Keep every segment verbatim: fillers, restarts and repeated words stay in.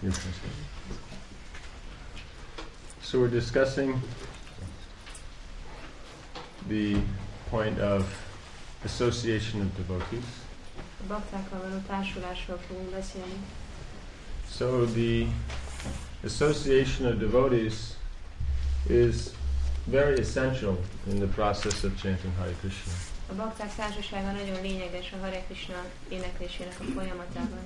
So we're discussing the point of association of devotees. A baktákkal való társulásról fogunk beszélni. So the association of devotees is very essential in the process of chanting Hare Krishna. A bakták társasága nagyon lényeges a Hare Krishna éneklésének a folyamatában.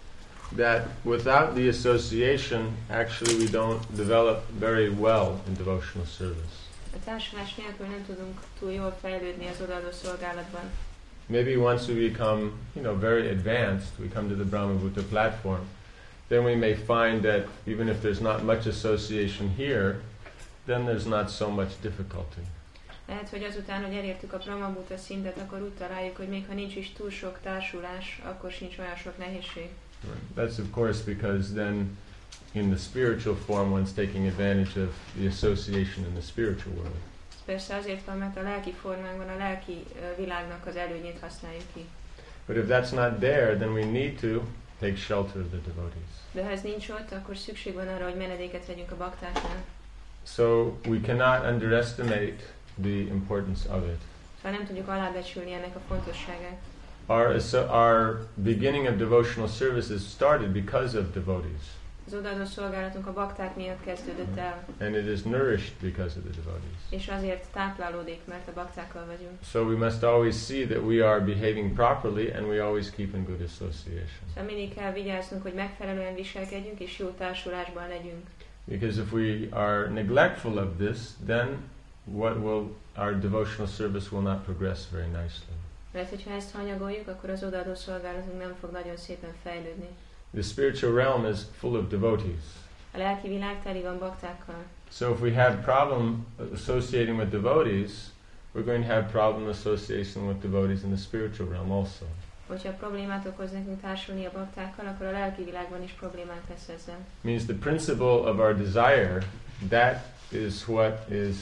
That without the association, actually we don't develop very well in devotional service. A társulás nélkül nem tudunk túl jól fejlődni az odaadó szolgálatban. Maybe once we become, you know, very advanced, we come to the Brahmavutta platform, then we may find that even if there's not much association here, then there's not so much difficulty. Lehet, hogy azután, hogy elértük a Brahmavutta szintet, akkor úgy találjuk, hogy még ha nincs is túl sok társulás, akkor sincs olyan sok nehézség. That's of course because then in the spiritual form one's taking advantage of the association in the spiritual world. Persze azért van, mert a lelki formánkban a lelki uh, világnak az előnyét használjuk ki. But if that's not there, then we need to take shelter of the devotees. De ha ez nincs ott, akkor szükség van arra, hogy menedéket vegyünk a baktáknál. So we cannot underestimate the importance of it. Szóval nem tudjuk alábecsülni ennek a fontosságát. Our, so our beginning of devotional services started because of devotees. Az odaadó szolgálatunk a bakták miatt kezdődött el. And it is nourished because of the devotees. És azért táplálódik, mert a baktákkal vagyunk. So we must always see that we are behaving properly and we always keep in good association. Szóval mindig kell vigyáznunk, hogy megfelelően viselkedjünk és jó társulásban legyünk. Because if we are neglectful of this, then what will our devotional service will not progress very nicely. Mert hogyha ezt hanyagoljuk, akkor az odaadó szolgálatunk nem fog nagyon szépen fejlődni. The spiritual realm is full of devotees. A lelki világ teli van baktákkal. So if we have problem associating with devotees, we're going to have problem associating with devotees in the spiritual realm also. Hogyha problémát okoz nekünk társulni a baktákkal, akkor a lelki világban is problémák lesz ezzel. Means the principle of our desire, that is what is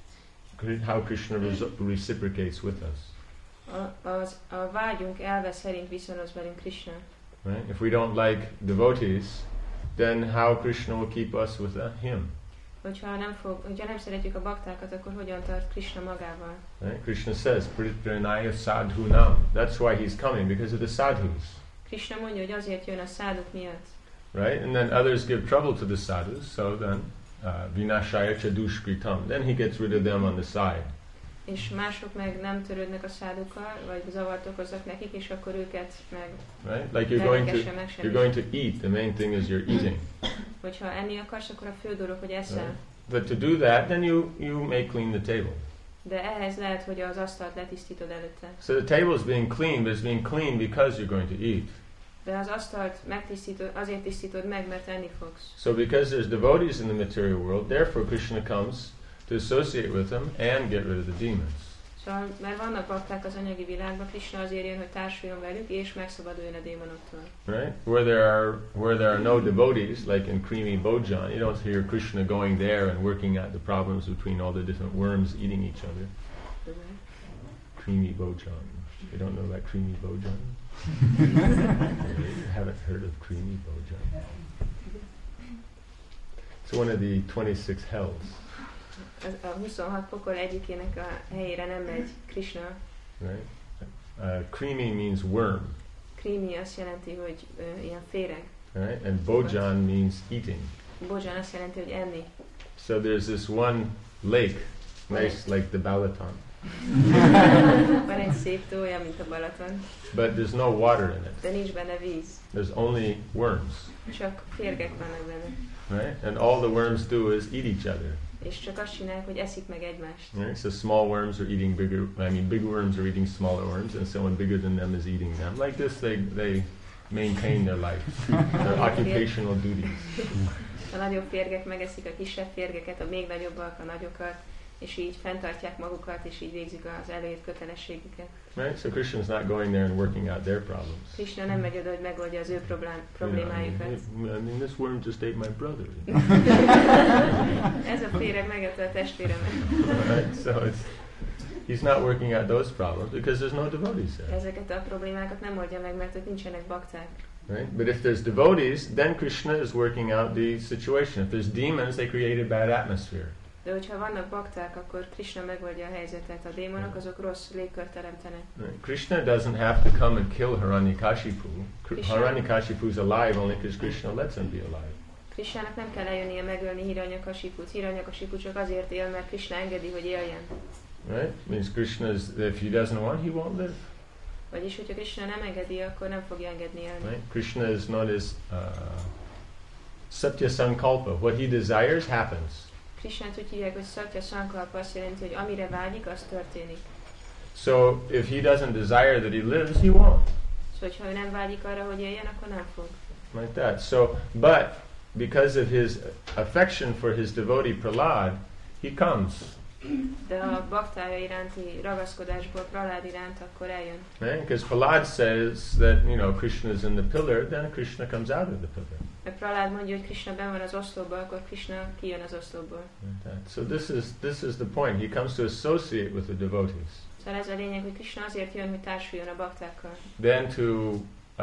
how Krishna reciprocates with us. A, az, a vágyunk elve szerint viszonoz velünk Krishna. Right? If we don't like devotees, then how Krishna will keep us with uh, him? Hogyha nem, fog, hogyha nem szeretjük a baktákat, akkor hogyan tart Krishna magával? Right? Krishna says, Pritranaya sadhunam. That's why he's coming, because of the sadhus. Krishna mondja, hogy azért jön a száduk miatt. Right? And then others give trouble to the sadhus, so then uh, vinashaya chadushkritam. Then he gets rid of them on the side. És mások meg nem törődnek a szádukkal, vagy zavart okoznak nekik, és akkor őket meg right? Like you're going to you're going to eat. The main thing is you're eating. Hogyha enni akarsz, akkor a fő dolog, hogy eszel. Right? But to do that, then you you may clean the table. De ehhez lehet, hogy az asztalt letisztítod előtte. So the table is being cleaned, but it's being cleaned because you're going to eat. De az asztalt megtisztítod, azért tisztítod meg, mert enni fogsz. So because there's devotees in the material world, therefore Krishna comes to associate with them and get rid of the demons. Szóval, mert vannak bakták az anyagi világban, Krishna azért jön, hogy társuljon velük, és megszabaduljon a démonoktól. Right? Where there are where there are no devotees, like in Creamy Bojan, you don't hear Krishna going there and working out the problems between all the different worms eating each other. Okay. Creamy Bojan. You don't know about Creamy Bojan? You haven't heard of Creamy Bojan? It's one of the twenty-six hells. A huszonhat pokol egyikének a helyére nem megy Krishna. Right? Uh, creamy means worm. Creamy azt jelenti, hogy uh, ilyen féreg. Right? And Bojan means eating. Bojan azt jelenti, hogy enni. So there's this one lake, nice like the Balaton. Van egy szép tó, olyan, mint a Balaton. But there's no water in it. De nincs benne víz. There's only worms. Csak férgek vannak benne. Right? And all the worms do is eat each other. És csak azt csinálják, hogy eszik meg egymást. Right? So small worms are eating bigger, I mean big worms are eating smaller worms, and someone bigger than them is eating them. Like this they, they maintain their life, their occupational duties. A nagyobb férgek megeszik a kisebb férgeket, a még nagyobbak a nagyokat, és így fenntartják magukat, és így végzik az előírt kötelességüket. Right? So Krishna's not going there and working out their problems. Krishna nem megy oda, hogy megoldja az ő problém, problémájukat. You know, I mean, this worm just ate my brother. Ez a féreg megette a testvéremet. Right? So it's, he's not working out those problems because there's no devotees there. Ezeket a problémákat nem oldja meg, mert ott nincsenek bakták. Right? But if there's devotees, then Krishna is working out the situation. If there's demons, they create a bad atmosphere. De hogyha vannak bakták, akkor Krishna megoldja a helyzetet. A démonok azok rossz légkört teremtenek. Right. Krishna doesn't have to come and kill Hiranyakashipu. Hiranyakashipu is alive only because Krishna lets him be alive. Krishnának nem kell eljönnie megölni Hiranyakashiput. Hiranyakashipu csak azért él, mert Krishna engedi, hogy éljen. Right? Means Krishna is, if he doesn't want, he won't live. Vagyis, hogyha Krishna nem engedi, akkor nem fogja engedni élni. Right? Krishna is known as uh, Satya Sankalpa. What he desires happens. Krishnát úgy hívják, hogy Satya Sankalpa, azt jelenti, hogy amire vágyik, az történik. So if he doesn't desire that he lives, he won't. Szóval, ha ő nem vágyik arra, hogy éljen, akkor nem fog. Like that. So, but because of his affection for his devotee Prahlad, he comes. De a baktája iránti ragaszkodásból Prahlad iránt, akkor eljön. Right? Because Prahlad says that, you know, Krishna is in the pillar, then Krishna comes out of the pillar. Mert Prahlad mondja, hogy Krishna benn van az oszlopban, akkor Krishna kijön az oszlopból. Like so this is this is the point. He comes to associate with the devotees. Szóval ez a lényeg, hogy Krishna azért jön, hogy társuljon a baktákkal. Then to uh,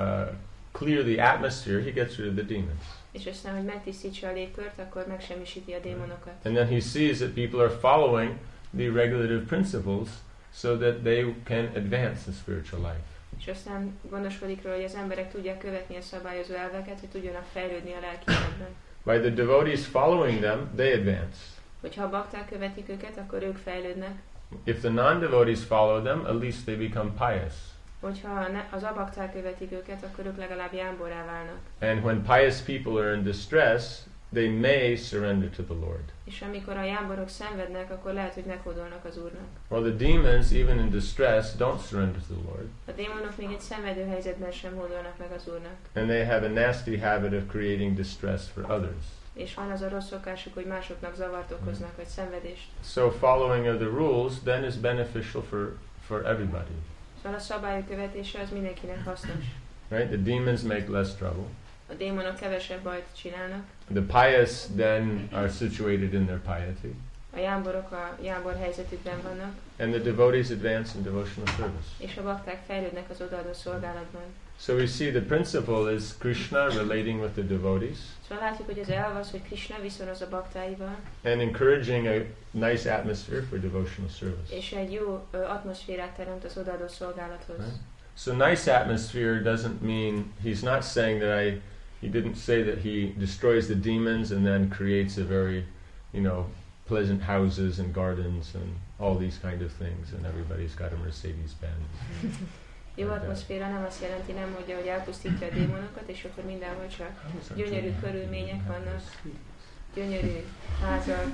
clear the atmosphere, he gets rid of the demons. És aztán, hogy megtisztítsa a légkört, akkor megsemmisíti a démonokat. And then he sees that people are following the regulative principles so that they can advance the spiritual life. És aztán gondoskodik róla, hogy az emberek tudják követni a szabályozó elveket, hogy tudjanak fejlődni a lelki életben. By the devotees following them, they advance. Hogyha a bakták követik őket, akkor ők fejlődnek. If the non-devotees follow them, at least they become pious. Hogyha az abakták követik őket, akkor ők legalább jámborrá válnak. And when pious people are in distress, they may surrender to the Lord. És amikor a jámborok szenvednek, akkor lehet, hogy meghódolnak az Úrnak. Or the demons, even in distress, don't surrender to the Lord. A démonok még egy szenvedő helyzetben sem hódolnak meg az Úrnak. And they have a nasty habit of creating distress for others. És van az a rossz szokásuk, hogy másoknak zavart okoznak, vagy szenvedést. So following of the rules then is beneficial for, for everybody. Szóval a szabályok követése az mindenkinek hasznos. Right? The demons make less trouble. A démonok kevesebb bajt csinálnak. The pious then are situated in their piety. A jámborok a jámbor helyzetükben vannak. And the devotees advance in devotional service. És a bakták fejlődnek az odaadó szolgálatban. So we see the principle is Krishna relating with the devotees. Szóval látjuk, hogy az elv az, hogy Krishna viszonoz a baktáival. And encouraging a nice atmosphere for devotional service. És egy jó uh, atmoszférát teremt az odaadó szolgálathoz. Right? So nice atmosphere doesn't mean, he's not saying that I, he didn't say that he destroys the demons and then creates a very, you know, pleasant houses and gardens and all these kind of things and everybody's got a Mercedes-Benz. Jó atmoszféra nem azt jelenti, nem mondja, hogy elpusztítja a démonokat, és akkor mindenhol csak gyönyörű körülmények vannak, gyönyörű házak,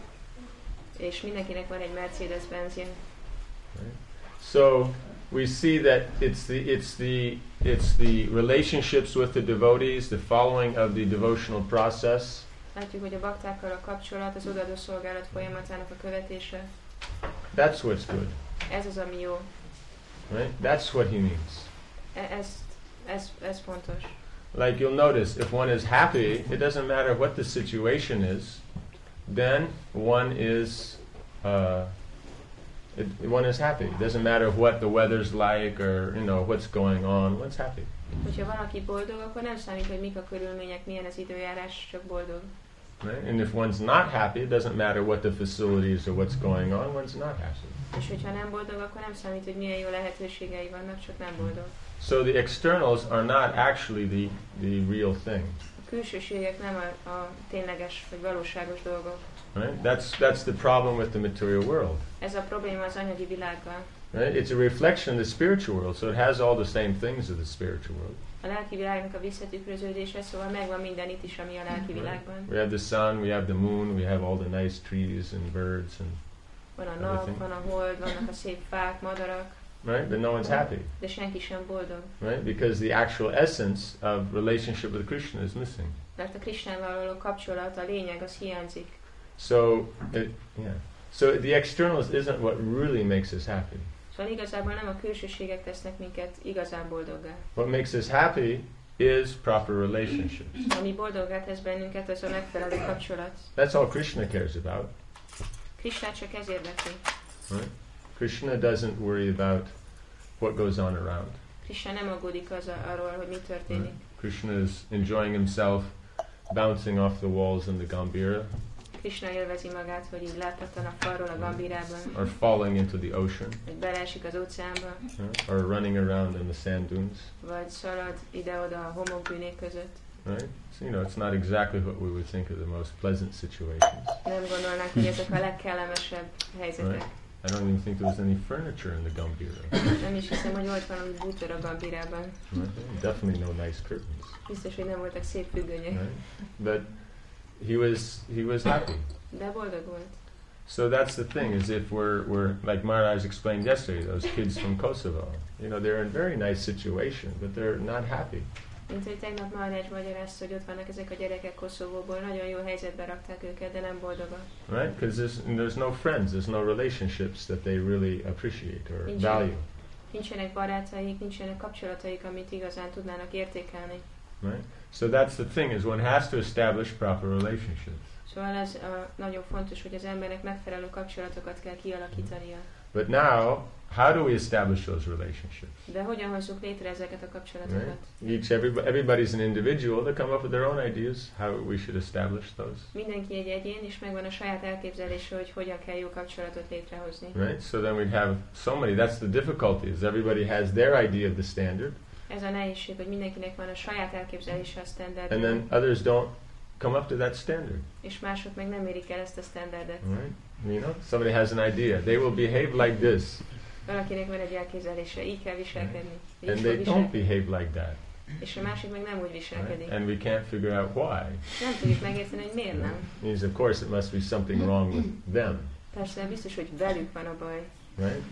és mindenkinek van egy Mercedes-Benzje. So we see that it's the it's the it's the relationships with the devotees, the following of the devotional process. Látjuk, hogy a baktákkal a kapcsolat, az odaadó szolgálat folyamatának a követése. That's what's good. Ez az, ami jó. Right? That's what he means. E- ez, ez, ez fontos. Like you'll notice, if one is happy, it doesn't matter what the situation is, then one is uh, it, one is happy. It doesn't matter what the weather's like or you know what's going on. One's happy. Hogyha valaki boldog, akkor nem számít, hogy mik a körülmények, milyen az időjárás, csak boldog. Right? And if one's not happy, it doesn't matter what the facilities or what's going on. One's not happy. És hogyha nem boldog, akkor nem számít, hogy milyen jó lehetőségei vannak, csak nem boldog. So the externals are not actually the the real thing. A külsőségek nem a, a tényleges vagy valóságos dolgok. Right? That's that's the problem with the material world. Ez a probléma az anyagi világgal. Right? It's a reflection of the spiritual world, so it has all the same things of the spiritual world. A lelki világnak a visszatükröződése, szóval megvan minden itt is, ami a lelki világban. We have the sun, we have the moon, we have all the nice trees and birds and Van a nap, van a hold, vannak a szép fák, madarak. right? But no one's happy. De senki sem boldog. Right? Because the actual essence of relationship with Krishna is missing. Mert a Krishnával való kapcsolat, a lényeg, az hiányzik. So, it, yeah. So the externals isn't what really makes us happy. Szóval igazából nem a külsőségek tesznek minket igazán boldoggá. What makes us happy is proper relationships. Ami boldoggá tesz bennünket, az a megfelelő kapcsolat. That's all Krishna cares about. Krishnát csak ez érdekli. Right? Krishna doesn't worry about what goes on around. Krishna nem aggódik az a, arról, hogy mi történik. Right? Krishna is enjoying himself, bouncing off the walls in the Gambhira. Krishna élvezi magát, hogy így láthattan a falról a Gambhirában. Or falling into the ocean. Vagy beleesik az óceánba. Or running around in the sand dunes. Vagy szalad ide-oda a homokbűnék között. Right? So, you know, it's not exactly what we would think of the most pleasant situations. Nem gondolnánk, hogy ezek a legkellemesebb helyzetek. Right? I don't even think there was any furniture in the Gambhira. Nem is hiszem, hogy volt valami bútor a Gambhirában. Right? Definitely no nice curtains. Biztos, hogy nem voltak szép függönyök. Right? But he was he was happy. De boldog volt. So that's the thing, is if we're we're like Maharaj explained yesterday, those kids from Kosovo, you know, they're in a very nice situation, but they're not happy. Mint hogy tegnap Maharaj magyarázta, hogy ott vannak ezek a gyerekek Koszovóból, nagyon jó helyzetbe rakták őket, de nem boldogak. Right? Because there's, there's no friends, there's no relationships that they really appreciate or Nincsenek, value. Nincsenek barátaik, nincsenek kapcsolataik, amit igazán tudnának értékelni. Right? So that's the thing, is one has to establish proper relationships. Szóval ez uh, nagyon fontos, hogy az embernek megfelelő kapcsolatokat kell kialakítania. But now, how do we establish those relationships? De hogyan hozzuk létre ezeket a kapcsolatokat? Right? Each everybody, everybody's an individual. They come up with their own ideas how we should establish those. Mindenki egy egyén, és megvan a saját elképzelése, hogy hogyan kell jó kapcsolatot létrehozni. Right? So then we'd have so many. That's the difficulty. Is everybody has their idea of the standard. Ez a nehézség, hogy mindenkinek van a saját elképzelése a standardról. And then others don't come up to that standard. És mások meg nem érik el ezt a standardet. Right? You know, somebody has an idea. They will behave like this. Valakinek van egy elképzelése, így kell viselkedni. Így And fog they don't viselkedni. behave like that. És a másik meg nem úgy viselkedik. Right? And we can't figure out why. Nem tudjuk megérteni, hogy miért nem. Means of course it must be something wrong with them. Persze biztos, hogy velük van a baj. Right?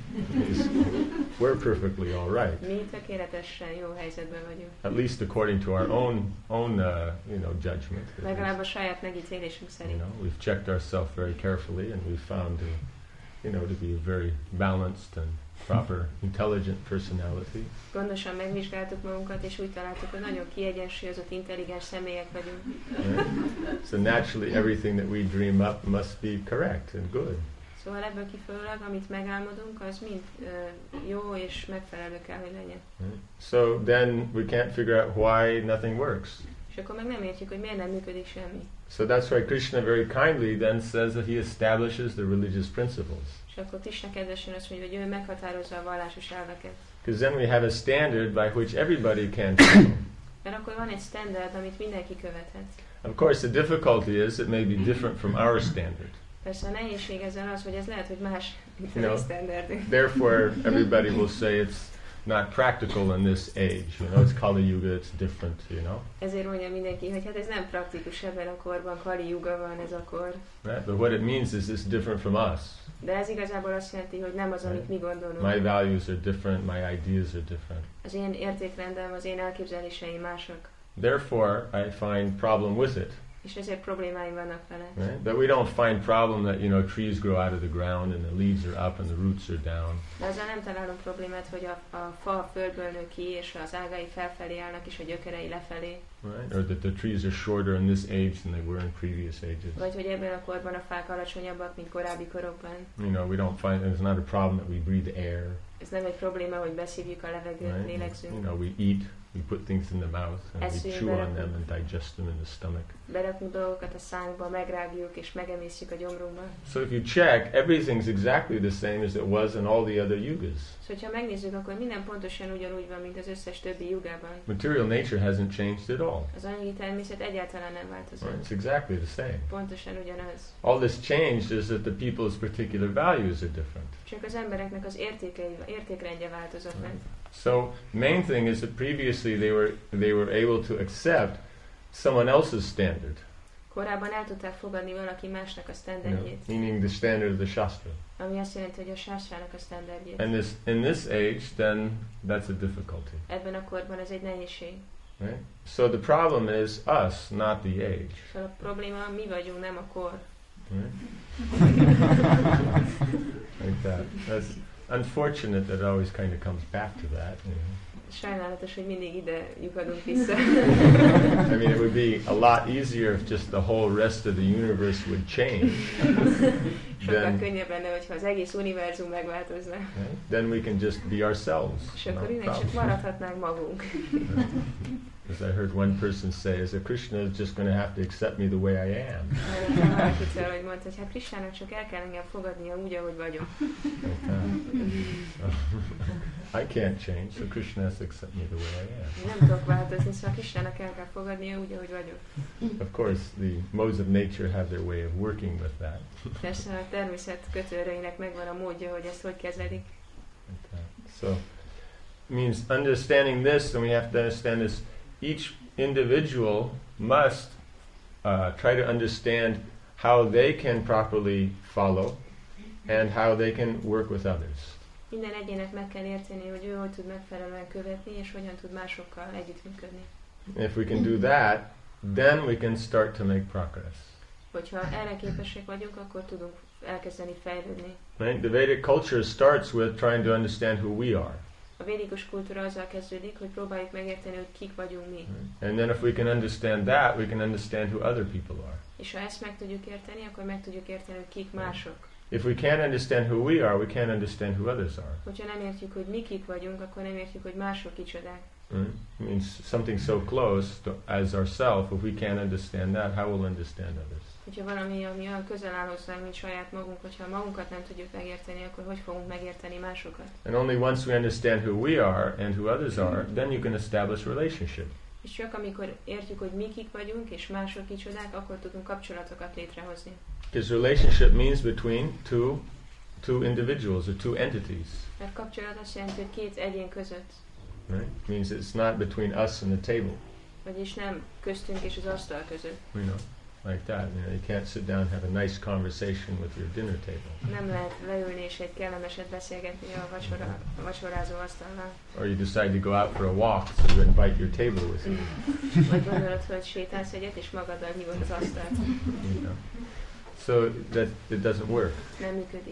We're perfectly all right. Mi tökéletesen jó helyzetben vagyunk. At least according to our own own uh, you know judgment. Legalább a saját megítélésünk You szerint. know, we've checked ourselves very carefully, and we've found, uh, you know, to be a very balanced and proper, intelligent personality. Gondosan megvizsgáltuk magunkat, és úgy találtuk, hogy nagyon kiegyensúlyozott, intelligens személyek vagyunk. Right? So naturally, everything that we dream up must be correct and good. Szóval ebből kifolyólag, amit megálmodunk, az mind uh, jó és megfelelő kell, hogy legyen. Right? So then we can't figure out why nothing works. És akkor meg nem értjük, hogy miért nem működik semmi. So that's why Krishna very kindly then says that he establishes the religious principles. És akkor Krishna kedvesen azt mondja, hogy ő meghatározza a vallásos elveket. Because then we have a standard by which everybody can follow. Mert akkor van egy standard, amit mindenki követhet. Of course, the difficulty is it may be different from our standard. Persze a nehézség ezzel az, hogy ez lehet, hogy más, mint a You mi know, standardünk. Therefore, everybody will say it's not practical in this age. You know, it's Kali Yuga, it's different, you know. Ezért mondja mindenki, hogy hát ez nem praktikus ebben a korban, Kali Yuga van ez a kor. Right? But what it means is it's different from us. De ez igazából azt jelenti, hogy nem az, amit mi gondolunk. My values are different, my ideas are different. Az én értékrendem, az én elképzeléseim mások. Therefore, I find problem with it. És ezért problémáim vannak vele. Right? But we don't find problem that, you know, trees grow out of the ground and the leaves are up and the roots are down. De azzal nem találunk problémát, hogy a, a fa a földből nő ki, és az ágai felfelé állnak, és a gyökerei lefelé. Right? Or that the trees are shorter in this age than they were in previous ages. Vagy hogy ebben a korban a fák alacsonyabbak, mint korábbi korokban. You know, we don't find, it's not a problem that we breathe air. Ez nem egy probléma, hogy beszívjuk a levegőt, Right? lélegzünk. You know, we eat, we put things in the mouth and we Eszünk, chew on berakunk. them and digest them in the stomach. Berakunk dolgokat a szánkba, megrágjuk és megemészjük a gyomrunkba. So if you check, everything's exactly the same as it was in all the other yugas. Szóval, ha megnézzük, akkor minden pontosan ugyanúgy van, mint az összes többi jugában. Material nature hasn't changed at all. Az anyagi természet egyáltalán nem változott. Right? It's exactly the same. Pontosan ugyanaz. All that's changed is that the people's particular values are different. Csak az embereknek az értékei, értékrendje változott meg. So main thing is that previously they were they were able to accept someone else's standard. Korábban el tudták fogadni valaki másnak a You standardjét, know, meaning the standard of the Shastra. ami azt jelenti, hogy a sástrának a standardjét. And this in this age, then that's a difficulty. Ebben a korban ez egy nehézség. Right? So the problem is us, not the age. Szóval a probléma mi vagyunk, nem a kor. Right? Like that. That's unfortunate that it always kind of comes back to that. You know? Sajnálatos, hogy mindig ide lyukadunk vissza. I mean, it would be a lot easier if just the whole rest of the universe would change. Sokkal then, könnyebb lenne, hogyha az egész univerzum megváltozna. right? Then we can just be ourselves. És No akkor innen csak problem. maradhatnánk magunk. As I heard one person say, is that Krishna is just going to have to accept me the way I am. Valakitől, hogy mondta, hogy hát Krishnának csak el kell engem fogadnia úgy, ahogy vagyok. I can't change, so Krishna has to accept me the way I am. Nem tudok változni, szóval Krishnának el kell fogadnia úgy, ahogy vagyok. Of course, the modes of nature have their way of working with that. Persze a természet kötőerőinek megvan a módja, hogy ezt hogy kezelik. Okay. So, means understanding this, and we have to understand this. Each individual must uh, try to understand how they can properly follow and how they can work with others. Minden egyének meg kell érteni, hogy ő hogy tud megfelelően követni, és hogyan tud másokkal együttműködni. If we can do that, then we can start to make progress. Hogyha erre képesek vagyunk, akkor tudunk elkezdeni fejlődni. Right? The Vedic culture starts with trying to understand who we are. A védikus kultúra azzal kezdődik, hogy próbáljuk megérteni, hogy kik vagyunk mi. And then if we can understand that, we can understand who other people are. És ha ezt meg tudjuk érteni, akkor meg tudjuk érteni, hogy kik mások. If we can't understand who we are, we can't understand who others are. Hogyha nem értjük, hogy mi kik vagyunk, akkor nem értjük, hogy mások kicsodák. Right? It means something so close to, as ourself, if we can't understand that, how will understand others? Hogyha valami, ami olyan közel áll hozzánk, mint saját magunk, hogyha magunkat nem tudjuk megérteni, akkor hogy fogunk megérteni másokat? And only once we understand who we are and who others are, then you can establish relationship. És csak amikor értjük, hogy mi kik vagyunk, és mások kicsodák, akkor tudunk kapcsolatokat létrehozni. Because relationship means between two, two individuals or two entities. Mert kapcsolat azt jelenti, hogy két egyén között. Right? It means it's not between us and the table. Vagyis nem köztünk és az asztal között. You know, like that. You know, you can't sit down and have a nice conversation with your dinner table. Nem lehet leülni és egy kellemeset beszélgetni a, vacsora, a vacsorázó asztalnál. Or you decide to go out for a walk, so you invite your table with you. Vagy gondolod, hogy sétálsz egyet, és magaddal hívod az asztalt. You know. So that it doesn't work. Nem működik.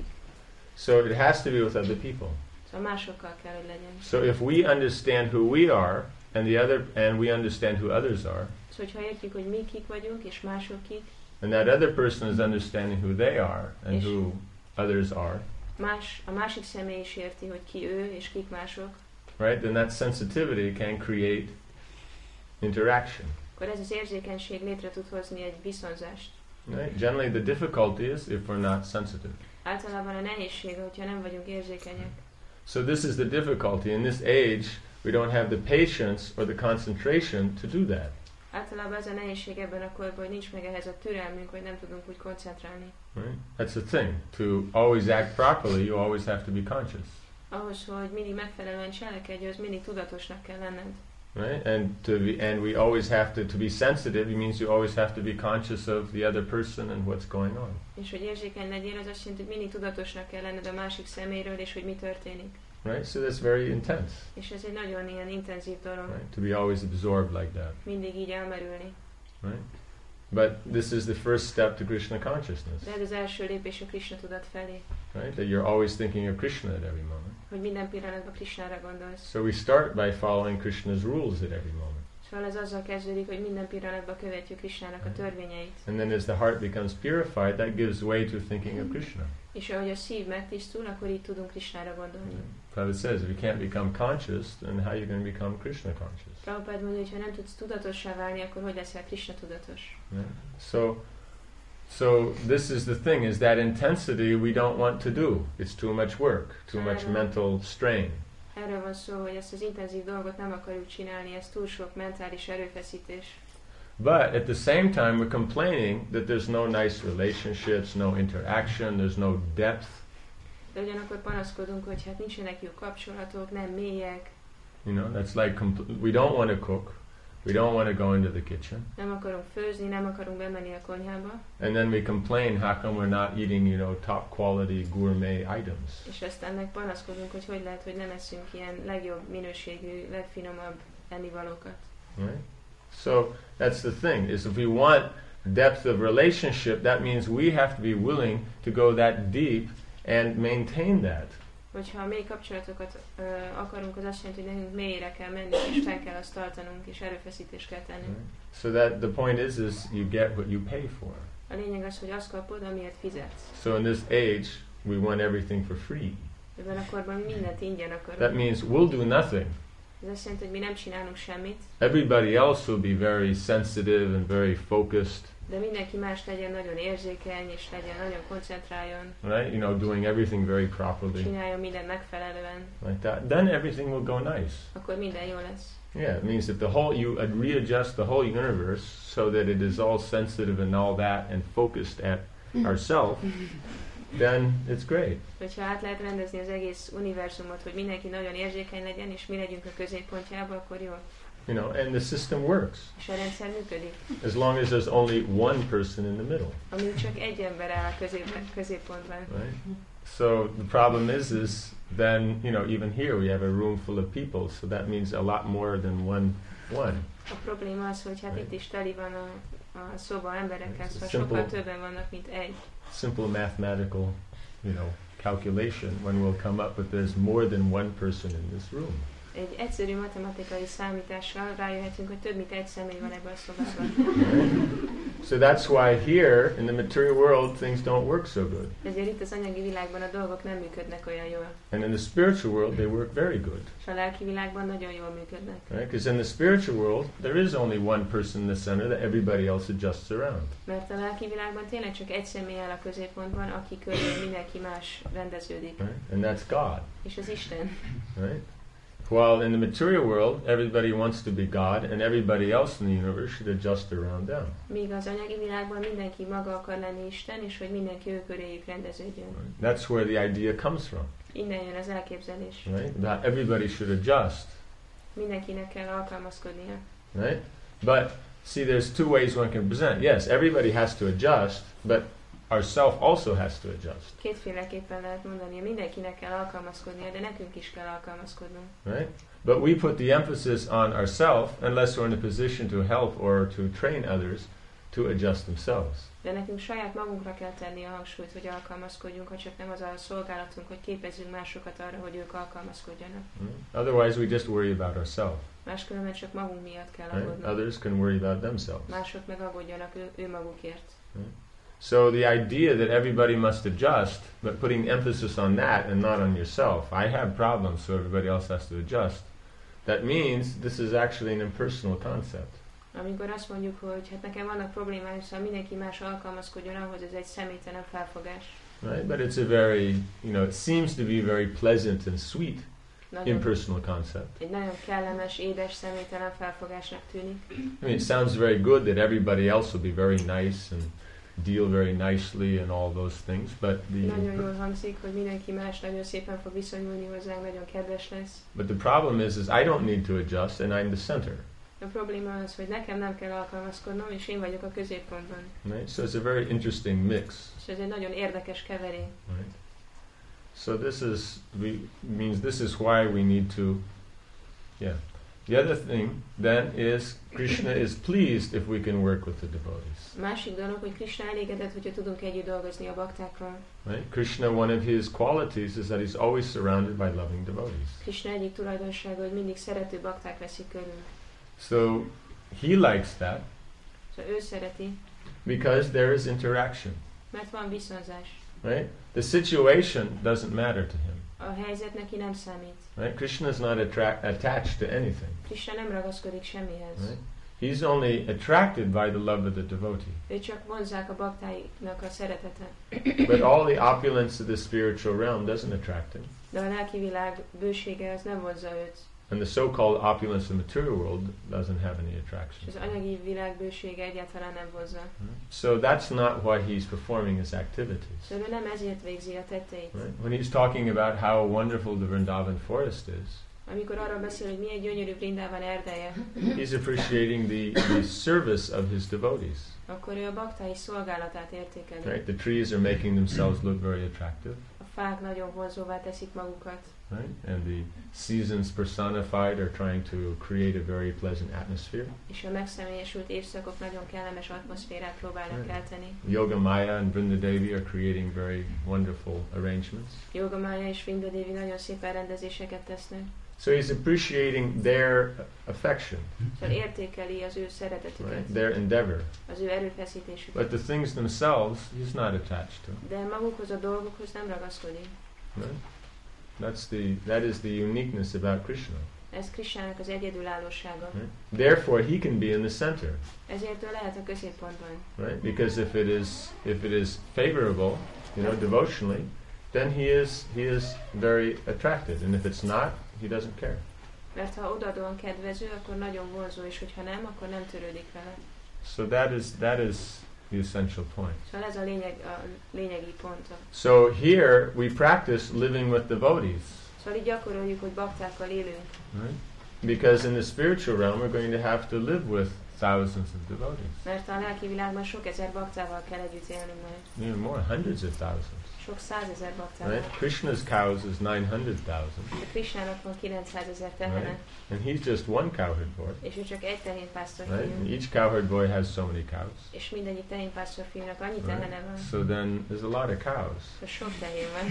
So it has to be with other people. Szóval másokkal kell, hogy legyen. So if we understand who we are and the other and we understand who others are, Szóval, hogyha értjük, hogy mi kik vagyunk, és mások kik, and that other person is understanding who they are and És who others are, más, a másik személy is érti, hogy ki ő, és kik mások, right? Then that sensitivity can create interaction. akkor ez az érzékenység létre tud hozni egy viszonzást. Right? Generally, the difficulty is if we're not sensitive. Általában a nehézség, hogyha nem vagyunk érzékenyek. So this is the difficulty. In this age, we don't have the patience or the concentration to do that. Általában ez a nehézség ebben a korban, hogy nincs meg ehhez a türelmünk, hogy nem tudunk úgy koncentrálni. Right? That's the thing. To always act properly, you always have to be conscious. Ahhoz, hogy mindig megfelelően cselekedj, az mindig tudatosnak kell lenned. Right? And to be, and we always have to to be sensitive. It means you always have to be conscious of the other person and what's going on. És hogy érzékeny legyél, az azt jelenti, hogy mindig tudatosnak kell lenned a másik szeméről, és hogy mi történik. Right? So that's very intense. És ez egy nagyon ilyen intenzív dolog. Right? To be always absorbed like that. Mindig így elmerülni. Right? But this is the first step to Krishna consciousness. De ez az első lépés a Krishna tudat felé. Right? That you're always thinking of Krishna at every moment. Hogy minden pillanatban Krishnára gondolsz. So we start by following Krishna's rules at every moment. Szóval ez azzal kezdődik, hogy minden pillanatban követjük Krishnának a törvényeit. And then as the heart becomes purified, that gives way to thinking of Krishna. És ahogy a szív megtisztul, akkor így tudunk Krishnára gondolni. Prabhupada says, if you can't become conscious, then how are you going to become Krishna conscious? Prabhupada mondja, hogy ha nem tudsz tudatossá válni, akkor hogy leszel Krishna tudatos? Yeah. So, so this is the thing: is that intensity we don't want to do. It's too much work, too much mental strain. Erről van szó, hogy ezt az intenzív dolgot nem akarjuk csinálni, ez túl sok mentális erőfeszítés. But at the same time, we're complaining that there's no nice relationships, no interaction, there's no depth. De ugyanakkor panaszkodunk, hogy hát nincsenek jó kapcsolatok, nem mélyek. You know, that's like compl- we don't want to cook, we don't want to go into the kitchen. Nem akarunk főzni, nem akarunk bemenni a konyhába. And then we complain, how come we're not eating, you know, top quality gourmet items? És aztán meg panaszkodunk, hogy hogy lehet, hogy nem eszünk ilyen legjobb minőségű, legfinomabb ennivalókat. Right? So that's the thing, is if we want depth of relationship, that means we have to be willing to go that deep and maintain that. Hogyha mély kapcsolatokat uh, akarunk, az azt jelenti, hogy nekünk mélyre kell menni, és fel kell azt tartanunk, és erőfeszítést kell tenni. Right? So that the point is, is you get what you pay for. A lényeg az, hogy azt kapod, amiért fizetsz. So in this age, we want everything for free. Ebben a korban mindent ingyen akarunk. That means we'll do nothing. Ez azt jelenti, hogy mi nem csinálunk semmit. Everybody else will be very sensitive and very focused. De mindenki más legyen nagyon érzékeny, és legyen nagyon koncentráljon. Right? You know, doing everything very properly. Csináljon mindent megfelelően. Like that. Then everything will go nice. Akkor minden jó lesz. Yeah, it means that the whole, you uh, readjust the whole universe so that it is all sensitive and all that and focused at ourselves, then it's great. Hogyha át lehet rendezni az egész univerzumot, hogy mindenki nagyon érzékeny legyen, és mi legyünk a középpontjába, akkor jó. You know, and the system works. És a rendszer működik. As long as there's only one person in the middle. Amíg csak egy ember áll a közép, középpontban. Right? So the problem is, is then, you know, even here we have a room full of people, so that means a lot more than one one. A probléma az, hogy hát Right. itt is teli van a, a szoba emberekkel, szóval Simple- sokkal többen vannak, mint egy. Simple mathematical, you know, calculation when we'll come up with there's more than one person in this room. Egy egyszerű matematikai számítással rájöhetünk, hogy több mint egy személy van ebben a szobában. So that's why here in the material world things don't work so good. Ezért itt az anyagi világban a dolgok nem működnek olyan jól. And in the spiritual world they work very good. És a lelki világban nagyon jól működnek. Right? Because in the spiritual world there is only one person in the center that everybody else adjusts around. Mert a lelki világban tényleg csak egy személy áll a középpontban, aki körül mindenki más rendeződik. Right? And that's God. És az Isten. Right? While in the material world, everybody wants to be God, and everybody else in the universe should adjust around them. Míg az anyagi világban mindenki maga akar lenni Isten, és hogy mindenki ő köréjük rendeződjön. Right? That's where the idea comes from. Innen jön az elképzelés. Right? That everybody should adjust. Mindenkinek kell alkalmazkodnia. Right? But see, there's two ways one can present. Yes, everybody has to adjust, but ourself also has to adjust. Kétféleképpen lehet mondani, mindenkinek kell alkalmazkodnia, de nekünk is kell alkalmazkodnunk. Right? But we put the emphasis on ourselves unless we're in a position to help or to train others to adjust themselves. De nekünk saját magunkra kell tenni a hangsúlyt, hogy alkalmazkodjunk, ha csak nem az a szolgálatunk, hogy képezzünk másokat arra, hogy ők alkalmazkodjanak. Right? Otherwise, we just worry about ourselves. Máskülönben csak magunk miatt kell Right? aggódnunk. Others can worry about themselves. Mások meg aggódjanak ő, ő magukért. Right? So the idea that everybody must adjust, but putting emphasis on that and not on yourself. I have problems, so everybody else has to adjust. That means this is actually an impersonal concept. Amikor azt mondjuk, hogy hát nekem vannak problémáim, szóval mindenki más alkalmazkodjon ahhoz, ez egy személytelen felfogás. Right? But it's a very, you know, it seems to be very pleasant and sweet Nagyon, impersonal concept. egy nagyon kellemes, édes, személytelen felfogásnak tűnik. I mean, it sounds very good that everybody else will be very nice and deal very nicely and all those things, but the Nagyon jól hangzik, hogy mindenki más nagyon szépen fog viszonyulni hozzánk, nagyon kedves lesz. but the problem is, is I don't need to adjust, and I'm the center. A probléma az, hogy nekem nem kell alkalmazkodnom, és én vagyok a középpontban. Right? So it's a very interesting mix. És ez egy nagyon érdekes keverék. Right? So this is we means this is why we need to, yeah. The other thing then is Krishna is pleased if we can work with the devotees. A másik dolog, hogy Krishna elégedett, hogyha tudunk együtt dolgozni a baktákkal. Right? Krishna, one of his qualities is that he's always surrounded by loving devotees. Krishna egyik tulajdonsága, hogy mindig szerető bakták veszik körül. So he likes that Szóval ő szereti, because there is interaction. mert van viszonzás. Right? The situation doesn't matter to him. A helyzet neki nem számít. Right? Krishna is not attra- attached to anything. Krishna nem ragaszkodik semmihez. Right? He's only attracted by the love of the devotee. Ő csak vonzzák a baktáinak a szeretete. But all the opulence of the spiritual realm doesn't attract him. De a lelki világ bősége az nem vonzza őt. And the so-called opulence of the material world doesn't have any És attraction. az anyagi világ bősége egyáltalán nem vonzza. So that's not why he's performing his activities. Szóval ő nem ezért végzi a tetteit. Right? When he's talking about how wonderful the Vrindavan forest is, Amikor arról beszél, hogy milyen gyönyörű Vrindában erdeje, he's appreciating the, the service of his devotees. akkor ő a baktái szolgálatát értékeli. Right? The trees are making themselves look very attractive. A fák nagyon vonzóvá teszik magukat. Right? And the seasons personified are trying to create a very pleasant atmosphere. És a megszemélyesült évszakok nagyon kellemes atmoszférát próbálnak Right. kelteni. Yoga Maya and Vrindadevi are creating very wonderful arrangements. Yoga Maya és Vrindadevi nagyon szép elrendezéseket tesznek. So he's appreciating their affection, Szóval értékeli az ő szeretetüket, right? Their endeavor. az ő erőfeszítésüket. But the things themselves, he's not attached to. De magukhoz a dolgokhoz nem ragaszkodik. Right? That's the that is the uniqueness about Krishna. Ez Krisnának az egyedülállósága. Right? Therefore, he can be in the center. Ezért ő lehet a középpontban. Right? Because if it is if it is favorable, you know, devotionally, then he is he is very attracted, and if it's not, he doesn't care. Mert ha odaadóan kedvező, akkor nagyon vonzó, és hogyha nem, akkor nem törődik vele. So that is that is the essential point. Szóval ez a lényeg, a lényegi pont. So here we practice living with devotees. Szóval így gyakoroljuk, hogy baktákkal élünk. Right? Because in the spiritual realm we're going to have to live with thousands of devotees. Mert a lelki világban sok ezer baktával kell együtt élnünk majd. Even more, hundreds of thousands. Sok százezer baktával. Right? Krishna's cows is nine hundred thousand. De Krishnának van kilencszázezer tehene. Right? And he's just one cowherd boy. És ő csak egy tehénpásztor Right? fiú. And each cowherd boy has so many cows. És mindegyik tehénpásztor fiúnak annyi Right? tehene van. So then there's a lot of cows. Szóval sok tehén van.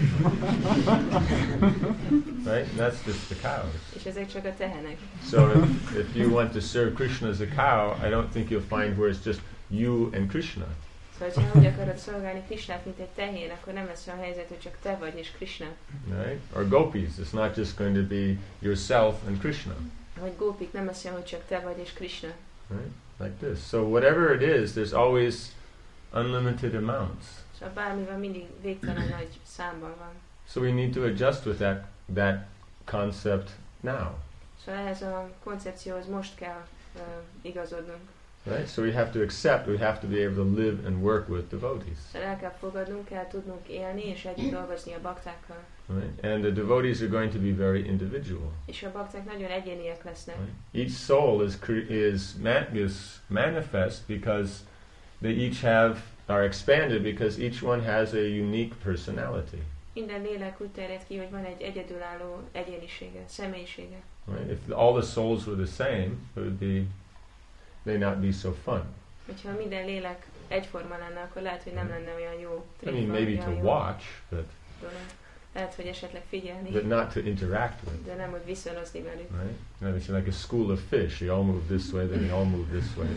Right? And that's just the cows. És ezek csak a tehenek. So if, if you want to serve Krishna as a cow, I don't think you'll find where it's just you and Krishna. Szóval, ha úgy akarod szolgálni Krishnát, mint egy tehén, akkor nem lesz olyan helyzet, hogy csak te vagy és Krishna. Right? Or gopis, it's not just going to be yourself and Krishna. Vagy gópik, nem lesz olyan, hogy csak te vagy és Krishna. Right? Like this. So whatever it is, there's always unlimited amounts. Szóval bármivel mindig végtelen nagy számban van. So we need to adjust with that that concept now. Szóval ehhez a koncepcióhoz most kell uh, igazodnunk. Right? So we have to accept, we have to be able to live and work with devotees. Szóval el kell fogadnunk, kell tudnunk élni és együtt dolgozni a baktákkal. Right? And the devotees are going to be very individual. És a bakták nagyon egyéniek lesznek. Right? Each soul is cre- is, man- is manifest because they each have are expanded because each one has a unique personality. Minden lélek úgy terjed ki, hogy van egy egyedülálló egyénisége, személyisége. Right? If all the souls were the same, it would be may not be so fun. Hogyha minden lélek egyforma lenne, akkor lehet, hogy nem lenne olyan jó. I mean, maybe to watch, but dolog. Lehet, hogy esetleg figyelni, but not to interact with. de nem, hogy viszonozni velük. Right? No, it's like a school of fish. They all move this way, then they all move this way.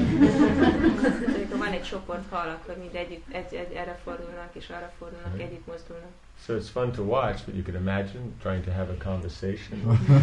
Amikor van egy csoport hal, akkor mind együtt, egy, egy, erre fordulnak és arra fordulnak, Right. együtt mozdulnak. So it's fun to watch, but you can imagine trying to have a conversation.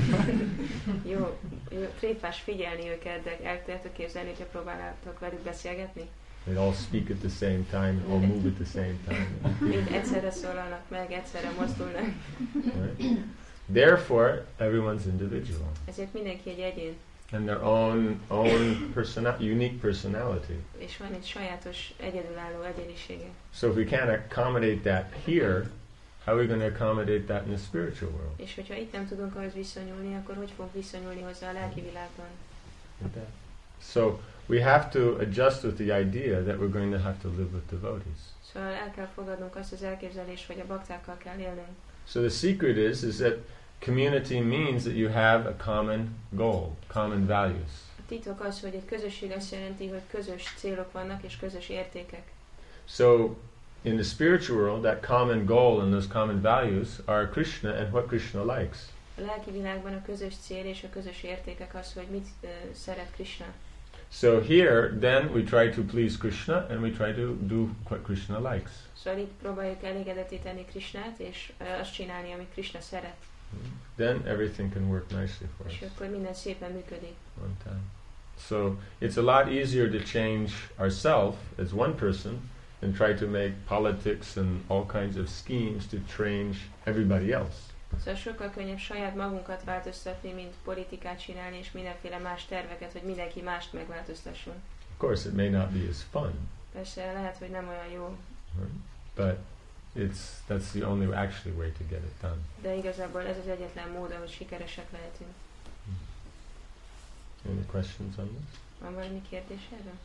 Jó, jó, tréfás figyelni őket, de el tudjátok képzelni, hogyha próbáljátok velük beszélgetni? They all speak at the same time, all move at the same time. Mind egyszerre szólalnak meg, egyszerre mozdulnak. Right? Therefore, everyone's individual. Ezért mindenki egy egyén, And their own own persona- unique personality. és van egy sajátos, egyedülálló egyénisége. So if we can't accommodate that here, how are we going to accommodate that in the spiritual world? És hogyha itt nem tudunk ahhoz viszonyulni, akkor hogy fogunk viszonyulni hozzá a lelki világban? Like that. So we have to adjust with the idea that we're going to have to live with devotees. Szóval el kell fogadnunk azt az elképzelést, hogy a baktákkal kell élnünk. So the secret is is that community means that you have a common goal, common values. A titok az, hogy egy közösség azt jelenti, hogy közös célok vannak és közös értékek. So in the spiritual world, that common goal and those common values are Krishna and what Krishna likes. A lelki világban a közös cél és a közös értékek az, hogy mit uh, szeret Krishna. So here, then we try to please Krishna and we try to do what Krishna likes. Szóval itt próbáljuk elégedetté tenni Krishnát, és uh, azt csinálni, amit Krishna szeret. Then everything can work nicely for us. És akkor minden szépen működik. One time. So it's a lot easier to change ourselves as one person than try to make politics and all kinds of schemes to change everybody else. Szóval sokkal könnyebb saját magunkat változtatni, mint politikát csinálni, és mindenféle más terveket, hogy mindenki mást megváltoztasson. Of course, it may not be as fun, Persze lehet, hogy nem olyan jó, right? But it's that's the only actually way to get it done. de igazából ez az egyetlen mód, ahogy sikeresek lehetünk. Any questions on this? Van valami kérdés erről?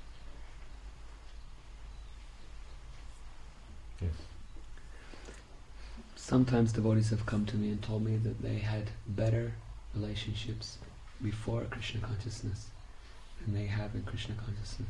Yes. Sometimes devotees have come to me and told me that they had better relationships before Krishna consciousness than they have in Krishna consciousness.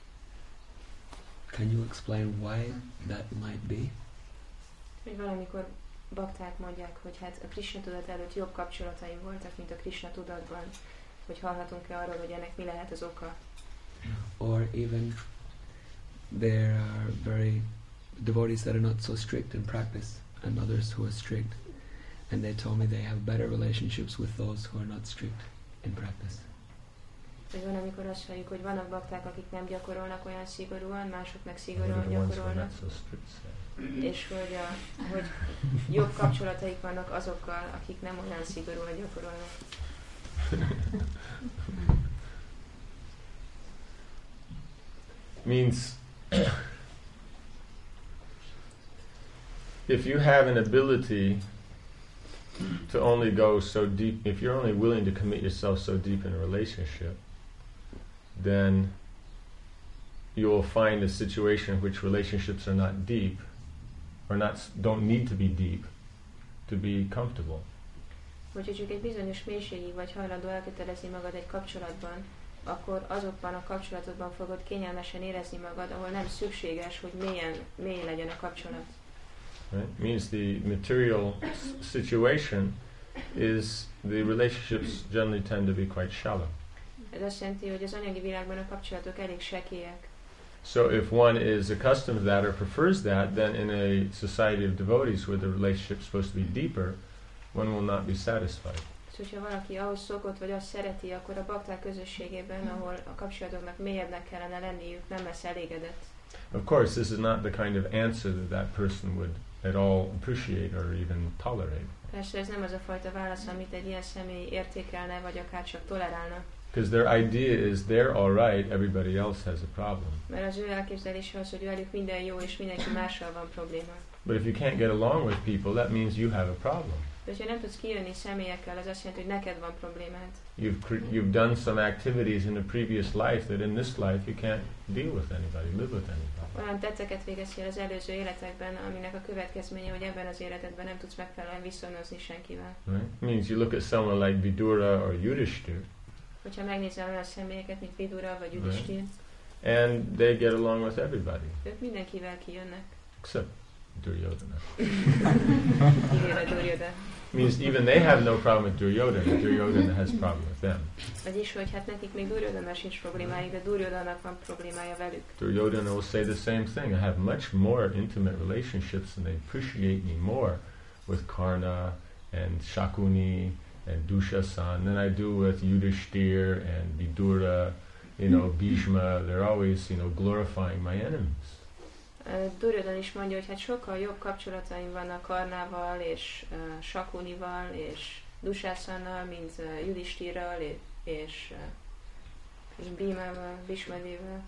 Can you explain why that might be? Hogy valamikor bakták mondják, hogy hát a Krishna tudat előtt jobb kapcsolataim voltak, mint a Krishna tudatban, hogy hallhatunk-e arról, hogy ennek mi lehet az oka. Or even there are very devotees that are not so strict in practice and others who are strict. And they told me they have better relationships with those who are not strict in practice. Hogy van, amikor azt halljuk, hogy vannak bakták, akik nem gyakorolnak olyan szigorúan, mások meg szigorúan gyakorolnak. És hogy, a, hogy jobb kapcsolataik vannak azokkal, akik nem olyan szigorúan gyakorolnak. Means if you have an ability to only go so deep, if you're only willing to commit yourself so deep in a relationship, then you will find a situation in which relationships are not deep, or not don't need to be deep, to be comfortable. Hogyha csak egy bizonyos mélységig vagy hajlandó elkötelezni magad egy kapcsolatban, akkor azokban a kapcsolatokban fogod kényelmesen érezni magad, ahol nem szükséges, hogy mélyen, mély legyen a kapcsolat. Right? Means the material situation is the relationships generally tend to be quite shallow. Ez azt jelenti, hogy az anyagi világban a kapcsolatok elég sekélyek. So if one is accustomed to that or prefers that, then in a society of devotees where the relationship is supposed to be deeper, one will not be satisfied. Szóval, ha valaki ahhoz szokott, vagy azt szereti, akkor a bakták közösségében, ahol a kapcsolatoknak mélyebbnek kellene lenniük, nem lesz elégedett. Of course, this is not the kind of answer that that person would at all appreciate or even tolerate. Persze ez nem az a fajta válasz, amit egy ilyen személy értékelne, vagy akár csak tolerálna. Because their idea is they're all right, everybody else has a problem. Mert az ő elképzelése az, hogy velük minden jó, és mindenki mással van probléma. But if you can't get along with people, that means you have a problem. De ha nem tudsz kijönni személyekkel, az azt jelenti, hogy neked van problémád. You've cre- you've done some activities in a previous life that in this life you can't deal with anybody, live with anybody. Olyan tetteket végeztél az előző életekben, aminek a következménye, hogy ebben az életedben nem tudsz megfelelően viszonozni senkivel. Right? It means you look at someone like Vidura or Yudhishthir. Hogyha megnézel olyan személyeket, mint Vidura vagy Yudhishthir, right. And they get along with everybody. Ők mindenkivel kijönnek. Except Duryodhana. Kivéve Duryodhana. Means even they have no problem with Duryodhana. Duryodhana has a problem with them. Vagyis, hogy hát nekik még Duryodhana sincs problémájuk, de Duryodhananak van problémája velük. Duryodhana will say the same thing. I have much more intimate relationships and they appreciate me more with Karna and Shakuni and Dushasan than I do with Yudhishthir and Vidura, you know, Bhishma. They're always, you know, glorifying my enemies. Uh, Duryodhana is mondja, hogy hát sokkal jobb kapcsolataim vannak Karnával és uh, Shakunival és Dushasannal, mint uh, Yudhishthirral és, és, uh, és Bhimával, Bhishmadével.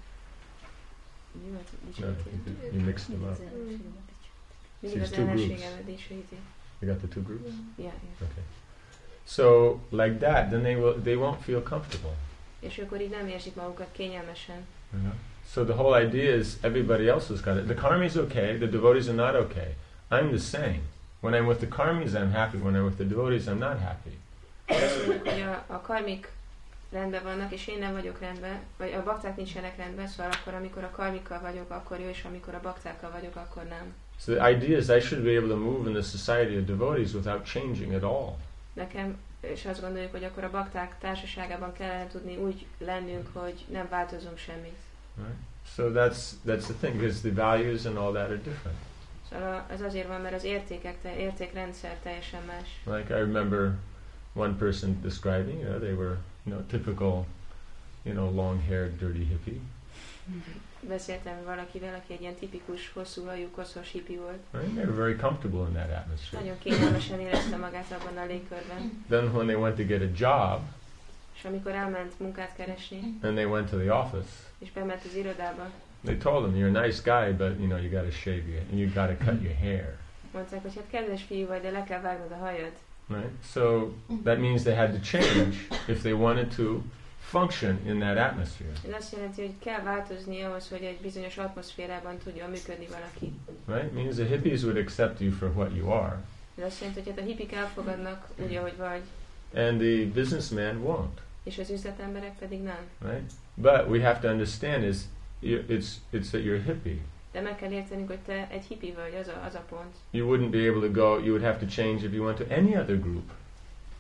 No, you mixed them up. Mindig az ellenségemet dicsőíti. You got the two groups? Yeah, yeah. Okay. So, like that, then they will they won't feel comfortable. És akkor így nem érzik magukat kényelmesen. You know? So the whole idea is everybody else has got it. The karmis okay, the devotees are not okay. I'm the same. When I'm with the karmis, I'm happy. When I'm with the devotees, I'm not happy. Azt mondjuk, hogy a, a karmik rendben vannak, és én nem vagyok rendben, vagy a bakták nincsenek rendben, szóval akkor, amikor a karmikkal vagyok, akkor jó, és amikor a baktákkal vagyok, akkor nem. So the idea is I should be able to move in the society of devotees without changing at all. Nekem, és azt gondoljuk, hogy akkor a bakták társaságában kellene tudni úgy lennünk, hogy nem változunk semmit. Right? So that's that's the thing, because the values and all that are different. Szóval ez azért van, mert az értékek, te, értékrendszer teljesen más. Like I remember one person describing, you know, they were, you know, typical, you know, long-haired, dirty hippie. Beszéltem valakivel, aki egy ilyen tipikus, hosszú hajú, koszos hippi volt. Right? They were very comfortable in that atmosphere. Nagyon kényelmesen érezte magát abban a légkörben. Then when they went to get a job, és amikor elment munkát keresni, and they went to the office, és bement az irodába, they told him, you're a nice guy, but you know, you got to shave your, and you got to cut your hair. Mondták, hogy hát kedves fiú vagy, de le kell vágnod a hajad. Right? So that means they had to change if they wanted to function in that atmosphere. Ez azt jelenti, hogy kell változni ahhoz, hogy egy bizonyos atmoszférában tudjon működni valaki. Right? It means the hippies would accept you for what you are. Ez azt jelenti, hogy hát a hippik elfogadnak úgy, ahogy vagy. And the businessman won't. És az üzletemberek pedig nem. Right? But we have to understand is it's it's that you're a hippie. De meg kell értenünk, hogy te egy hippi vagy, az a, az a pont. You wouldn't be able to go, you would have to change if you went to any other group.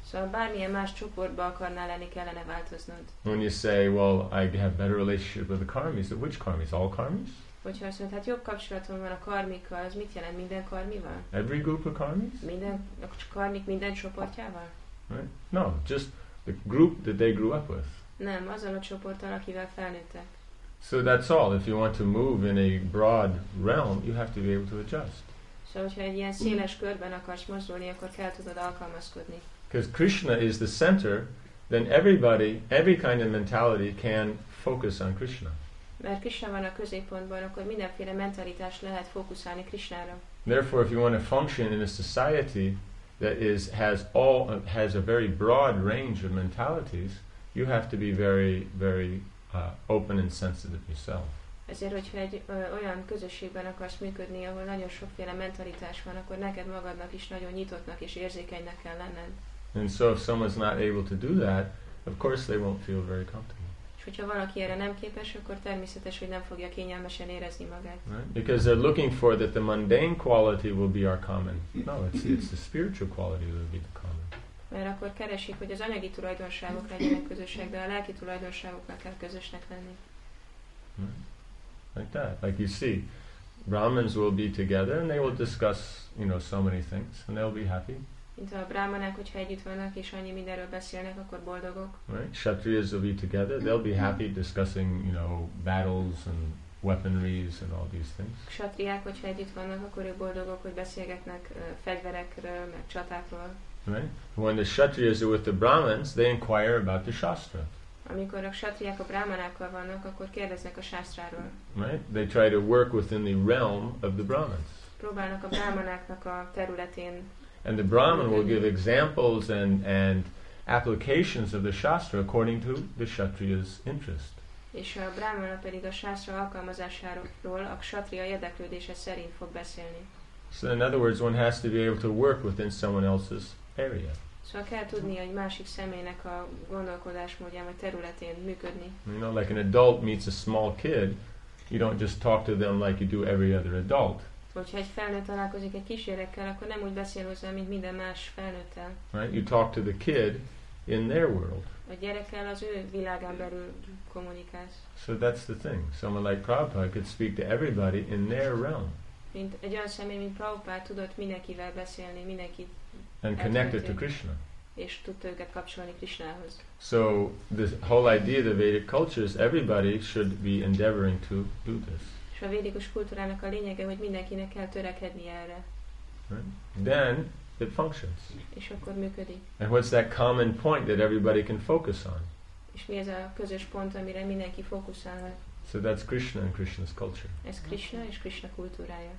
Szóval bármilyen más csoportba akarnál lenni, kellene változnod. When you say, well, I have better relationship with the karmis, which karmis? All karmis? Hogyha azt mondod, hát jobb kapcsolatom van a karmikkal, az mit jelent, minden karmival? Every group of karmis? Minden, a karmik minden csoportjával? Right? No, just the group that they grew up with. Nem, azzal a csoporttal, akivel felnőttek. So that's all. If you want to move in a broad realm, you have to be able to adjust. Szóval, hogyha egy ilyen széles körben akarsz mozdulni, akkor kell tudod alkalmazkodni. Because Krishna is the center, then everybody, every kind of mentality can focus on Krishna. Mert Krishna van a középpontban, akkor mindenféle mentalitás lehet fókuszálni Krishnára. Therefore, if you want to function in a society that is has all has a very broad range of mentalities, you have to be very, very uh, open and sensitive yourself. Ezért, hogyha egy ö, olyan közösségben akarsz működni, ahol nagyon sokféle mentalitás van, akkor neked magadnak is nagyon nyitottnak és érzékenynek kell lenned. And so if someone's not able to do that, of course they won't feel very comfortable. És hogyha valaki erre nem képes, akkor természetes, hogy nem fogja kényelmesen érezni magát. Right? Because they're looking for that the mundane quality will be our common. No, it's it's the spiritual quality that will be the common. Mert akkor keresik, hogy az anyagi tulajdonságok legyenek közösek, de a lelki tulajdonságoknak kell közösnek lenni. Right? Like that. Like you see, Brahmins will be together and they will discuss, you know, so many things and they'll be happy. Mint a brahmanák, hogyha együtt vannak és annyi mindenről beszélnek, akkor boldogok. Right? Kshatriyas will be together. They'll be happy discussing, you know, battles and weaponries and all these things. Kshatriyák, hogyha együtt vannak, akkor ők boldogok, hogy beszélgetnek uh, fegyverekről, meg csatákról. Right? When the Kshatriyas are with the Brahmins, they inquire about the Shastra. Amikor a kshatriyák a brahmanákkal vannak, akkor kérdeznek a sásztráról. Right? They try to work within the realm of the Brahmins. Próbálnak a brahmanáknak a területén. And the Brahman will give examples and, and applications of the Shastra according to the Kshatriya's interest. És a brahmana pedig a sásztra alkalmazásáról a kshatriya érdeklődése szerint fog beszélni. So in other words, one has to be able to work within someone else's area. Szóval kell tudni egy másik személynek a gondolkodásmódján vagy területén működni. You know, like an adult meets a small kid, you don't just talk to them like you do every other adult. Hogyha egy felnőtt találkozik egy kisgyerekkel, akkor nem úgy beszél hozzá, mint minden más felnőttel. Right? You talk to the kid in their world. A gyerekkel az ő világán belül kommunikálsz. So that's the thing. Someone like Prabhupada could speak to everybody in their realm. Mint egy olyan személy, mint Prabhupád tudott mindenkivel beszélni, mindenkit and connected to Krishna. És tudta őket kapcsolni Krishnához. So the whole idea of the Vedic culture is everybody should be endeavoring to do this. És a védikus kultúrának a lényege, hogy mindenkinek kell törekedni erre. Right? Then it functions. És akkor működik. And what's that common point that everybody can focus on? És mi ez a közös pont, amire mindenki fókuszál? So that's Krishna and Krishna's culture. Ez Krishna és Krishna kultúrája.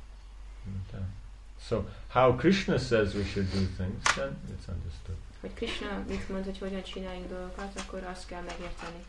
Okay. So how Krishna says we should do things, then it's understood. Hogy Krishna mit mond, hogy hogyan csináljunk dolgokat, akkor azt kell megérteni.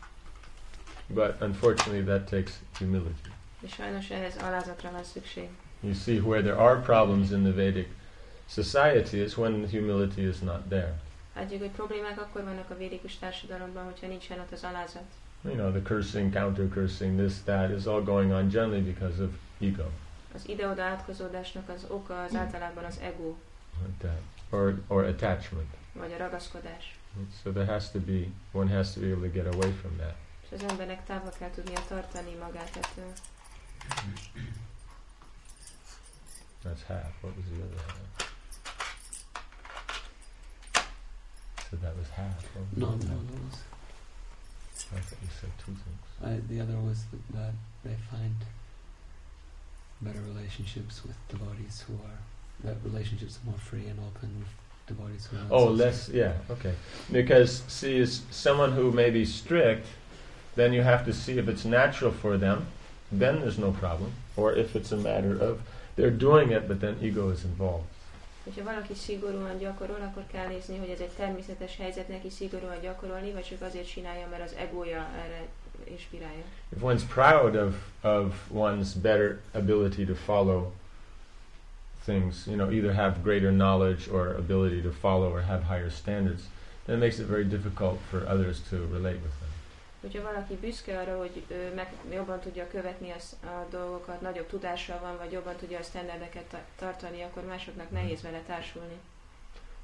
But unfortunately that takes humility. És sajnos ehhez alázatra van szükség. You see, where there are problems in the Vedic society is when the humility is not there. Látjuk, hogy problémák akkor vannak a védikus társadalomban, hogyha nincsen ott az alázat. You know, the cursing, counter-cursing, this, that is all going on generally because of ego. Az ide-oda átkozódásnak az oka az általában az ego. Like that. Or, or attachment. Vagy a ragaszkodás. So there has to be, one has to be able to get away from that. És az embernek távol kell tudnia tartani magát ettől. That's half. What was the other half? So that was half. No, no, that was. I thought you said two things. I, the other was that, that they find better relationships with devotees who are, that relationships are more free and open with devotees who are not Oh, so less, strict. yeah, okay. Because, see, is someone who may be strict, then you have to see if it's natural for them, then there's no problem. Or if it's a matter of they're doing it, but then ego is involved. Hogyha valaki szigorúan gyakorol, akkor kell nézni, hogy ez egy természetes helyzet neki szigorúan gyakorolni, vagy csak azért csinálja, mert az egója erre inspirálja. If one's proud of, of one's better ability to follow things, you know, either have greater knowledge or ability to follow or have higher standards, then it makes it very difficult for others to relate with them. Hogyha valaki büszke arra, hogy ő meg jobban tudja követni az, a dolgokat, nagyobb tudással van, vagy jobban tudja a sztenderdeket ta- tartani, akkor másoknak nehéz vele társulni.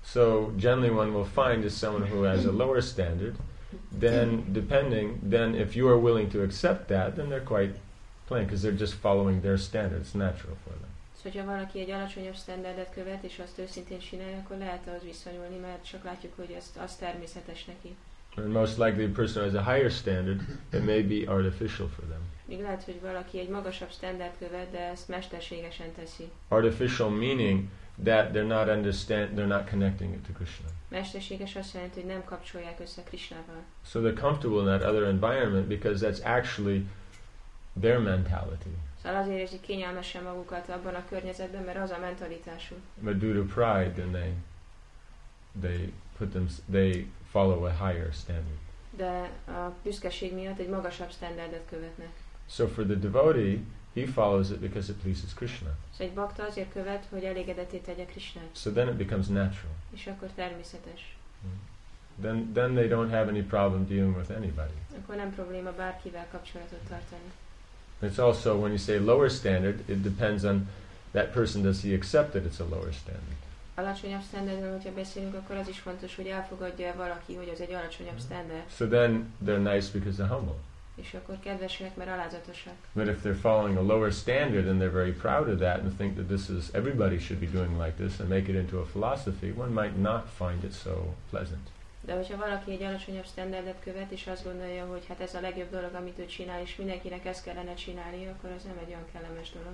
So generally one will find is someone who has a lower standard, then depending, then if you are willing to accept that, then they're quite plain, because they're just following their standard. It's natural for them. Szóval, hogyha valaki egy alacsonyabb standardet követ, és azt őszintén csinálja, akkor lehet ahhoz viszonyulni, mert csak látjuk, hogy ez, az természetes neki. And most likely a person who has a higher standard, it may be artificial for them. Még lehet, hogy valaki egy magasabb standard követ, de ezt mesterségesen teszi. Artificial meaning that they're not understand, they're not connecting it to Krishna. Mesterséges azt jelenti, hogy nem kapcsolják össze Krishnával. So they're comfortable in that other environment because that's actually their mentality. Szóval azért érzik kényelmesen magukat abban a környezetben, mert az a mentalitásuk. But due to pride, then they they put them they follow a higher standard. De a büszkeség miatt egy magasabb standardet követnek. So for the devotee, he follows it because it pleases Krishna. Szóval egy bakta azért követ, hogy elégedetté tegye Krishnát. So then it becomes natural. És akkor természetes. Then then they don't have any problem dealing with anybody. Akkor nem probléma bárkivel kapcsolatot tartani. It's also, when you say lower standard, it depends on that person, does he accept that it's a lower standard? Alacsonyabb standardről, hogyha beszélünk, akkor az is fontos, hogy elfogadja valaki, hogy az egy alacsonyabb standard. So then they're nice because they're humble. És akkor kedvesek, mert alázatosak. But if they're following a lower standard and they're very proud of that and think that this is, everybody should be doing like this and make it into a philosophy, one might not find it so pleasant. De hogyha valaki egy alacsonyabb standardet követ, és azt gondolja, hogy hát ez a legjobb dolog, amit ő csinál, és mindenkinek ezt kellene csinálni, akkor az nem egy olyan kellemes dolog.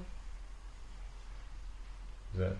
Is that?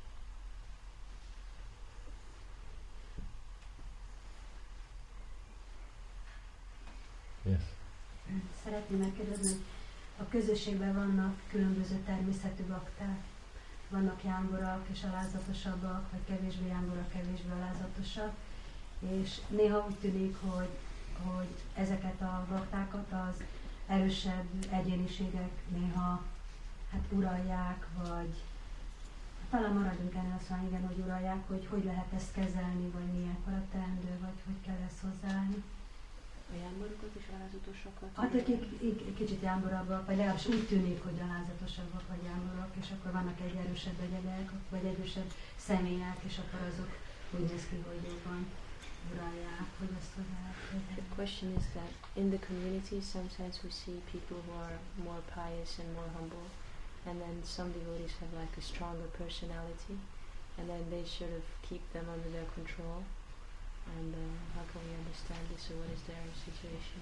Yes. Szeretném megkérdezni, hogy a közösségben vannak különböző természetű bakták. Vannak jángorak és alázatosabbak, vagy kevésbé jángorak, kevésbé alázatosak. És néha úgy tűnik, hogy, hogy ezeket a baktákat az erősebb egyéniségek néha hát uralják, vagy talán maradjunk ennél azt mondani, igen, hogy uralják, hogy hogy lehet ezt kezelni, vagy milyen a teendő, vagy hogy kell ezt hozzáállni. A jámborokat és alázatosakat? Hát akik kicsit jámborobbak, vagy legalábbis úgy tűnik, hogy alázatosabbak vagy jámborok, és akkor vannak egy erősebb egyedek, vagy erősebb személyek, és akkor azok úgy néz ki, hogy jobban uralják, hogy azt hozzák. The question is that in the community sometimes we see people who are more pious and more humble, and then some devotees have like a stronger personality, and then they sort of keep them under their control. And uh, how can we understand this, or what is their situation?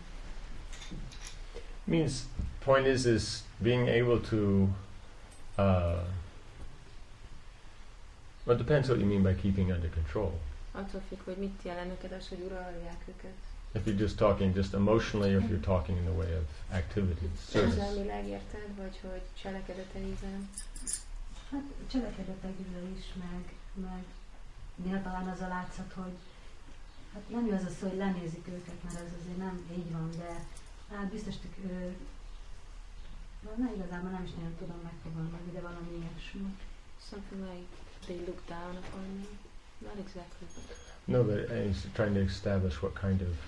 Means point is is being able to uh, well, it depends what you mean by keeping under control. Attól függ, hogy mit jelent neked az, hogy uralják őket. If you're just talking just emotionally, or if you're talking in the way of activities, service. Érzelmileg érted, vagy hogy cselekedeteikben? Hát cselekedetekből is, meg, meg néha talán az a látszat, hogy hát nem jó az a szó, hogy lenézik őket, mert ez azért nem így van, de hát biztos, hogy ő, na igazából nem is nagyon tudom megfogalmazni, de valami ilyesmi. Something like they look down upon me? Not exactly. No, but he's trying to establish what kind of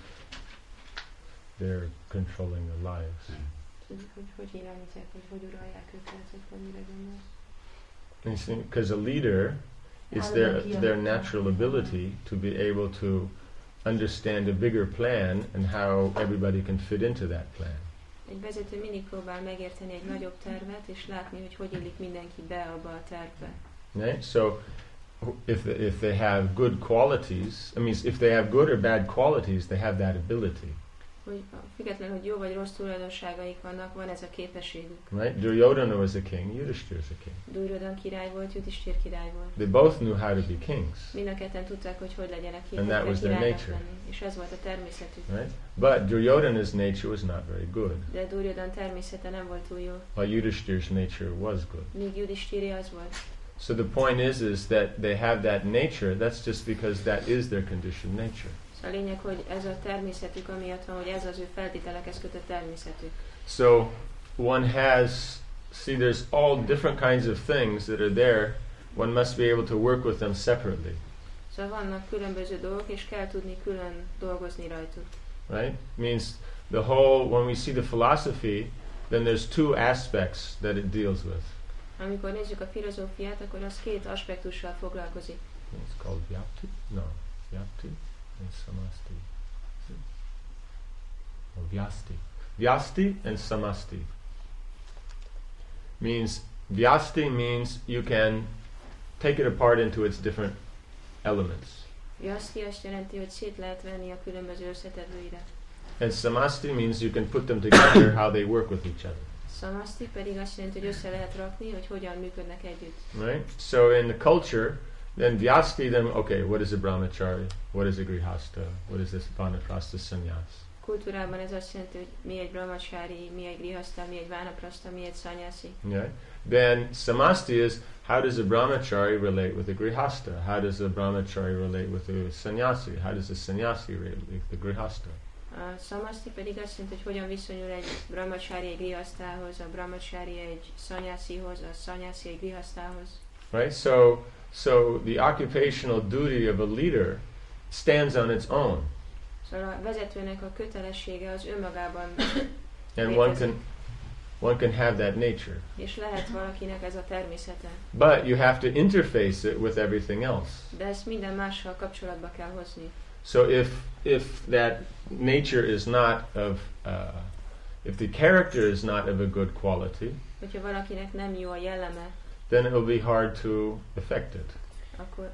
they're controlling their lives. Hogy, hogy, hogy irányítják, hogy hogy uralják őket, vagy mire gondolsz? Because a leader is their their natural ability to be able to understand a bigger plan and how everybody can fit into that plan. Egy vezető mindig próbál megérteni egy nagyobb tervet, és látni, hogy hogy illik mindenki be abba a tervbe. Right? So, if if they have good qualities, I mean, if they have good or bad qualities, they have that ability. Hogy függetlenül, hogy jó vagy rossz tulajdonságaik vannak, van ez a képességük. Right? Duryodhana was a king, Yudhishthira is a king. Duryodhana király volt, Yudhishthira király volt. They both knew how to be kings. Mind a ketten tudták, hogy hogy legyenek And that was their nature. És ez volt a természetük. Right? But Duryodhana's nature was not very good. De Duryodhana természete nem volt túl jó. While Yudhishthira's nature was good. Míg Yudhishthira az volt. So the point is, is that they have that nature. That's just because that is their conditioned nature. A lényeg, hogy ez a természetük, amiatt van, hogy ez az ő feltételekhez kötött természetük. So one has, see, there's all different kinds of things that are there. One must be able to work with them separately. Szóval vannak különböző dolgok, és kell tudni külön dolgozni rajtuk. Right? Means the whole, when we see the philosophy, then there's two aspects that it deals with. Amikor nézzük a filozófiát, akkor az két aspektussal foglalkozik. It's called Vyapti? No. Vyapti and Samasti. Oh, Vyasti. Vyasti and Samasti. Means, Vyasti means you can take it apart into its different elements. Vyasti azt jelenti, hogy szét lehet venni a különböző összetevőire. And Samasti means you can put them together, how they work with each other. Samasti pedig azt jelenti, hogy össze lehet rakni, hogy hogyan működnek együtt. Right? So in the culture, then Vyasti, then, okay, what is a brahmachari? What is a grihasta? What is this vanaprastha sannyas? Kultúrában ez azt jelenti, hogy mi egy brahmachari, mi egy grihasta, mi egy vanaprastha, mi egy sannyasi. Yeah. Then Samasti is, how does a brahmachari relate with a grihasta? How does a brahmachari relate with a sannyasi? How does a sannyasi relate with the grihasta? A samasti pedig azt jelenti, hogy hogyan viszonyul egy brahmachari egy grihasztához, a brahmachari egy sannyasihoz, a sannyasi egy grihasztához. Right? So, so the occupational duty of a leader stands on its own. Szóval a vezetőnek a kötelessége az önmagában And one can, one can have that nature. És lehet valakinek ez a természete. But you have to interface it with everything else. De ezt minden mással kapcsolatba kell hozni. So if if that nature is not of, uh, if the character is not of a good quality, hogyha valakinek nem jó a jelleme, then it will be hard to affect it. Akkor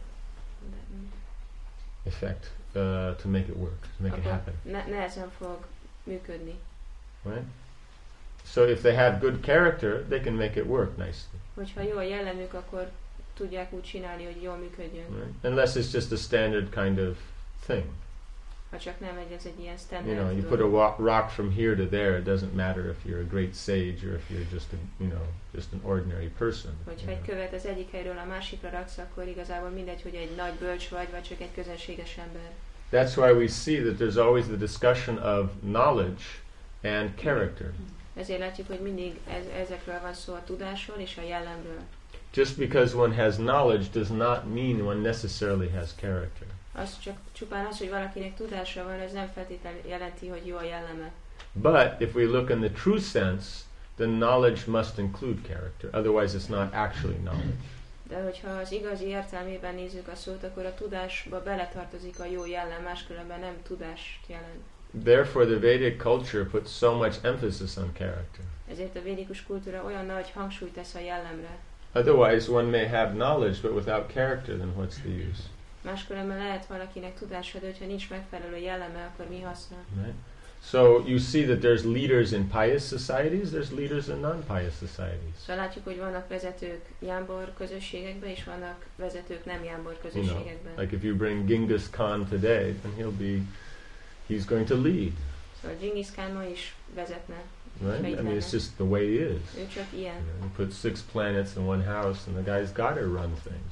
Effect uh, to make it work, to make akkor it happen. Ne- nehezen fog működni. Right? So if they have good character, they can make it work nicely. Hogyha jó a jellemük, akkor tudják úgy csinálni, hogy jól működjön. Right? Unless it's just a standard kind of thing. Ha csak nem egy, ez egy ilyen standard. You know, you put a wa- rock from here to there. It doesn't matter if you're a great sage or if you're just a, you know, just an ordinary person. Hogyha egy követ az egyik helyről a másikra raksz, akkor igazából mindegy, hogy egy nagy bölcs vagy, vagy csak egy közönséges ember. That's why we see that there's always the discussion of knowledge and character. Ezért látjuk, hogy mindig ez, ezekről van szó, a tudásról és a jellemről. Just because one has knowledge does not mean one necessarily has character. Az csak csupán az, hogy valakinek tudása van, ez nem feltétlenül jelenti, hogy jó a jelleme. But if we look in the true sense, then knowledge must include character. Otherwise it's not actually knowledge. De hogyha az igazi értelmében nézzük a szót, akkor a tudásba beletartozik a jó jellem, máskülönben nem tudást jelent. Therefore the Vedic culture puts so much emphasis on character. Ezért a védikus kultúra olyan nagy hangsúlyt tesz a jellemre. Otherwise one may have knowledge but without character, then what's the use? Máskülönben lehet valakinek tudása, de hogyha nincs megfelelő jelleme, akkor mi haszna? Right? So you see that there's leaders in pious societies, there's leaders in non-pious societies. Szóval látjuk, hogy vannak vezetők jámbor közösségekben, és vannak vezetők nem jámbor You közösségekben. know, like if you bring Genghis Khan today, then he'll be, he's going to lead. Szóval Genghis Khan ma is vezetne. Right? I mean, it's just the way he is. Ő csak ilyen. You know, you put six planets in one house, and the guy's got to run things.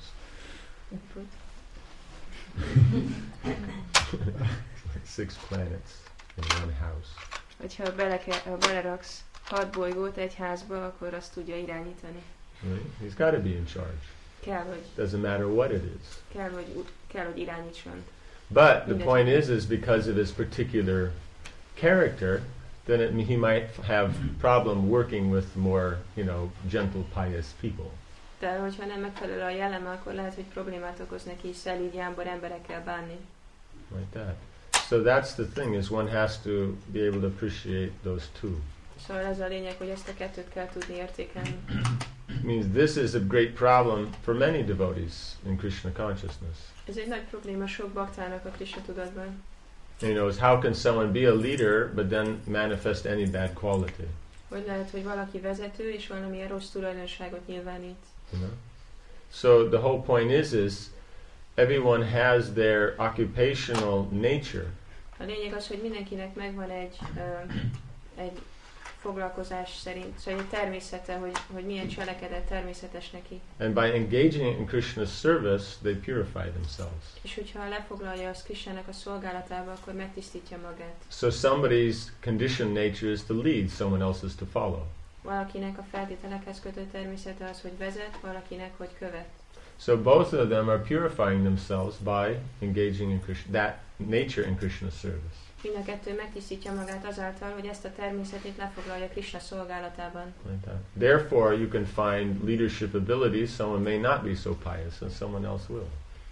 Like six planets in one house. Hogyha bele ke- ha beleraksz hat bolygót egy házba, akkor azt tudja irányítani. Right? He's got to be in charge. Kell, hogy, Doesn't matter what it is. kell, hogy, u- kell, hogy irányítson. But the point is, is because of his particular character, then it, he might have problem working with more, you know, gentle, pious people. De hogyha nem megfelelő a jelleme, akkor lehet, hogy problémát okoz neki szelíd jámbor emberekkel bánni. Like that. So that's the thing, is one has to be able to appreciate those two. Szóval ez a lényeg, hogy ezt a kettőt kell tudni értékelni. It means this is a great problem for many devotees in Krishna consciousness. Ez egy nagy probléma sok baktának a Krishna tudatban. You know, is how can someone be a leader but then manifest any bad quality? Hogy lehet, hogy valaki vezető, és valamilyen rossz tulajdonságot nyilvánít. You know? So the whole point is, is everyone has their occupational nature. A lényeg az, hogy mindenkinek megvan egy, uh, egy foglalkozás szerint, szóval egy természete, hogy, hogy milyen cselekedet természetes neki. And by engaging in Krishna's service, they purify themselves. És hogyha lefoglalja azt Krishnának a szolgálatába, akkor megtisztítja magát. So somebody's conditioned nature is to lead, someone else is to follow. Valakinek a feltételekhez kötött természete az, hogy vezet, valakinek, hogy követ. So both of them are purifying themselves by engaging in Krishna, that nature in Krishna's service. Mind a kettő megtisztítja magát azáltal, hogy ezt a természetét lefoglalja Krishna szolgálatában. Like that. Therefore, you can find leadership abilities. Someone may not be so pious, and someone else will.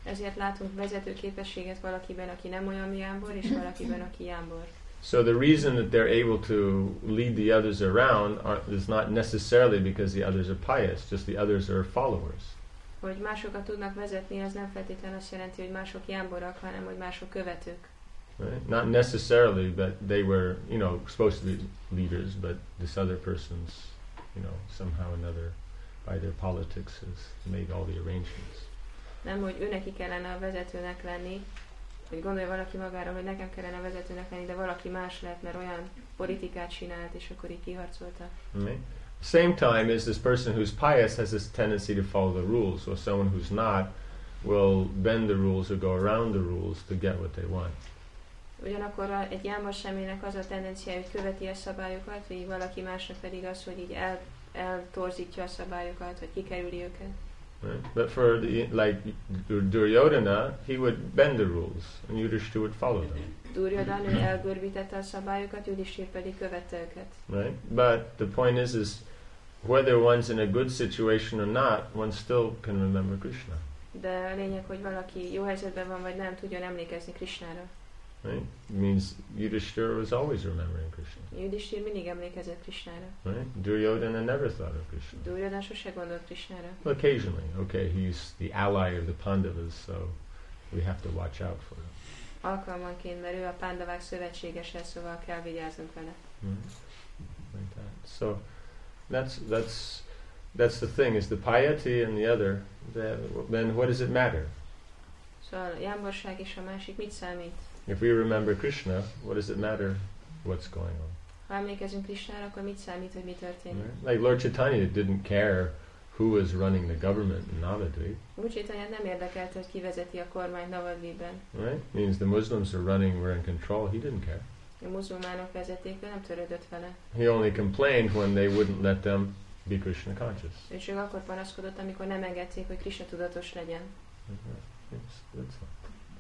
Ezért látunk vezető képességet valakiben, aki nem olyan jámbor, és valakiben, aki jámbor. So the reason that they're able to lead the others around are, is not necessarily because the others are pious, just the others are followers. Hogy másokat tudnak vezetni, az nem feltétlenül azt jelenti, hogy mások jámborak, hanem hogy mások követők. Right? Not necessarily that they were, you know, supposed to be leaders, but this other person's, you know, somehow or another, by their politics, has made all the arrangements. Nem, hogy ő neki kellene a vezetőnek lenni, hogy gondolja valaki magára, hogy nekem kellene a vezetőnek lenni, de valaki más lehet, mert olyan politikát csinált, és akkor így kiharcolta. Right? Same time as this person who's pious has this tendency to follow the rules, or someone who's not will bend the rules or go around the rules to get what they want. Ugyanakkor a, egy jámbor személynek az a tendencia, hogy követi a szabályokat, vagy valaki másnak pedig az, hogy így el, eltorzítja a szabályokat, vagy kikerüli őket. Right? But for the, like Duryodhana, he would bend the rules, and Yudhishthira would follow them. Duryodhana, ő elgörbítette a szabályokat, Yudhishthira pedig követte őket. Right? But the point is, is whether one's in a good situation or not, one still can remember Krishna. De a lényeg, hogy valaki jó helyzetben van, vagy nem, tudjon emlékezni Krishnára. Right? It means Yudhishthira was always remembering Krishna. Yudhishthira mindig emlékezett Krishnára. Right? Duryodhana never thought of Krishna. Duryodhana sose gondolt Krishnára. Well, occasionally, okay, he's the ally of the Pandavas, so we have to watch out for him. Alkalmanként, mert ő a Pándavák szövetségese, szóval kell vigyáznunk vele. Mm. Like that. So that's that's that's the thing, is the piety and the other. The, then what does it matter? Szóval a jámborság és a másik mit számít? If we remember Krishna, what does it matter what's going on? Ha emlékezünk Krishnára, akkor mit számít, hogy mi történik? Right? Like Lord Chaitanya didn't care who was running the government in Navadvip. Úr Chaitanyát nem érdekelte, hogy ki vezeti a kormányt Navadvipben. Right? Means the Muslims are running, were in control. He didn't care. A muzulmánok vezették, ő nem törődött vele. He only complained when they wouldn't let them be Krishna conscious. Ő csak akkor panaszkodott, amikor nem engedték, hogy Krishna tudatos legyen. Mm-hmm. Yes, that's all.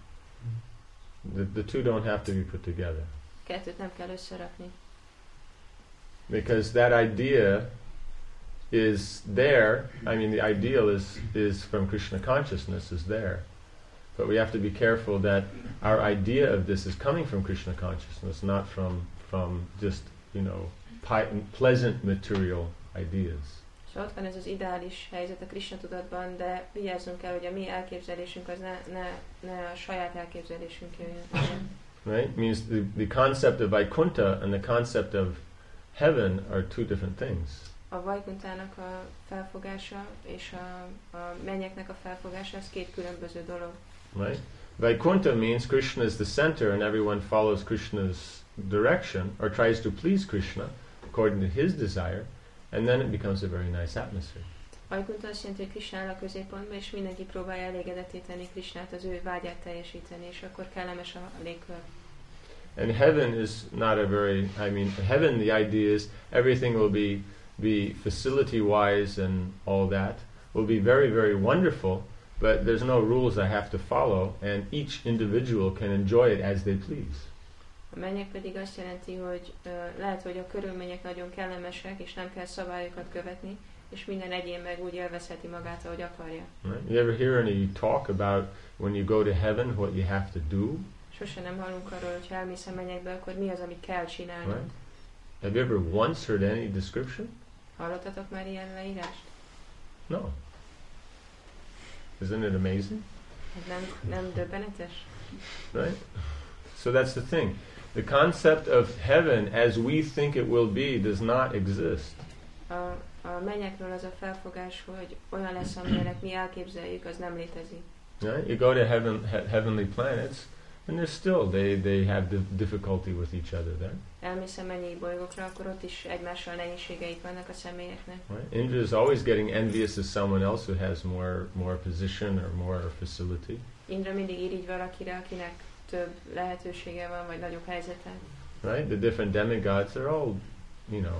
The, the two don't have to be put together. Kettőt nem kell összerakni. Because that idea is there. I mean, the ideal is is from Krishna consciousness is there. But we have to be careful that our idea of this is coming from Krishna consciousness, not from from just, you know, pi- pleasant material ideas. És ott van ez az ideális helyzet a Krishna tudatban, de vigyázzunk kell, hogy a mi elképzelésünk az ne, ne, ne a saját elképzelésünk jöjjön. Right? Means the, the concept of Vaikuntha and the concept of heaven are two different things. A Vaikuntának a felfogása és a, a mennyeknek a felfogása, az két különböző dolog. Right? Vaikuntha means Krishna is the center and everyone follows Krishna's direction or tries to please Krishna according to his desire, and then it becomes a very nice atmosphere. Vaikuntha azt jelenti, hogy Krishna áll a középpontban, és mindenki próbálja elégedetté tenni Krishnát, az ő vágyát teljesíteni, és akkor kellemes a légkör. And heaven is not a very, I mean, heaven, the idea is everything will be, be facility-wise and all that, will be very, very wonderful, but there's no rules I have to follow, and each individual can enjoy it as they please. A mennyek pedig azt jelenti, hogy uh, lehet, hogy a körülmények nagyon kellemesek, és nem kell szabályokat követni, és minden egyén meg úgy élvezheti magát, ahogy akarja. Right? You ever hear any talk about when you go to heaven, what you have to do? Sose nem hallunk arról, hogy ha elmész a mennyekbe, akkor mi az, amit kell csinálni. Right? Have you ever once heard any description? Hallottatok már ilyen leírást? No. Isn't it amazing? Ez nem, nem döbbenetes? Right? So that's the thing. The concept of heaven as we think it will be does not exist. A, a mennyekről az a felfogás, hogy olyan lesz, amilyenek mi elképzeljük, az nem létezik. Right? You go to heaven, he- heavenly planets, and they're still, they, they have dif- difficulty with each other there. Elmész a mennyi bolygókra, akkor ott is egymással nehézségeik vannak a személyeknek. Right? Indra is always getting envious of someone else who has more, more position or more facility. Indra mindig irigy valakire, akinek több lehetősége van, vagy nagyobb helyzete. Right? The different demigods, they're all, you know,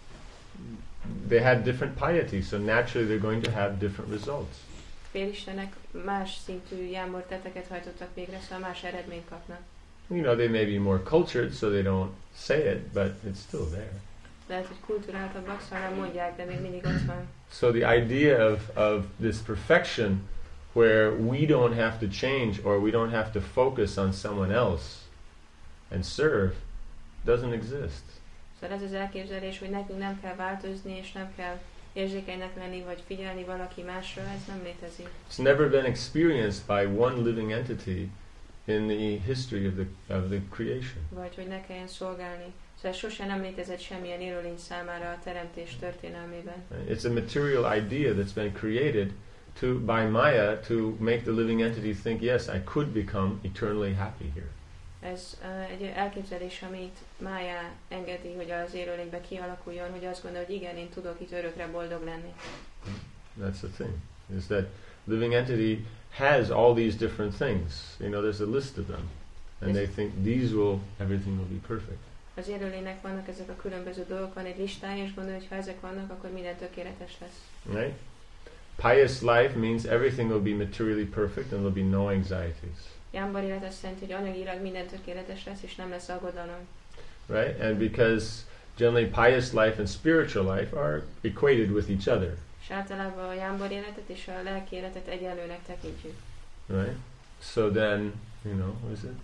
they have different piety, so naturally they're going to have different results. Félistenek más szintű jámbor tetteket hajtottak végre, szóval más eredményt kapnak. You know, they may be more cultured, so they don't say it, but it's still there. Lehet, hogy kulturáltabbak, szóval nem mondják, de még mindig ott van. So the idea of, of this perfection where we don't have to change or we don't have to focus on someone else and serve doesn't exist. Szóval ez az elképzelés, hogy nekünk nem kell változni, és nem kell érzékenynek lenni, vagy figyelni valaki másra, ez nem létezik. It's never been experienced by one living entity in the history of the of the creation. Vagy hogy ne kelljen szolgálni. Szóval ez sosem nem létezett semmilyen élőlény számára a teremtés történelmében. It's a material idea that's been created to by Maya to make the living entity think, yes, I could become eternally happy here. Ez uh, egy elképzelés, amit Mája engedi, hogy az élőlénybe kialakuljon, hogy azt gondolja, hogy igen, én tudok itt örökre boldog lenni. That's the thing, is that living entity has all these different things. You know, there's a list of them. And they think these will, everything will be perfect. Az élőlénynek vannak ezek a különböző dolgok, van egy listája, és gondolja, hogy ha ezek vannak, akkor minden tökéletes lesz. Right? Pious life means everything will be materially perfect and there'll be no anxieties. Jámbor élet azt jelenti, hogy anyagilag minden tökéletes lesz, és nem lesz aggodalom. Right? And because generally pious life and spiritual life are equated with each other. És általában a jámbor életet és a lelki életet egyenlőnek tekintjük. Right? So then, you know, what is it?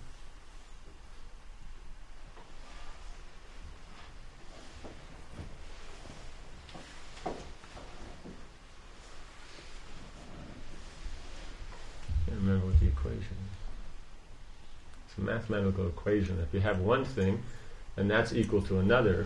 I can't remember what the equation is. It's a mathematical equation. If you have one thing and that's equal to another,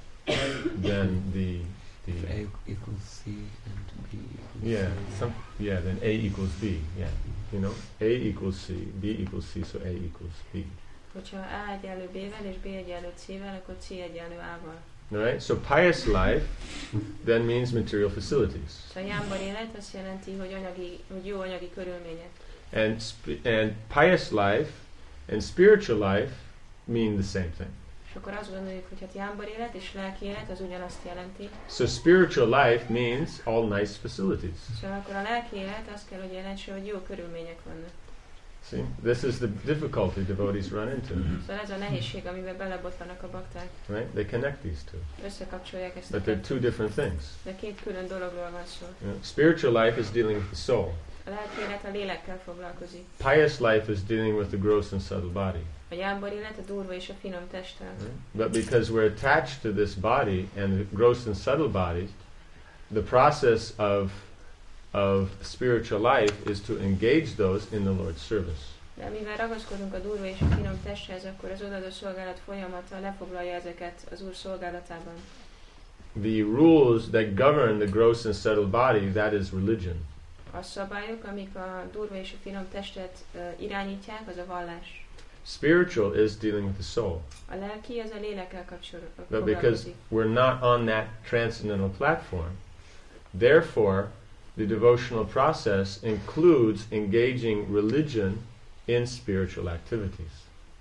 then the the A equals C and B equals yeah C. some yeah then A equals B, yeah, you know, A equals C, B equals C, so A equals B. Hogyha A egyenlő B-vel és B egyenlő C-vel, akkor C egyenlő A-val. Right? So pious life then means material facilities. Szóval a jámbor élet azt jelenti, hogy anyagi, hogy jó anyagi körülmények. And sp- and pious life and spiritual life mean the same thing. És akkor azt gondoljuk, hogy hát jámbor élet és lelki élet az ugyanazt jelenti. So spiritual life means all nice facilities. Szóval akkor a lelki élet azt kell, hogy jelentse, hogy jó körülmények vannak. See, this is the difficulty devotees run into. Szóval ez a nehézség, amiben belebotlanak a bakták. Right? They connect these two, Összekapcsolják ezt a but they're two kettőt. different things. De két külön dologról van szó. You know, spiritual life is dealing with the soul. A lelki élet a lélekkel foglalkozik. Pious life is dealing with the gross and subtle body. A jámbor élet a durva és a finom testtel. Right? But because we're attached to this body and the gross and subtle body, the process of of spiritual life is to engage those in the Lord's service. De mivel ragaszkodunk a durva és a finom testhez, akkor az odadó szolgálat folyamata lefoglalja ezeket az Úr szolgálatában. The rules that govern the gross and subtle body, that is religion. A szabályok, amik a durva és a finom testet uh, irányítják, az a vallás. Spiritual is dealing with the soul. A lelki az a lélekkel kapcsolatban But because foglalkozik. we're not on that transcendental platform, therefore the devotional process includes engaging religion in spiritual activities.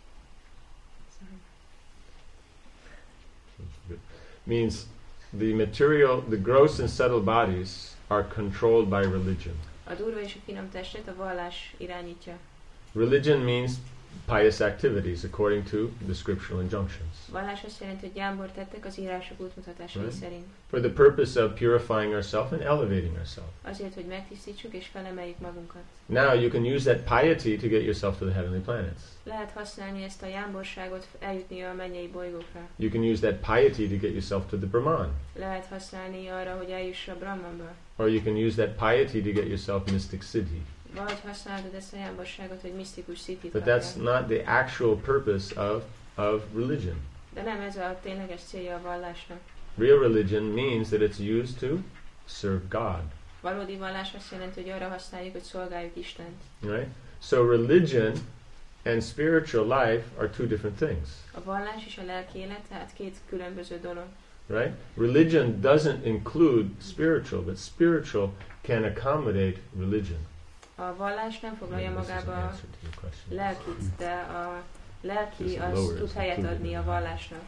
Means the material, the gross and subtle bodies are controlled by religion. A durva és a finom testet a vallás irányítja. Religion means pious activities according to the scriptural injunctions. Vallás azt jelenti, hogy jámbor tettek az írások útmutatásai Right. szerint. For the purpose of purifying ourselves and elevating ourselves. Azért, hogy megtisztítsuk és felemeljük magunkat. Now you can use that piety to get yourself to the heavenly planets. Lehet használni ezt a jámborságot eljutni a mennyei bolygókra. You can use that piety to get yourself to the Brahman. Lehet használni arra, hogy eljuss a Brahmanba. Or you can use that piety to get yourself mystic siddhi. Vagy használod ezt a jámborságot, hogy misztikus szitit But kapjál. that's not the actual purpose of, of religion. De nem ez a tényleges célja a vallásnak. Real religion means that it's used to serve God. Valódi vallás azt jelenti, hogy arra használjuk, hogy szolgáljuk Istent. Right? So religion and spiritual life are two different things. A vallás és a lelki élet, tehát két különböző dolog. Right? Religion doesn't include spiritual, but spiritual can accommodate religion. A vallás nem foglalja Maybe this is an magába a answer to your question. lelkit, de a lelki This az lowers tud helyet included adni in a that. vallásnak.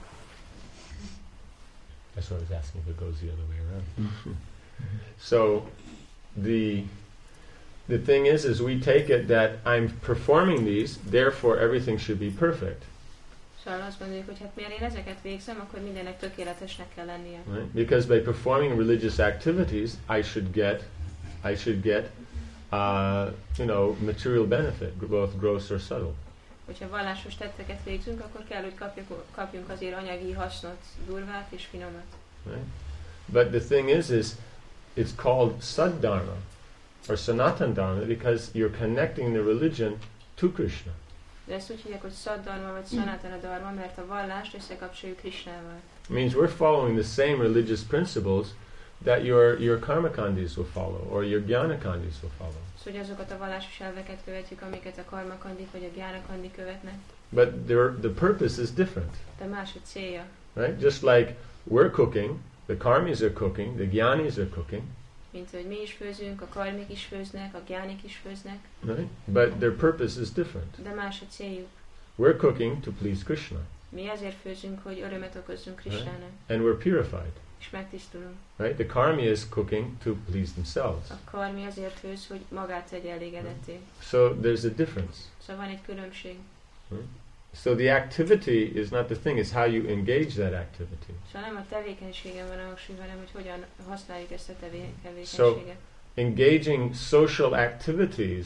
That's why I was asking if it goes the other way around. So the the thing is, is we take it that I'm performing these, therefore everything should be perfect, Szóval azt gondoljuk, hogy hát miért én ezeket végzem, akkor mindennek tökéletesnek kell lennie. right? Because by performing religious activities, I should get, I should get uh, you know, material benefit, both gross or subtle. Hogyha vallásos tetteket végzünk, akkor kell, hogy kapjuk, kapjunk azért anyagi hasznot, durvát és finomat. Right? But the thing is, is it's called Saddharma or Sanatana Dharma because you're connecting the religion to Krishna. De ezt úgy hívják, hogy Saddharma vagy Sanatana Dharma, mert a vallást összekapcsoljuk Krishnával. It means we're following the same religious principles that your your karmakandis will follow or your jnanakandis will follow. Szóval azokat a vallásos elveket követjük, amiket a karmakandik vagy a gyánakandi követnek. But there, the purpose is different. De más a célja. Right? Just like we're cooking, the karmis are cooking, the jnanis are cooking. Mint hogy mi is főzünk, a karmik is főznek, a gyánik is főznek. Right? But their purpose is different. De más a céljuk. We're cooking to please Krishna. Mi azért főzünk, hogy örömet okozzunk Krishnának. Right? And we're purified. És megtisztulunk. Right? The karmi is cooking to please themselves. A karmi azért főz, hogy magát tegye elégedetté. So there's a difference. Szóval van egy különbség. Right? So the activity is not the thing, it's how you engage that activity. Szóval nem a tevékenységen van a hangsúly, hanem hogy hogyan használjuk ezt a tevé- So tevékenységet. engaging social activities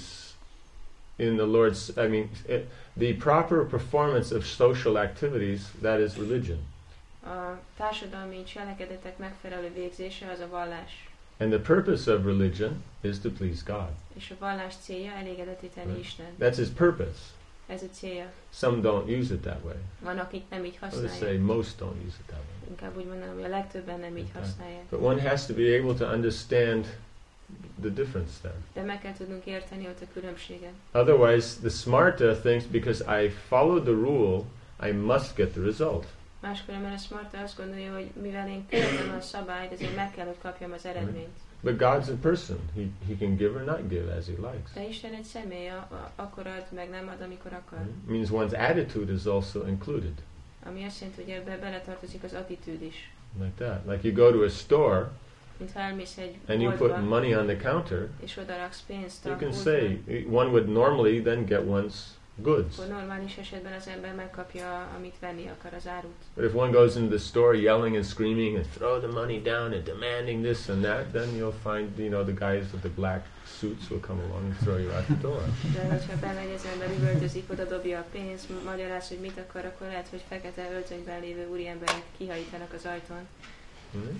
in the Lord's, I mean, it, the proper performance of social activities, that is religion. A társadalmi cselekedetek megfelelő végzése az a vallás. And the purpose of religion is to please God. És a vallás célja elégedetté tenni Right. Isten. That's his purpose. Ez a célja. Some don't use it that way. Van, akik nem így I would használják. say most don't use it that way. Inkább úgy mondanám, hogy a legtöbben nem így Okay. használják. But one has to be able to understand the difference there. De meg kell tudnunk érteni ott a különbséget. Otherwise, the smarta thinks because I followed the rule, I must get the result. Máskülönben a smarta azt gondolja, hogy mivel én követem a szabályt, ezért meg kell, hogy kapjam az eredményt. But God's a person. He, he can give or not give as he likes. De Isten egy személy, a- a- akkor ad, meg nem ad, amikor akar. It means one's attitude is also included. Ami azt jelenti, hogy ebbe beletartozik az attitűd is. Like that. Like you go to a store Mint ha elmész egy and you boltba, put money on the counter, és odaraksz pénzt a you can pultba, say, one would normally then get one's goods. akkor normális esetben az ember megkapja, amit venni akar, az árut. But if one goes into the store yelling and screaming and throw the money down and demanding this and that, then you'll find, you know, the guys with the black suits will come along and throw you out the door. De hogyha bemegy az ember, üvöltözik, oda dobja a pénzt, magyaráz, hogy mit akar, akkor lehet, hogy fekete öltönyben lévő úriemberek kihajítanak az ajtón. Right?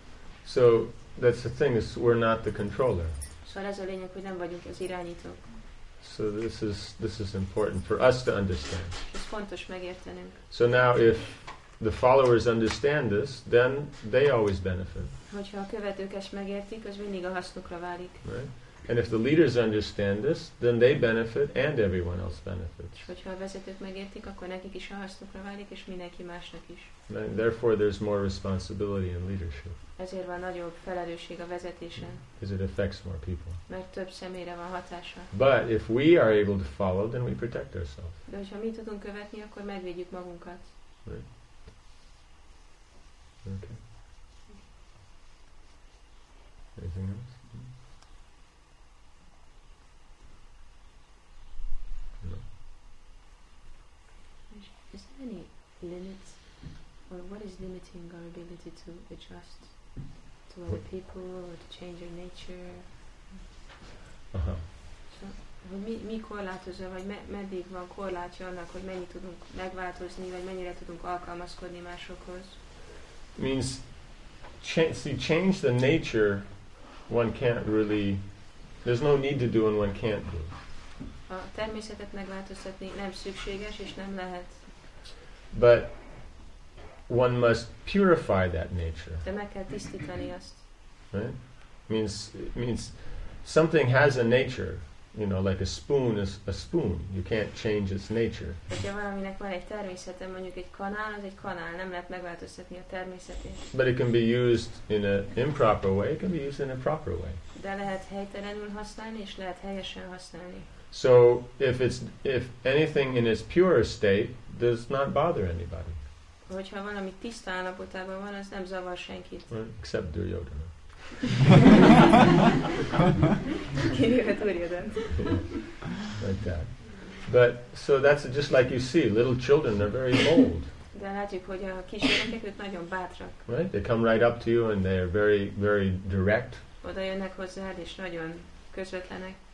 So that's the thing, is we're not the controller. Szóval ez a lényeg, hogy nem vagyunk az irányítók. So this is this is important for us to understand. Ez fontos megértenünk. So now if the followers understand this, then they always benefit. Hogyha a követők ezt megértik, az mindig a hasznukra válik. Right? And if the leaders understand this, then they benefit and everyone else benefits. És hogyha a vezetők megértik, akkor nekik is a hasznukra válik, és mindenki másnak is. And therefore there's more responsibility in leadership, Ezért van nagyobb felelősség a vezetésen, because it affects more people. mert több személyre van hatása. But if we are able to follow, then we protect ourselves. De hogyha mi tudunk követni, akkor megvédjük magunkat. Right? Okay. Anything else? No. Is there any limit, or what is limiting our ability to adjust to other people, or to change our nature? Uh-huh. So, hogy mi, mi korlátozza, vagy me, meddig van korlátja annak, hogy mennyit tudunk megváltozni, vagy mennyire tudunk alkalmazkodni másokhoz? Means, cha- see, change the nature, one can't really, there's no need to do and one can't do. A természetet megváltoztatni nem szükséges, és nem lehet. But one must purify that nature, De meg kell tisztítani azt. right? Means, it means something has a nature, you know, like a spoon is a spoon. You can't change its nature. Hogyha valaminek van egy természete, mondjuk egy kanál, az egy kanál, nem lehet megváltoztatni a természetét. But it can be used in an improper way, it can be used in a proper way. De lehet helytelenül használni, és lehet helyesen használni. So if it's if anything in its pure state does not bother anybody, Hogyha valami tiszta állapotában van, az nem zavar senkit. right? Except Duryodhana. Kivéve Duryodhant. Like that. But so that's just like you see, little children, they're very bold, De látjuk, hogy a kisgyerekek, ők nagyon bátrak. right? They come right up to you and they're very, very direct. Oda jönnek hozzád, és nagyon közvetlenek.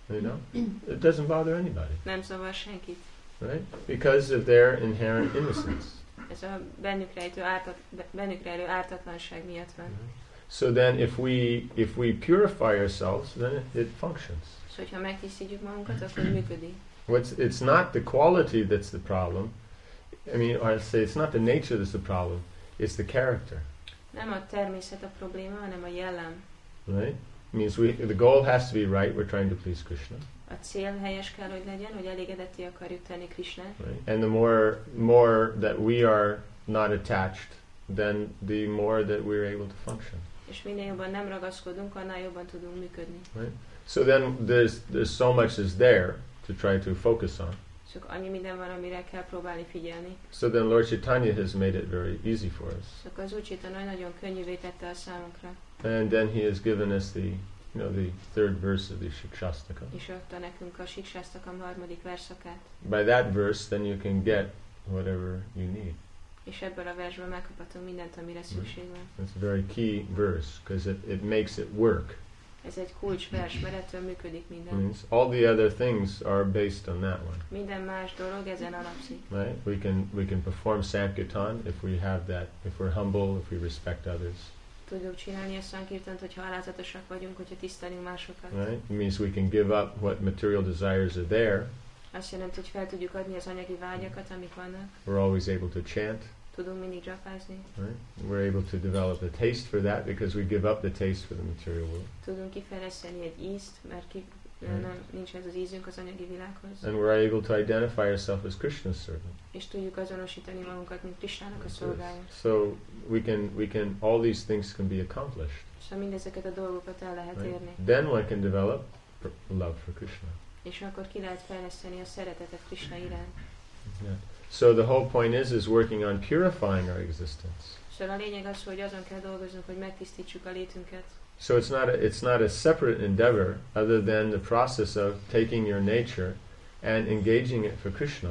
You know? It doesn't bother anybody. Nem zavar senkit. Right? Because of their inherent innocence. Ez a bennük rejtő ártat, bennük rejlő ártatlanság miatt van. So then if we if we purify ourselves, then it, it functions. És hogyha megtisztítjuk magunkat, akkor működik. What's it's not the quality that's the problem. I mean, or I'd say it's not the nature that's the problem. It's the character. Nem a természet a probléma, hanem a jellem. Right? It means we the goal has to be right. We're trying to please Krishna. A cél helyes kell, hogy legyen, hogy elégedetté akarjuk tenni Krishnát. Right? And the more more that we are not attached, then the more that we're able to function. És minél jobban nem ragaszkodunk, annál jobban tudunk működni. Right? So then there's there's so much is there to try to focus on. Csak annyi minden van, amire kell próbálni figyelni. So then Lord Chaitanya has made it very easy for us. Csak az Úr Chaitanya nagyon könnyűvé tette a számunkra. And then he has given us the, you know, the third verse of the Shikshastaka. És adta nekünk a Siksástakam harmadik verszakát. By that verse, then you can get whatever you need. És ebből a versből megkaphatunk mindent, amire szükség van. It's a very key verse because it, it makes it work. Ez egy kulcsvers, mert ettől működik minden. Means all the other things are based on that one. Minden más dolog ezen alapszik. Right? We can we can perform Sankirtan if we have that, if we're humble, if we respect others. Tudjuk csinálni a Sankirtant, hogyha alázatosak vagyunk, hogyha tisztelünk másokat. Right? It means we can give up what material desires are there. Azt jelenti, hogy fel tudjuk adni az anyagi vágyakat, amik vannak. We're always able to chant. Tudunk mindig japázni. Right? We're able to develop a taste for that because we give up the taste for the material world. Tudunk kifejleszteni egy ízt, mert ki, Right. nem, nincs ez az ízünk az anyagi világhoz. And we're able to identify ourselves as Krishna's servant. És tudjuk azonosítani magunkat, mint Krishnának a szolgája. So we can we can all these things can be accomplished. Szóval mindezeket a dolgokat el lehet Right? érni. Then one can develop pr- love for Krishna. És akkor ki lehet fejleszteni a szeretetet Krishna iránt. Yeah. So the whole point is is working on purifying our existence. Szóval a lényeg az, hogy azon kell dolgoznunk, hogy megtisztítsuk a létünket. So it's not a, it's not a separate endeavor other than the process of taking your nature and engaging it for Krishna.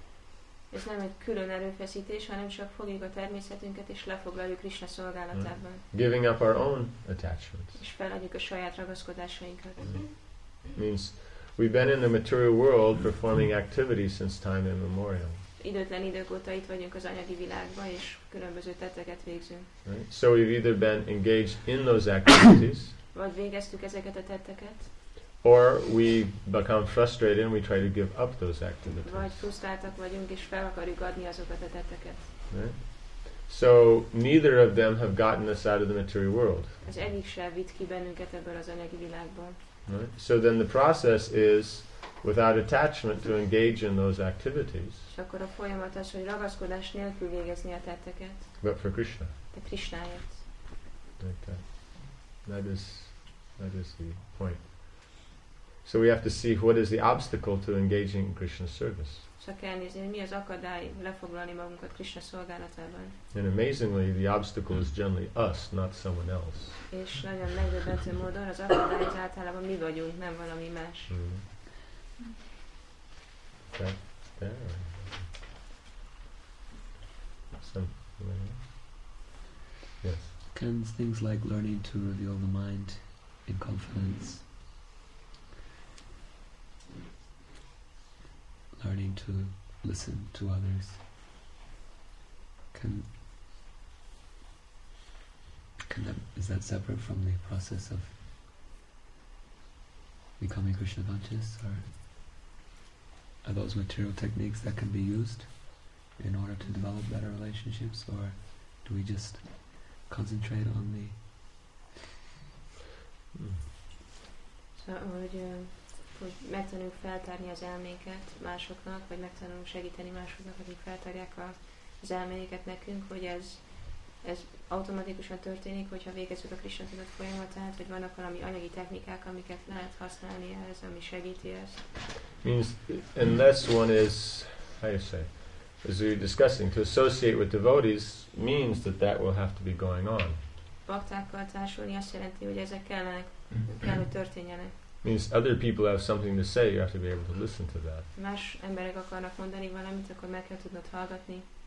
Ez nem egy külön erőfeszítés, hanem csak fogjuk a természetünket és lefoglaljuk Krishna szolgálatában. Giving up our own attachments. És feladjuk a saját ragaszkodásainkat. Mm. Means we've been in the material world performing activities since time immemorial. Időtlen idők óta itt vagyunk az anyagi világban, és különböző tetteket végzünk. Right? So we've either been engaged in those activities, Vagy végeztük ezeket a tetteket, or we become frustrated and we try to give up those activities. vagy frusztráltak vagyunk, és fel akarjuk adni azokat a tetteket. Right? So neither of them have gotten us out of the material world. Az egyik sem vitt ki bennünket ebből az anyagi világból. Right? So then the process is, without attachment, to engage in those activities, És akkor a folyamat az, hogy ragaszkodás nélkül végezni a tetteket, but for Krishna. de Krishnáért. Like that. That is, that is the point. So we have to see what is the obstacle to engaging in Krishna's service. Csak kell nézni, hogy mi az akadály lefoglalni magunkat Krishna szolgálatában. And amazingly, the obstacle is generally us, not someone else. És nagyon megdöbbentő módon az akadály az általában mi vagyunk, nem valami más. Mm. That, there. Some, yes. Can things like learning to reveal the mind in confidence, learning to listen to others, can can that, is that separate from the process of becoming Krishna conscious, or are those material techniques that can be used in order to develop better relationships, or do we just concentrate on the Mm. Szóval, hogy, ö, hogy megtanuljuk feltárni az elménket másoknak, vagy megtanulunk segíteni másoknak, akik feltárják a, az elménket nekünk, hogy ez, ez automatikusan történik, hogyha végezzük a Krishna tudat folyamatát, hogy vannak valami anyagi technikák, amiket lehet használni ehhez, ami segíti ezt. Means unless one is, how you say, as we were discussing, to associate with devotees means that that will have to be going on. Baktákkal társulni azt jelenti, hogy ezek kellenek, kell, hogy történjenek. Means other people have something to say, you have to be able to listen to that. Más emberek akarnak mondani valamit, akkor meg kell tudnod hallgatni.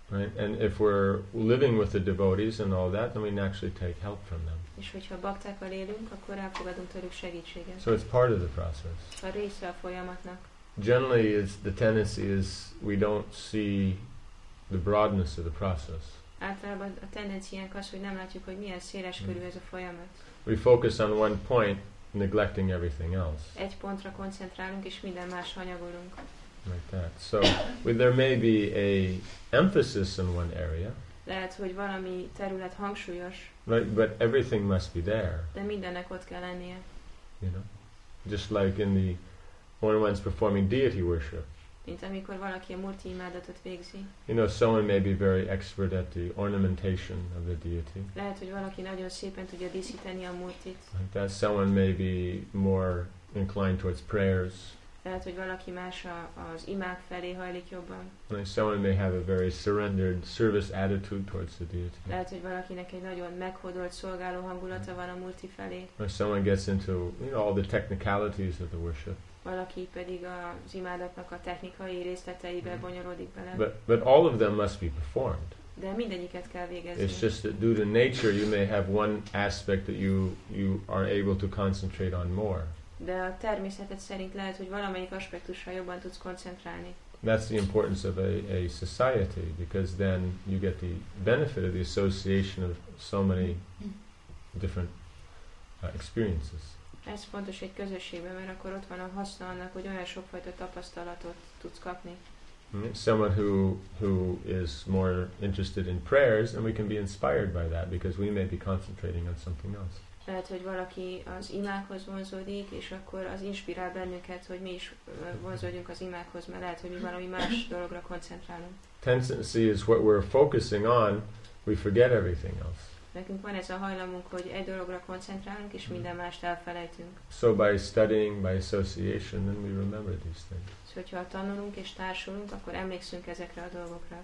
Right? And if we're living with the devotees and all that, then we naturally take help from them. És hogyha baktákkal élünk, akkor elfogadunk tőlük segítséget. So it's part of the process. A része a folyamatnak. Generally, is the tendency is we don't see the broadness of the process. Általában a tendenciánk az, hogy nem látjuk, hogy milyen széles körű ez a folyamat. We focus on one point, neglecting everything else. Egy pontra koncentrálunk, és minden más hanyagolunk. Like that. So well, there may be a emphasis in one area. Lehet, hogy valami terület hangsúlyos, Right, but everything must be there. de mindennek ott kell lennie. You know, just like in the when one's performing deity worship. Mint amikor valaki a murti imádatot végzi. You know, someone may be very expert at the ornamentation of the deity. Lehet, hogy valaki nagyon szépen tudja díszíteni a murtit. Like that, someone may be more inclined towards prayers. Lehet, hogy valaki más a, az imák felé hajlik jobban. Like someone may have a very surrendered service attitude towards the deity. Lehet, hogy valakinek egy nagyon meghódolt szolgáló hangulata van a murti felé. Or someone gets into, you know, all the technicalities of the worship. Valaki pedig az imádatnak a technikai részleteibe bonyolódik bele. But but all of them must be performed. De mindegyiket kell végezni. It's just that due to nature you may have one aspect that you you are able to concentrate on more. De a természetet szerint lehet, hogy valamelyik aspektusra jobban tudsz koncentrálni. That's the importance of a, a society, because then you get the benefit of the association of so many different uh, experiences. Ez fontos egy közösségben, mert akkor ott van a haszna annak, hogy olyan sokfajta tapasztalatot tudsz kapni. Mm, Someone who who is more interested in prayers, and we can be inspired by that because we may be concentrating on something else. Lehet, hogy valaki az imákhoz vonzódik, és akkor az inspirál bennünket, hogy mi is vonzódjunk az imákhoz, mert lehet, hogy mi valami más dologra koncentrálunk. Tendency is what we're focusing on, we forget everything else. Nekünk van ez a hajlamunk, hogy egy dologra koncentrálunk, és minden mást elfelejtünk. So by studying, by association, then we remember these things. Szóval, hogyha tanulunk és társulunk, akkor emlékszünk ezekre a dolgokra.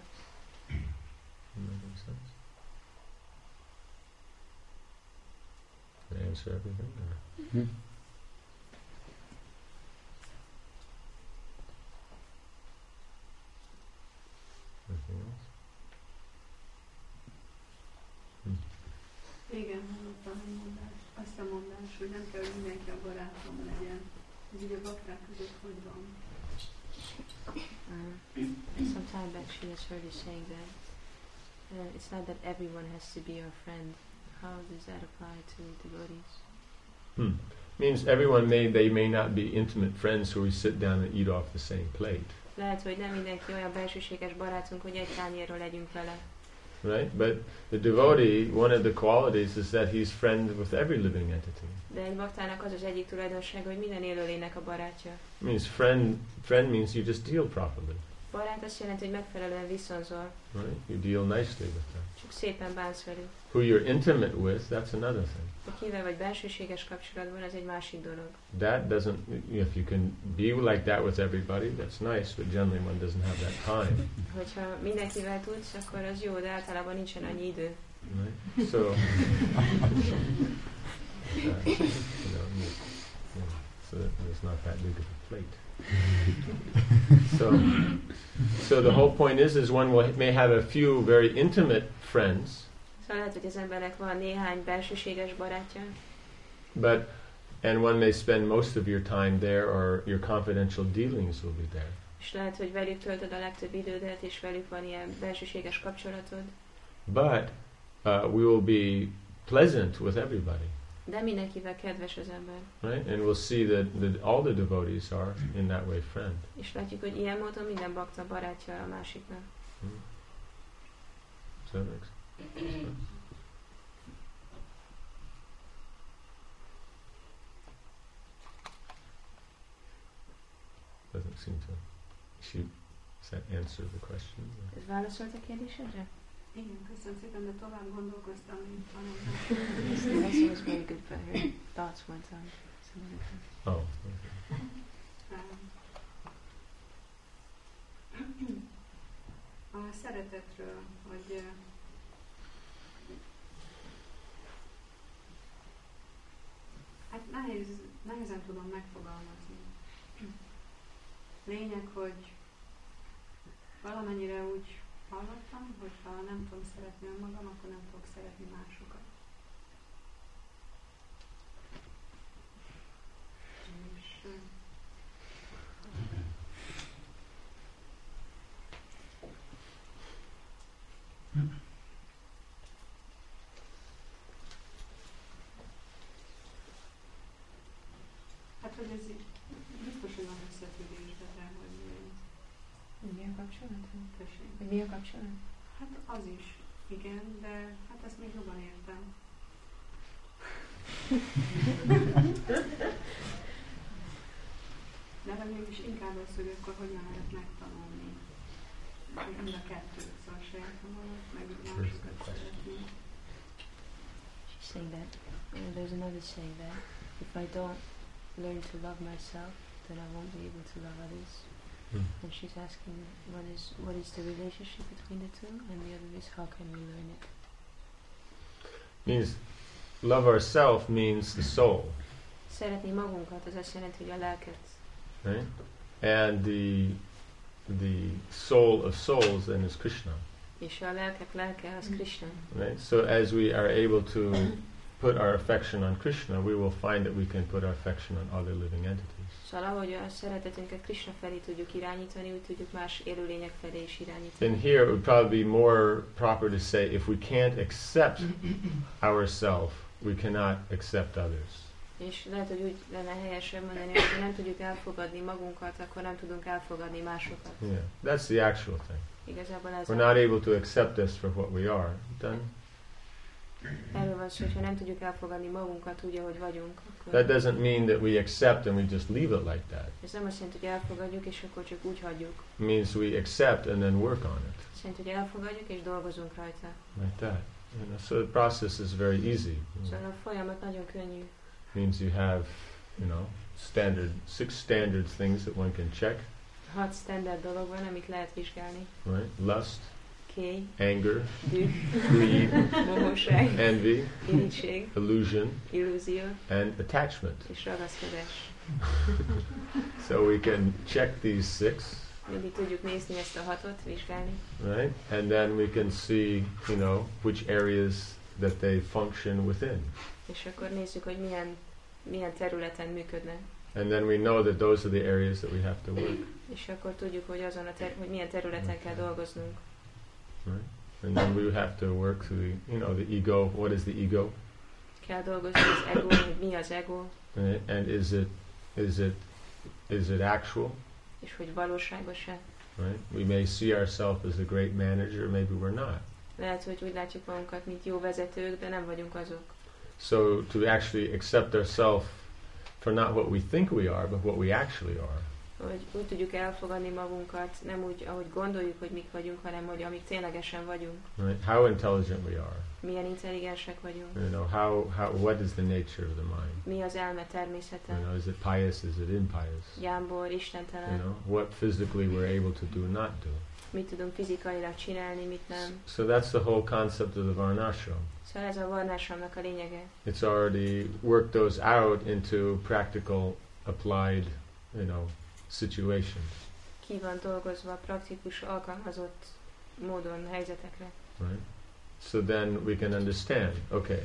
Making sense? Did I answer everything? Or? Mm-hmm. Anything else? Igen, hallottam egy mondást, azt a mondást, hogy nem kell, hogy mindenki a barátom legyen. Ez ugye a bakták között hogy van? Uh, some time back she has heard you saying that uh, it's not that everyone has to be your friend. How does that apply to devotees? Hmm. Means everyone may, they may not be intimate friends who we sit down and eat off the same plate. Lehet, hogy nem mindenki olyan belsőséges barátunk, hogy egy tányérról legyünk vele. Right? But the devotee, one of the qualities is that he's friend with every living entity. De egy baktának az az egyik tulajdonsága, hogy minden élőlénynek a barátja. Means friend, friend means you just deal properly. Barát azt jelenti, hogy megfelelően viszonzol. Right? You deal nicely with them. Csak szépen bánsz velük. Who you're intimate with, that's another thing. Hogy kivel vagy belsőséges kapcsolatban, ez egy másik dolog. That doesn't, if you can be like that with everybody, that's nice, but generally one doesn't have that time. Hogyha mindenkivel tudsz, akkor az jó, de általában nincsen annyi idő. Right? So, uh, you know, you, yeah, so that there's not that big of a plate. so, so the whole point is, is one will, may have a few very intimate friends. Szóval lehet, hogy az embernek van néhány belsőséges barátja. But, and one may spend most of your time there, or your confidential dealings will be there. És lehet, hogy velük töltöd a legtöbb idődet, és velük van ilyen belsőséges kapcsolatod. But uh, we will be pleasant with everybody. De mindenkivel kedves az ember. Right? And we'll see that, that all the devotees are in that way friend. És látjuk, hogy ilyen módon minden bakta barátja a másiknak. Hmm. Does that make sense? Doesn't seem to. Shoot. Does that answer the question? Ez válaszolt a kérdésedre? Igen, köszönöm szépen, de tovább gondolkoztam, mint tanultam. This was very good, but her thoughts went on some other thing. Oh. Okay. A szeretetről, hogy hát nehéz, nehezen tudom megfogalmazni. Lényeg, hogy valamennyire úgy hallottam, hogy ha nem tudom szeretni önmagam, akkor nem fogok szeretni másokat. És hát, hogy ez így biztos, hogy van összefüggésben, de hogy Mi a kapcsolat? tessék. Hogy mi a kapcsolat? Hát az is, igen, de hát ezt még jobban értem. De hogy mégis inkább az, hogy akkor hogyan lehet megtanulni. Mind a kettő, szóval saját magamat, meg másokat szeretni. She's saying that uh, there's another saying that if I don't learn to love myself, then I won't be able to love others. Hmm. And she's asking what is what is the relationship between the two, and the other is how can we learn it. Means love ourself means the soul, Szeretni magunkat, az azt jelenti, hogy a lelket. right? And the the soul of souls then is Krishna, És a lelkek lelke az Krishna. right? So as we are able to put our affection on Krishna, we will find that we can put our affection on other living entities. Szóval ahogy a szeretetünket Krishna felé tudjuk irányítani, úgy tudjuk más élőlények felé is irányítani. And here it would probably be more proper to say if we can't accept ourselves, we cannot accept others. És lehet, hogy úgy lenne helyesebb mondani, hogy ha nem tudjuk elfogadni magunkat, akkor nem tudunk elfogadni másokat. Yeah, that's the actual thing. Igazából ez We're not able to accept us for what we are. Then erről van szó, hogy ha nem tudjuk elfogadni magunkat úgy, ahogy vagyunk, akkor that doesn't mean that we accept and we just leave it like that. ez nem azt jelenti, hogy elfogadjuk, és akkor csak úgy hagyjuk. It means we accept and then work on it. Azt jelenti, hogy elfogadjuk, és dolgozunk rajta. Like that. You know, so the process is very easy. You know. Szóval a folyamat nagyon könnyű. Means you have, you know, standard six standard things that one can check, Hat standard dolog van, amit lehet vizsgálni. right? Lust, Kély, anger, düh, greed, mohóság, envy, irigység, illusion, illúzió and attachment. és ragaszkodás. So we can check these six, Mindig tudjuk nézni ezt a hatot, vizsgálni. right? And then we can see, you know, which areas that they function within. És akkor nézzük, hogy milyen, milyen területen működnek. And then we know that those are the areas that we have to work. És akkor tudjuk, hogy azon a ter- hogy milyen területen kell dolgoznunk. Right? And then we have to work through the, you know, the ego. What is the ego? Kell dolgozni az ego, hogy mi az ego, Right? And is it, is it, is it actual? és hogy valóságos-e. Right? We may see ourselves as a great manager, maybe we're not. Lehet, hogy úgy látjuk magunkat, mint jó vezetők, de nem vagyunk azok. So to actually accept ourselves for not what we think we are, but what we actually are. Hogy úgy tudjuk elfogadni magunkat, nem úgy, ahogy gondoljuk, hogy mik vagyunk, hanem hogy amik ténylegesen vagyunk. Right? How intelligent we are. Milyen intelligensek vagyunk. You know, how, how, what is the nature of the mind? Mi az elme természete. You know, is it pious, is it impious? Jámbor, You istentelen. know, what physically we're able to do, not do. Mit tudunk fizikailag csinálni, mit nem. So that's the whole concept of the Varnashram. Szóval ez a varnásramnak a lényege. It's already worked those out into practical, applied, you know, situations, Ki van dolgozva praktikus, alkalmazott módon helyzetekre. right? So then we can understand, okay,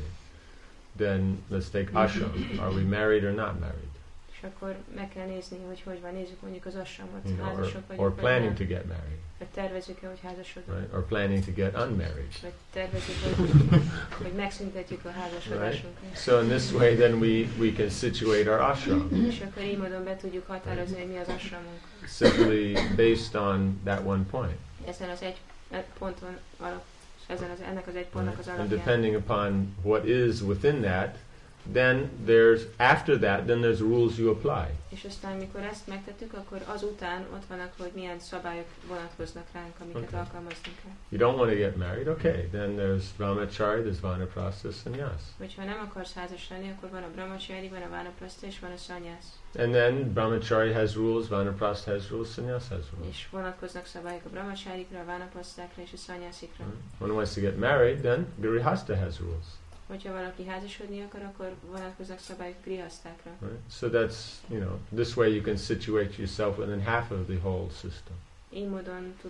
then let's take ashram. Are we married or not married? És akkor meg kell nézni, hogy hogy van. Nézzük mondjuk az ashramot, You know, or, házasok or vagyunk, vagy planning nem. to get married, Vagy tervezzük-e, hogy házasodunk. right? Or planning to get unmarried. Vagy tervezzük, hogy, hogy megszüntetjük a házasodásunkat. So in this way, then we, we can situate our ashram És akkor így módon be tudjuk határozni, hogy mi az ashramunk. simply based on that one point. Ezen az egy egy ponton alap, ezen az, ennek az egy pontnak az Right? And alapján. depending upon what is within that, then there's, after that, then there's rules you apply. És aztán, mikor ezt megtettük, akkor azután ott vannak, hogy milyen szabályok vonatkoznak ránk, amiket Okay. alkalmazni kell. You don't want to get married, okay, then there's brahmacharya, there's vanaprastha, sannyas. Hogyha nem akarsz házas lenni, akkor van a brahmacsári, van a vánapraszta és van a szanyász. And then brahmacharya has rules, vanaprastha has rules, sannyas has rules. És vonatkoznak szabályok a brahmachárikra, a vánaprasztákra és a szanyászikra. Right? When one wants to get married, then grihastha has rules. Hogyha valaki házasodni akar, akkor vonatkoznak szabályok grihasztákra. Right? So that's, you know, this way you can situate yourself within half of the whole system. Így módon tudod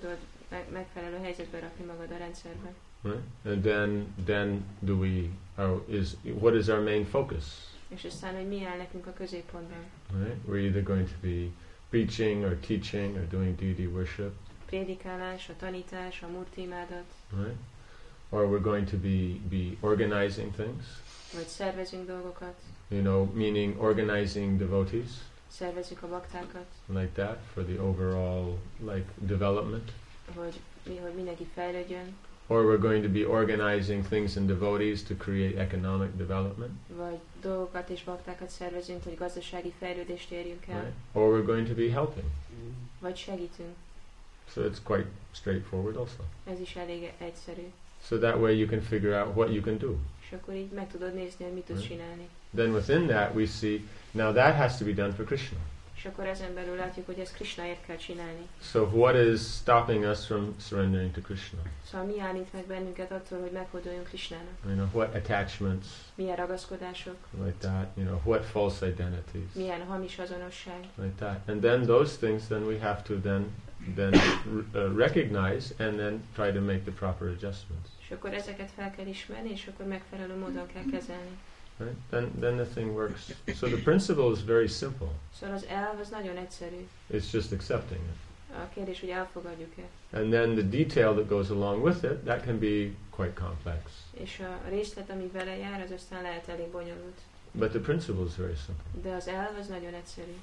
meg- megfelelő helyzetbe rakni magad a rendszerben. Right? And then, then do we, our, is, what is our main focus? És aztán, hogy mi áll nekünk a középpontban. Right? We're either going to be preaching or teaching or doing deity worship. Prédikálás, a tanítás, a murti imádat, Right? Or we're going to be, be organizing things, vagy szervezünk dolgokat, you know, meaning organizing devotees, szervezzük a baktákat, like that, for the overall, like, development. hogy, mi, hogy mindenki fejlődjön, Or we're going to be organizing things in devotees to create economic development. vagy dolgokat és baktákat szervezünk, hogy gazdasági fejlődést érjünk el, Right? Or we're going to be helping. vagy segítünk. So it's quite straightforward also. Ez is elég egyszerű. So that way you can figure out what you can do. És akkor így meg tudod nézni, hogy mit tudsz Right. csinálni. Then within that we see, now that has to be done for Krishna. És akkor ezen belül látjuk, hogy ezt Krishnáért kell csinálni. So what is stopping us from surrendering to Krishna? Szóval mi állít meg bennünket attól, hogy meghódoljunk Krishnának? You know, what attachments, Milyen ragaszkodások, like that, you know, what false identities, milyen hamis azonosság. like that. And then those things, then we have to then, then uh, recognize and then try to make the proper adjustments. És akkor ezeket fel kell ismerni, és akkor megfelelő módon kell kezelni. Right? Then, then the thing works. So the principle is very simple. Szóval az elv az nagyon egyszerű. It's just accepting it. A kérdés, hogy elfogadjuk-e. And then the detail that goes along with it, that can be quite complex. És a részlet, ami vele jár, az aztán lehet elég bonyolult. But the principle is very simple. De az elv az nagyon egyszerű.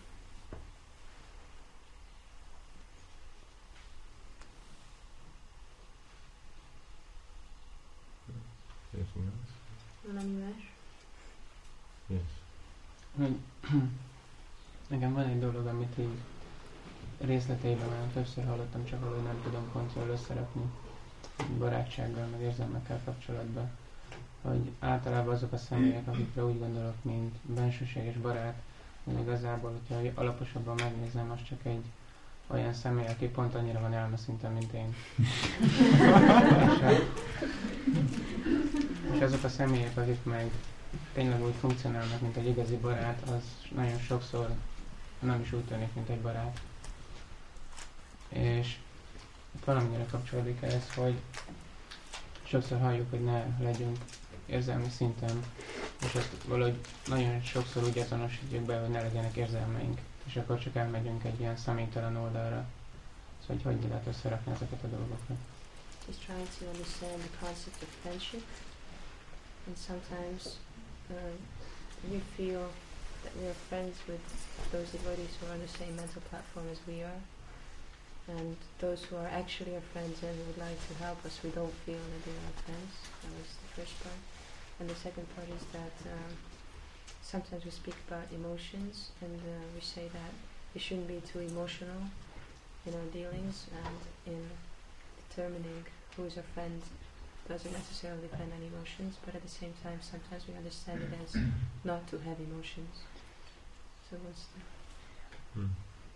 Anything else? Valami más? Yes. Hogy nekem van egy dolog, amit így részleteiben már többször hallottam, csak valahogy nem tudom pontról összerakni barátsággal, meg érzelmekkel kapcsolatban. Hogy általában azok a személyek, akikre úgy gondolok, mint bensőséges barát, hogy igazából, hogyha alaposabban megnézem, az csak egy olyan személy, aki pont annyira van elmeszinten, mint én. és, és azok a személyek, akik meg tényleg úgy funkcionálnak, mint egy igazi barát, az nagyon sokszor nem is úgy tűnik, mint egy barát. És valamennyire kapcsolódik ez, hogy sokszor halljuk, hogy ne legyünk érzelmi szinten, és ezt valahogy nagyon sokszor úgy azonosítjuk be, hogy ne legyenek érzelmeink, és akkor csak elmegyünk egy ilyen személytelen oldalra. Szóval hogy hogy lehet összerakni ezeket a dolgokat. He's trying to understand the concept of friendship, and sometimes um, we feel that we are friends with those devotees who are on the same mental platform as we are, and those who are actually our friends and who would like to help us, we don't feel that they are our friends. That was the first part. And the second part is that um, sometimes we speak about emotions, and uh, we say that we shouldn't be too emotional in our dealings and in determining who is our friend doesn't necessarily depend on emotions, but at the same time sometimes we understand it as not to have emotions. So what's the... Hmm.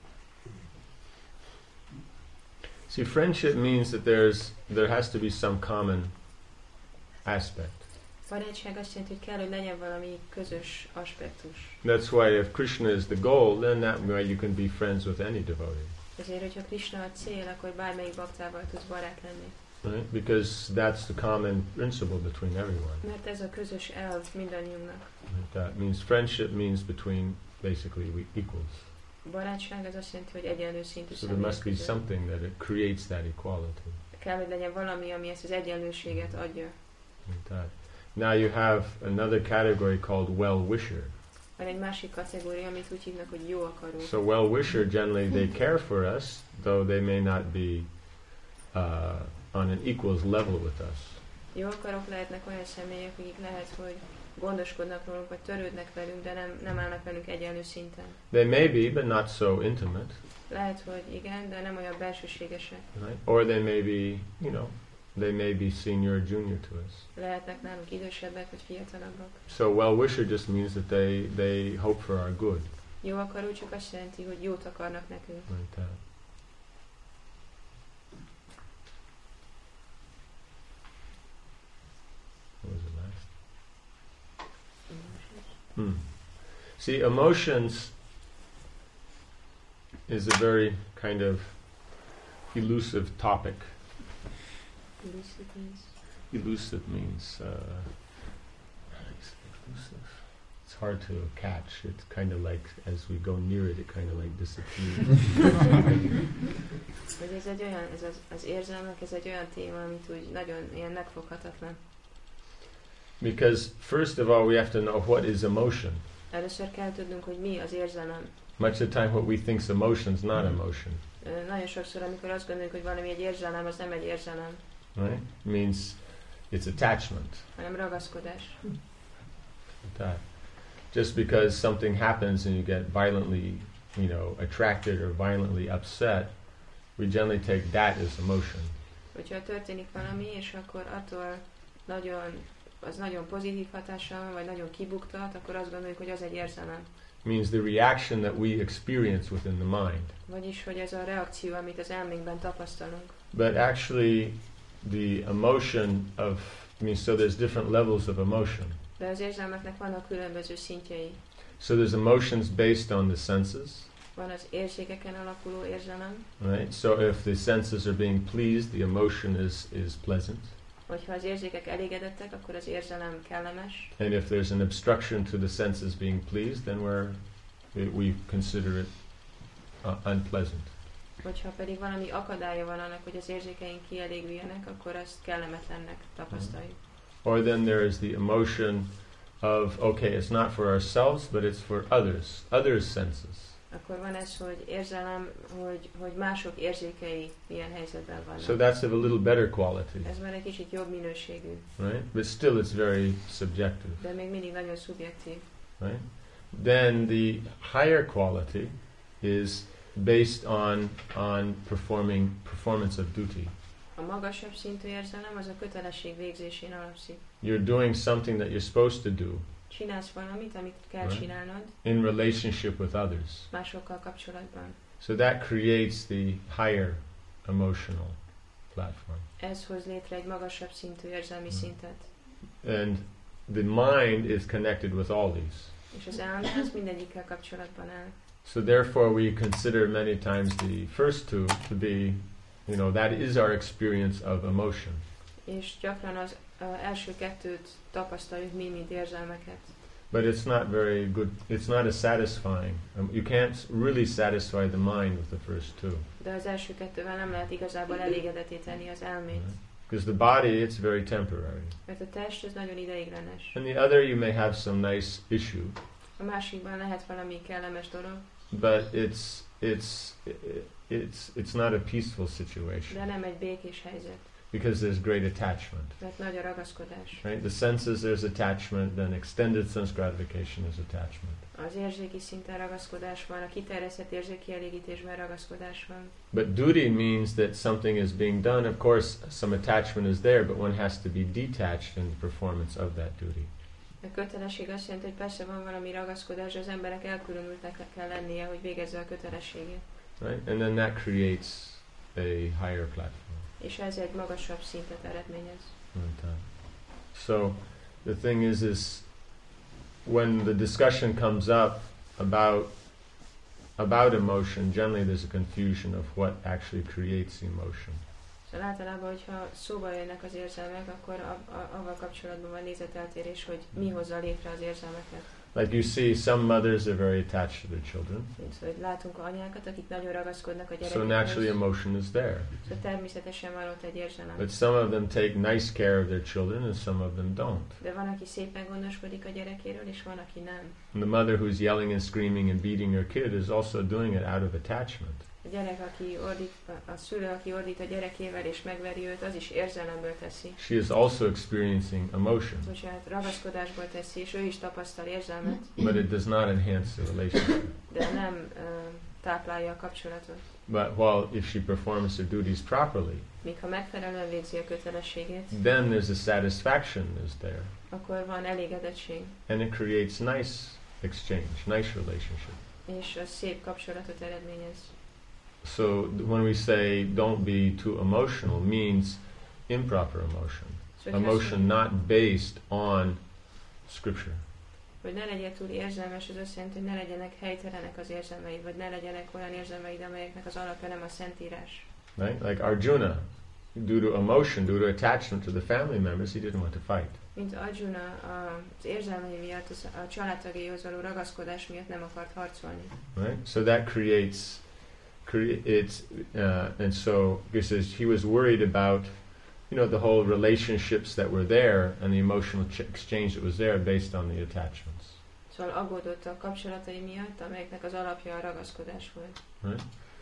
See, friendship means that there's there has to be some common aspect. Barátság azt jelenti, hogy kell, hogy legyen valami közös aspektus. That's why if Krishna is the goal, then that way you can be friends with any devotee. Ezért, hogyha Krishna a cél, akkor bármelyik baktával tudsz barát lenni. Right? Because that's the common principle between everyone. Mert ez a közös elv mindannyiunknak. That means friendship means between basically we equals. Barátság az azt jelenti, hogy egyenlő szintű So there must be között. something that it creates that equality. Kell, hogy legyen valami, ami ezt az egyenlőséget adja. Like that. Now you have another category called well-wisher. Van egy másik kategória, amit úgy hívnak, hogy jó akaró. So well-wisher generally they care for us, though they may not be uh, on an equals level with us. Jó akarók lehetnek olyan személyek, akik lehet, hogy gondoskodnak rólunk, vagy törődnek velünk, de nem, nem állnak velünk egyenlő szinten. They may be, but not so intimate. Lehet, hogy igen, de nem olyan belsőségesek. Right? Or they may be, you know, they may be senior or junior to us. Lehetnek nálunk idősebbek, vagy fiatalabbak. So well-wisher just means that they, they hope for our good. Jó akaró csak azt jelenti, hogy jót akarnak nekünk. Like that. What was it last? Hmm. See, emotions is a very kind of elusive topic. Elusive means. Elusive means uh, how do you say elusive? It's hard to catch. It's kind of like as we go near it, it kind of like disappears. Hogy ez egy olyan, ez az, az érzelmek, ez egy olyan téma, amit úgy nagyon ilyen megfoghatatlan. Because first of all, we have to know what is emotion. Először kell tudnunk, hogy mi az érzelem. Much of the time, what we think is emotion is not emotion. Uh, nagyon sokszor, amikor azt gondoljuk, hogy valami egy érzelem, az nem egy érzelem. Right? It means it's attachment. Hanem ragaszkodás. That. Just because something happens and you get violently, you know, attracted or violently upset, we generally take that as emotion. Hogyha történik valami, és akkor attól nagyon, az nagyon pozitív hatással van, vagy nagyon kibuktat, akkor azt gondoljuk, hogy az egy érzelem. It means the reaction that we experience within the mind. Vagyis, hogy ez a reakció, amit az elménkben tapasztalunk. But actually, the emotion of, I mean, so there's different levels of emotion. De az érzelmeknek vannak különböző szintjei. So there's emotions based on the senses. Van az érzékeken alapuló érzelem. Right? So if the senses are being pleased, the emotion is, is pleasant. Hogyha az érzékek elégedettek, akkor az érzelem kellemes. And if there's an obstruction to the senses being pleased, then we're, we, we consider it uh, unpleasant. Hogyha pedig valami akadálya van annak, hogy az érzékeink kielégüljenek, akkor azt kellemetlennek tapasztaljuk. Or then there is the emotion of, okay, it's not for ourselves, but it's for others, others' senses. Akkor van ez, hogy érzelem, hogy, hogy mások érzékei milyen helyzetben vannak. So that's of a little better quality. Ez már egy kicsit jobb minőségű. Right? But still it's very subjective. De még mindig nagyon szubjektív. Right? Then the higher quality is based on on performing performance of duty. A magasabb szintű érzelem az a kötelesség végzésén alapszik. You're doing something that you're supposed to do. Csinálsz valamit, amit kell Right. csinálnod. In relationship with others. Másokkal kapcsolatban. So that creates the higher emotional platform. Ez hoz létre egy magasabb szintű érzelmi Mm. szintet. And the mind is connected with all these. És az elme az mindegyikkel kapcsolatban áll. So therefore we consider many times the first two to be, you know, that is our experience of emotion. És gyakran az uh, első kettőt tapasztaljuk mi, mint érzelmeket. But it's not very good, it's not as satisfying. Um, you can't really satisfy the mind with the first two. De az első kettővel nem lehet igazából elégedetté tenni az elmét. Because the body, it's very temporary. Mert a test az nagyon ideiglenes. And the other, you may have some nice issue. A másikban lehet valami kellemes dolog, But it's, it's, it's, it's not a peaceful situation. de nem egy békés helyzet. Because there's great attachment. Mert nagy a ragaszkodás. Right? The senses, there's attachment, then extended sense gratification is attachment. Az érzéki szinten ragaszkodás van, a kiterjesztett érzéki elégítésben ragaszkodás van. But duty means that something is being done. Of course, some attachment is there, but one has to be detached in the performance of that duty. A kötelesség azt jelenti, hogy persze van valami ragaszkodás, de az emberek elkülönültek kell lennie, hogy végezze a kötelességét. Right? And then that creates a higher platform. És ez egy magasabb szintet eredményez. Right. So the thing is, is when the discussion comes up about about emotion, generally there's a confusion of what actually creates emotion. Szóval általában, hogyha szóba jönnek az érzelmek, akkor a, a, avval kapcsolatban van nézeteltérés, hogy mi hozza létre az érzelmeket. Like you see, some mothers are very attached to their children. Szóval hogy látunk anyákat, akik nagyon ragaszkodnak a So gyerekekhez. naturally emotion is there. Szóval természetesen van ott egy érzelem. But some of them take nice care of their children and some of them don't. De van, aki szépen gondoskodik a gyerekéről, és van, aki nem. And the mother who's yelling and screaming and beating her kid is also doing it out of attachment. A gyerek, aki ordít, a, a szülő, aki ordít a gyerekével és megveri őt, az is érzelemből teszi. She is also experiencing emotion. Bocsánat, ragaszkodásból teszi, és ő is tapasztal érzelmet, But it does not enhance the relationship. de nem uh, táplálja a kapcsolatot. But while if she performs her duties properly, Míg ha megfelelően végzi a kötelességét, then there's a satisfaction is there. akkor van elégedettség, And it creates nice exchange, nice relationship. és az szép kapcsolatot eredményez. So th- when we say don't be too emotional means improper emotion. Szóval, hogy Emotion azt not based on scripture. hogy ne legyél túl érzelmes, az azt jelenti, hogy ne legyenek helytelenek az érzelmeid, vagy ne legyenek olyan érzelmeid, amelyeknek az alapja nem a Szentírás. Right? Like Arjuna. due to emotion, due to attachment to the family members, he didn't want to fight. Mint Arjuna az érzelmei miatt, a családtagjaihoz való ragaszkodás miatt nem akart harcolni. Right? So that creates, creates, uh, and so because he was worried about, you know, the whole relationships that were there and the emotional ch- exchange that was there based on the attachments. Szóval aggódott a kapcsolatai miatt, amelyeknek az alapja a ragaszkodás volt. Right?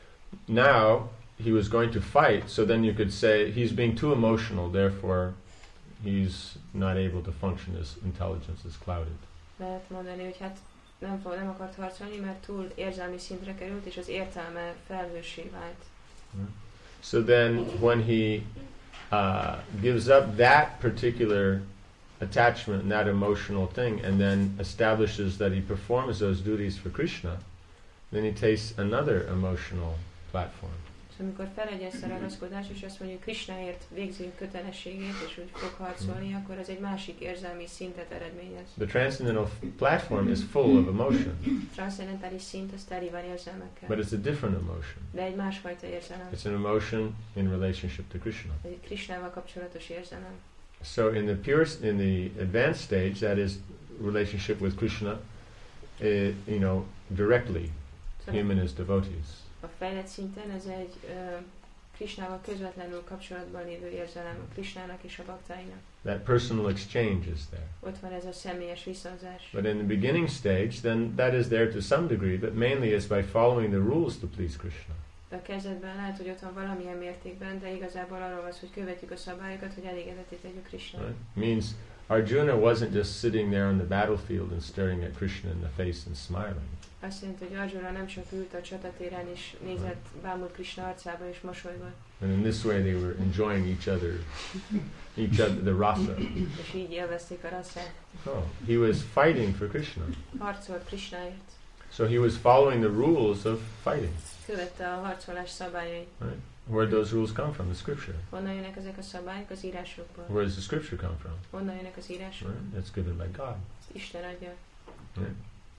Now he was going to fight, so then you could say he's being too emotional, therefore he's not able to function, his intelligence is clouded. Lehet mondani, hogy hát nem, fog, nem akart harcolni, mert túl érzelmi szintre került, és az értelme felhőssé vált. Right? So then when he uh, gives up that particular attachment and that emotional thing and then establishes that he performs those duties for Krishna, then he takes another emotional platform. Szóval amikor felegyez a ragaszkodás, és azt mondja, hogy Krishnáért végzi a kötelességét, és úgy fog harcolni, akkor az egy másik érzelmi szintet eredményez. The transcendental platform is full of emotion. A transzcendentális szint az teli van érzelmekkel. But it's a different emotion. De egy másfajta érzelem. It's an emotion in relationship to Krishna. Egy Krishnával kapcsolatos érzelem. So in the pure, in the advanced stage, that is relationship with Krishna, uh, you know, directly, Szóval him and his devotees. a fejlett szinten ez egy uh, Krishnával közvetlenül kapcsolatban lévő érzelem, a Krishnának és a baktáinak. That personal exchange is there. Ott van ez a személyes viszonzás. But in the beginning stage, then that is there to some degree, but mainly is by following the rules to please Krishna. De a kezdetben lehet, hogy ott van valamilyen mértékben, de igazából arról van, hogy követjük a szabályokat, hogy elégedetté tegyük Krishnának. Right? Means Arjuna wasn't just sitting there on the battlefield and staring at Krishna in the face and smiling. Azt jelenti, hogy Arjuna nem csak ült a csatatéren és nézett, bámult Krishna arcába és mosolygott. And in this way they were enjoying each other, each other, the rasa. És így élvezték a rasszát. Oh, he was fighting for Krishna. Harcolt Krishnáért. So he was following the rules of fighting. Követte a harcolás szabályait. Right? Where do those rules come from? The scripture. Honnan jönnek ezek a szabályok? Az írásokból. Where does the scripture come from? Honnan jönnek az írások? Right? It's given by God. Isten adja. Right?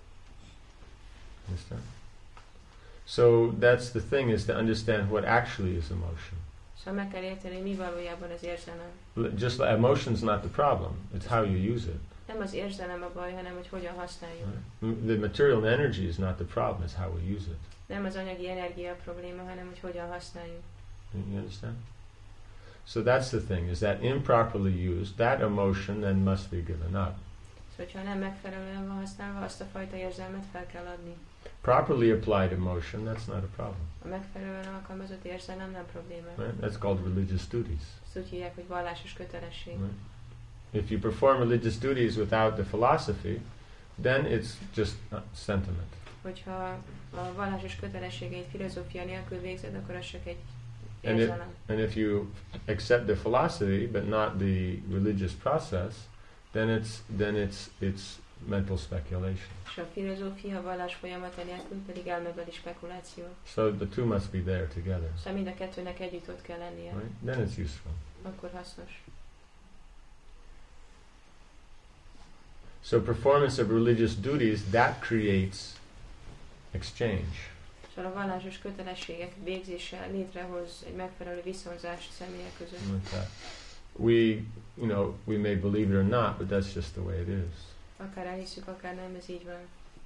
Understand? So that's the thing, is to understand what actually is emotion. Szóval meg kell érteni, mi valójában az érzelem. Just like emotion's not the problem, it's how you use it. Nem az érzelem a baj, hanem hogy hogyan használjuk. Right? The material energy is not the problem, it's how we use it. Nem az anyagi energia a probléma, hanem hogy hogyan használjuk. You understand? So that's the thing, is that improperly used, that emotion then must be given up. Szóval, ha nem megfelelően van használva, azt a fajta érzelmet fel kell adni. Properly applied emotion, that's not a problem. A megfelelően alkalmazott érzelem nem probléma. Right? That's called religious duties. Ezt úgy hívják, hogy vallásos kötelesség. Right? If you perform religious duties without the philosophy, then it's just sentiment. Hogyha a vallásos kötelességeit filozófia nélkül végzed, akkor az csak egy And if, érzelem. and if you accept the philosophy but not the religious process, then it's then it's it's mental speculation. És a filozófia, a vallás folyamata nélkül pedig elmebeli spekuláció. So the two must be there together. Szóval mind a kettőnek együtt ott kell lennie. Right? Then it's useful. Akkor hasznos. So performance of religious duties, that creates exchange. Szóval a vallásos kötelességek végzése létrehoz egy megfelelő viszonzást személyek között. Like that. We, you know, we may believe it or not, but that's just the way it is. Akár elhiszük, akár nem, ez így van.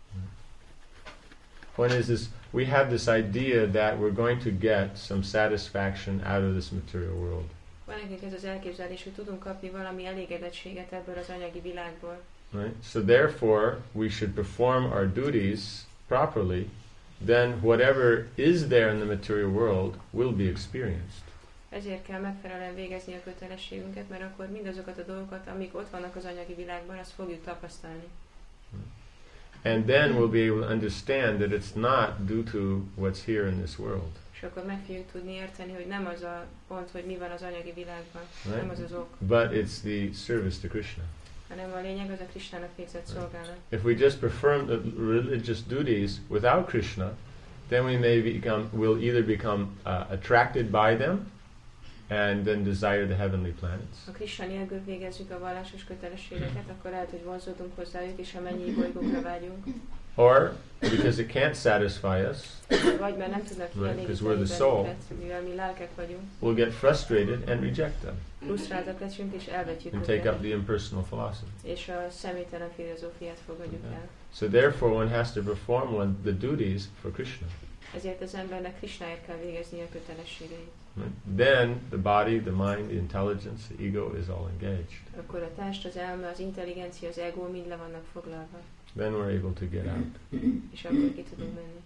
Point is, is we have this idea that we're going to get some satisfaction out of this material world. Van nekünk ez az elképzelés, hogy tudunk kapni valami elégedettséget ebből az anyagi világból. Right? So therefore, we should perform our duties properly. Then whatever is there in the material world will be experienced. Ezért kell megfelelően végezni a kötelességünket, mert akkor mindazokat a dolgokat, amik ott vannak az anyagi világban, azt fogjuk tapasztalni. And then we'll be able to understand that it's not due to what's here in this world. És akkor meg fogjuk tudni érteni, hogy nem az a pont, hogy mi van az anyagi világban, Right? nem az az ok, But it's the service to Krishna. hanem a lényeg az a Krishnának végzett szolgálat. If we just perform the religious duties without Krishna, then we may become, will either become uh, attracted by them and then desire the heavenly planets. Ha Krishna nélkül végezzük a vallásos kötelességeket, akkor lehet, hogy vonzódunk hozzájuk, és a mennyi bolygókra vágyunk. Or because it can't satisfy us, vagy mert nem tudnak right, because kielégíteni we're the soul, bennünket, mivel mi lelkek vagyunk, we'll get frustrated and reject them frusztráltak leszünk és elvetjük and take up őket, the impersonal philosophy. és a személytelen filozófiát fogadjuk Okay. el. So therefore one has to perform one, the duties for Krishna. Ezért az embernek Krishnáért kell végezni a kötelességeit. Right? Then the body, the mind, the intelligence, the ego is all engaged. Akkor a test, az elme, az intelligencia, az ego mind le vannak foglalva, Then we're able to get out. és akkor ki tudunk menni.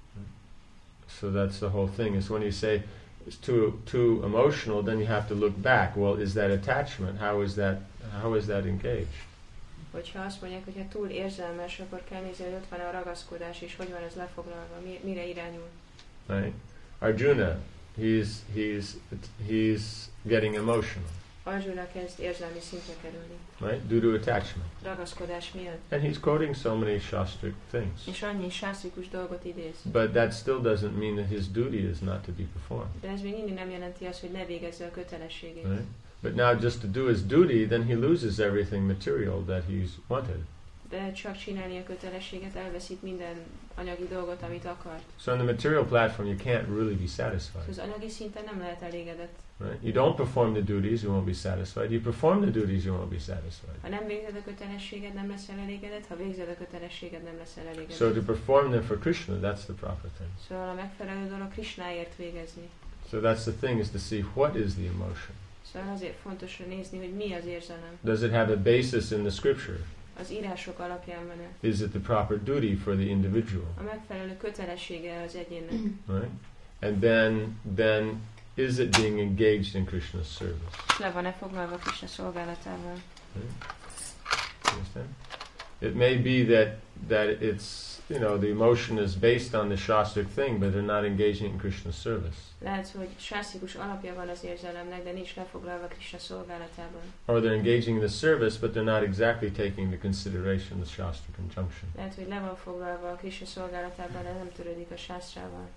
So that's the whole thing, is when you say it's too too emotional, then you have to look back. Well, is that attachment? How is that how is that engaged? Hogyha azt mondják, hogy ha túl érzelmes, akkor kell nézni, hogy ott van a ragaszkodás, és hogy van ez lefoglalva, mi, mire irányul. Right? Arjuna, he's he's he's getting emotional, Arjuna kezd érzelmi szintre kerülni, right? Due to attachment. ragaszkodás miatt. And he's quoting so many shastric things. És annyi sásztrikus dolgot idéz. But that still doesn't mean that his duty is not to be performed. De ez még mindig nem jelenti azt, hogy ne végezze a kötelességét. Right? But now just to do his duty, then he loses everything material that he's wanted. De csak csinálni a kötelességet, elveszít minden anyagi dolgot, amit akart. So on the material platform, you can't really be satisfied. Az anyagi szinten nem lehet elégedett. Right? You don't perform the duties, you won't be satisfied. You perform the duties, you won't be satisfied. Ha nem végzed a kötelességed, nem leszel elégedett, ha végzed a kötelességed, nem leszel elégedett. So to perform them for Krishna, that's the proper thing. Szóval a megfelelő dolog Krishnáért végezni. So that's the thing, is to see what is the emotion. Szóval azért fontos nézni, hogy mi az érzelem. Does it have a basis in the scripture? Az írások alapján van-e? Is it the proper duty for the individual? A megfelelő kötelessége az egyénnek. Right? And then, then is it being engaged in Krishna's service? Le van-e foglalva Krishna szolgálatával? Right? Understand? It may be that that it's, you know, the emotion is based on the shastric thing, but they're not engaging in Krishna's service. Lehet, hogy sásztrikus alapja van az érzelemnek, de nincs lefoglalva Krishna szolgálatában. Or they're engaging in the service, but they're not exactly taking into consideration the shastric injunction. Lehet, hogy le van foglalva a Krishna szolgálatában, de nem törődik a sásztrával.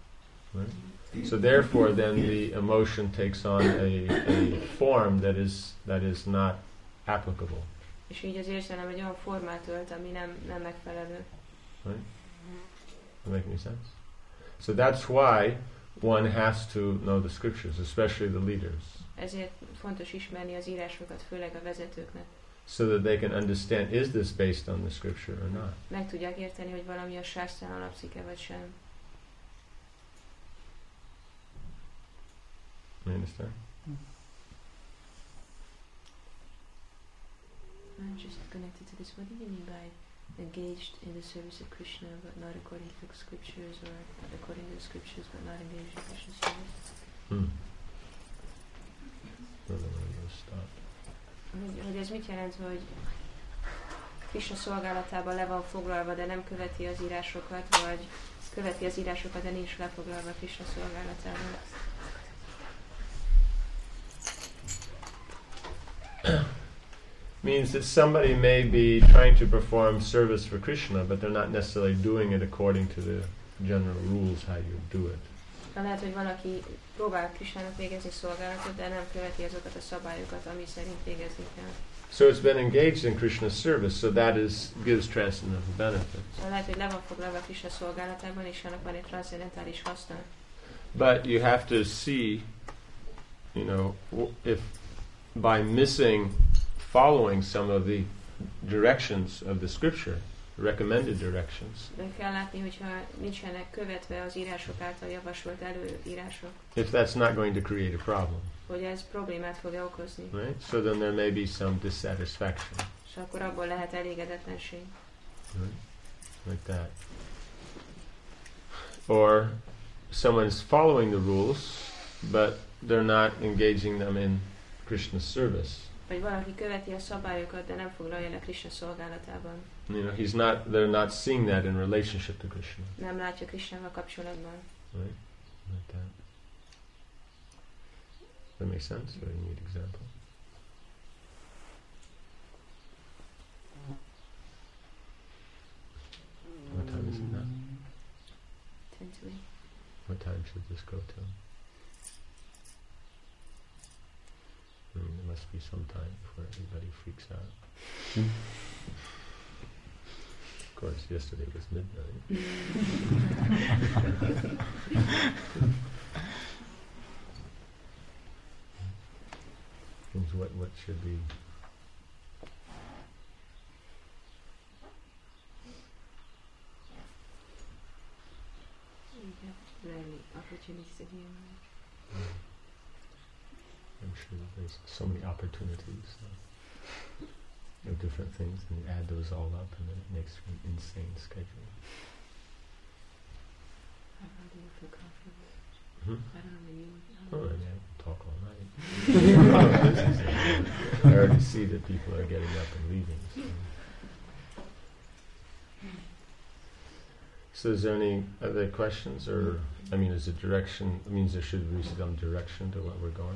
Right? So therefore, then the emotion takes on a, a form that is that is not applicable. És így az érzelem egy olyan formát ölt, ami nem, nem megfelelő. Right? Does that make any sense? So that's why one has to know the scriptures, especially the leaders, Ezért fontos ismerni az írásokat, főleg a vezetőknek. so that they can understand, is this based on the scripture or not? Meg tudják érteni, hogy valami a sásztrán alapszik-e vagy sem. You understand? I'm just connected to this. What do you mean by engaged in the service of Krishna, but not according to the scriptures, or according to the scriptures, but not engaged in Krishna's service? Hmm. Don't know where to stop. Hogy, hogy ez mit jelent, hogy Krishna szolgálatában le van foglalva, de nem követi az írásokat, vagy követi az írásokat, de nincs lefoglalva Krishna szolgálatában? Means that somebody may be trying to perform service for Krishna, but they're not necessarily doing it according to the general rules how you do it. De lehet, hogy valaki próbál Krishnának végezni szolgálatot, de nem követi azokat a szabályokat, ami szerint végezni kell. So it's been engaged in Krishna's service, so that is gives transcendental benefits. Szóval lehet, hogy le van foglalva Krishna szolgálatában, és annak van egy transzendentális haszna. But you have to see, you know, if by missing following some of the directions of the scripture, recommended directions, De kell látni, hogyha nincsenek követve az írások által javasolt előírások, if that's not going to create a problem, hogy ez problémát fog okozni. right? So then there may be some dissatisfaction, És akkor abból lehet elégedetlenség. right? Like that. Or someone's following the rules, but they're not engaging them in Krishna's service. Vagy valaki követi a szabályokat, de nem foglalja le Krishna szolgálatában. You know, he's not. They're not seeing that in relationship to Krishna, Nem látja Krishnával kapcsolatban. right? Like that. Does that make sense? Or you need example? What time is it now? Ten to eight. What time should this go till? I mean, there must be some time before everybody freaks out. course, yesterday was midnight. And what what should be? Rarely opportunities to hear. I'm sure there's so many opportunities uh, of different things, and you add those all up, and then it makes for an insane schedule. How do you feel comfortable? Hmm? I don't know, maybe you... Oh, I mean, I can talk all night. I already see that people are getting up and leaving. So. So is there any other questions, or, I mean, is it direction, it means there should be some direction to what we're going?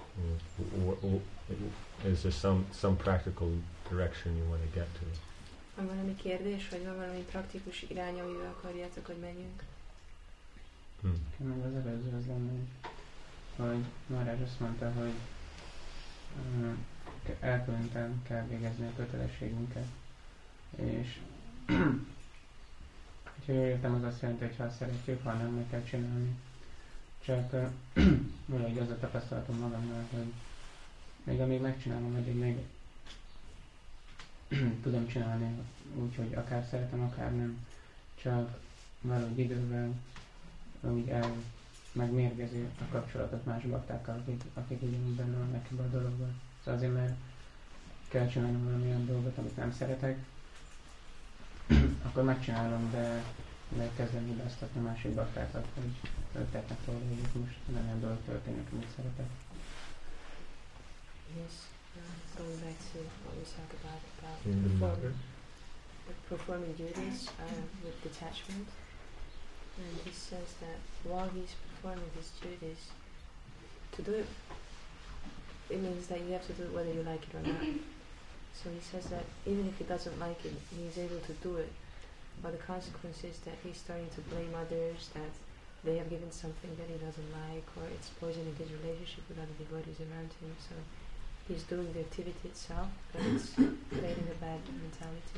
Is there some, some practical direction you want to get to? Van valami kérdés, vagy van valami praktikus irány, amivel akarjátok, hogy menjünk? Hmm. Meg az előző az lenne, hogy Maharaj azt mondta, hogy uh, elkülöntem kell végezni a kötelességünket. És ha jól értem, az azt jelenti, hogy ha szeretjük, ha nem, meg kell csinálni. Csak uh, valahogy az a tapasztalatom magamnál, hogy még amíg megcsinálom, addig még tudom csinálni úgy, hogy akár szeretem, akár nem. Csak valahogy idővel úgy el megmérgezi a kapcsolatot más baktákkal, akik, akik ugyanúgy benne vannak ebben a dologban. Szóval azért, mert kell csinálnom valamilyen dolgot, amit nem szeretek, akkor megcsinálom, de kezdem hibáztatni a másik baktákat, hogy tettek róla, hogy itt most nem olyan dolog történik, amit szeretek. Yes, uh, going back to what we talked about, about In the performing, performing duties uh, with detachment. And he says that while he's performing his duties, to do it, it means that you have to do it whether you like it or not. So he says that even if he doesn't like it, he's able to do it. But the consequence is that he's starting to blame others, that they have given something that he doesn't like, or it's poisoning his relationship with other devotees around him. So he's doing the activity itself, but it's creating a bad mentality.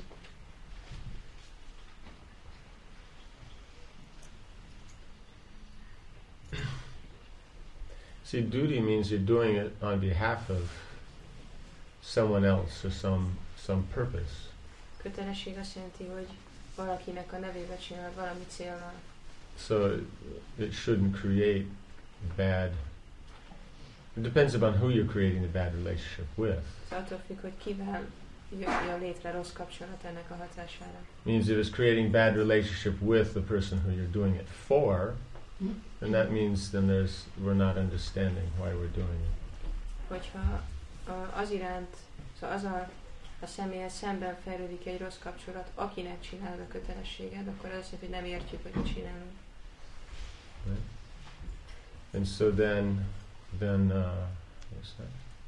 See, duty means you're doing it on behalf of someone else or some some purpose. Kötelesség azt jelenti, hogy valakinek a nevébe csinál valami célnal. So it shouldn't create bad. It depends upon who you're creating the bad relationship with. So attól függ, hogy kivel jön létre rossz kapcsolat ennek a hatására. Means if it's creating bad relationship with the person who you're doing it for, then that means then there's we're not understanding why we're doing it. Hogyha uh, az iránt, szóval az a, a személyhez szemben fejlődik egy rossz kapcsolat, akinek csinálod a kötelességed, akkor az azt jelenti, hogy nem értjük, hogy mit csinálunk. Right? And so then, then uh, what's that?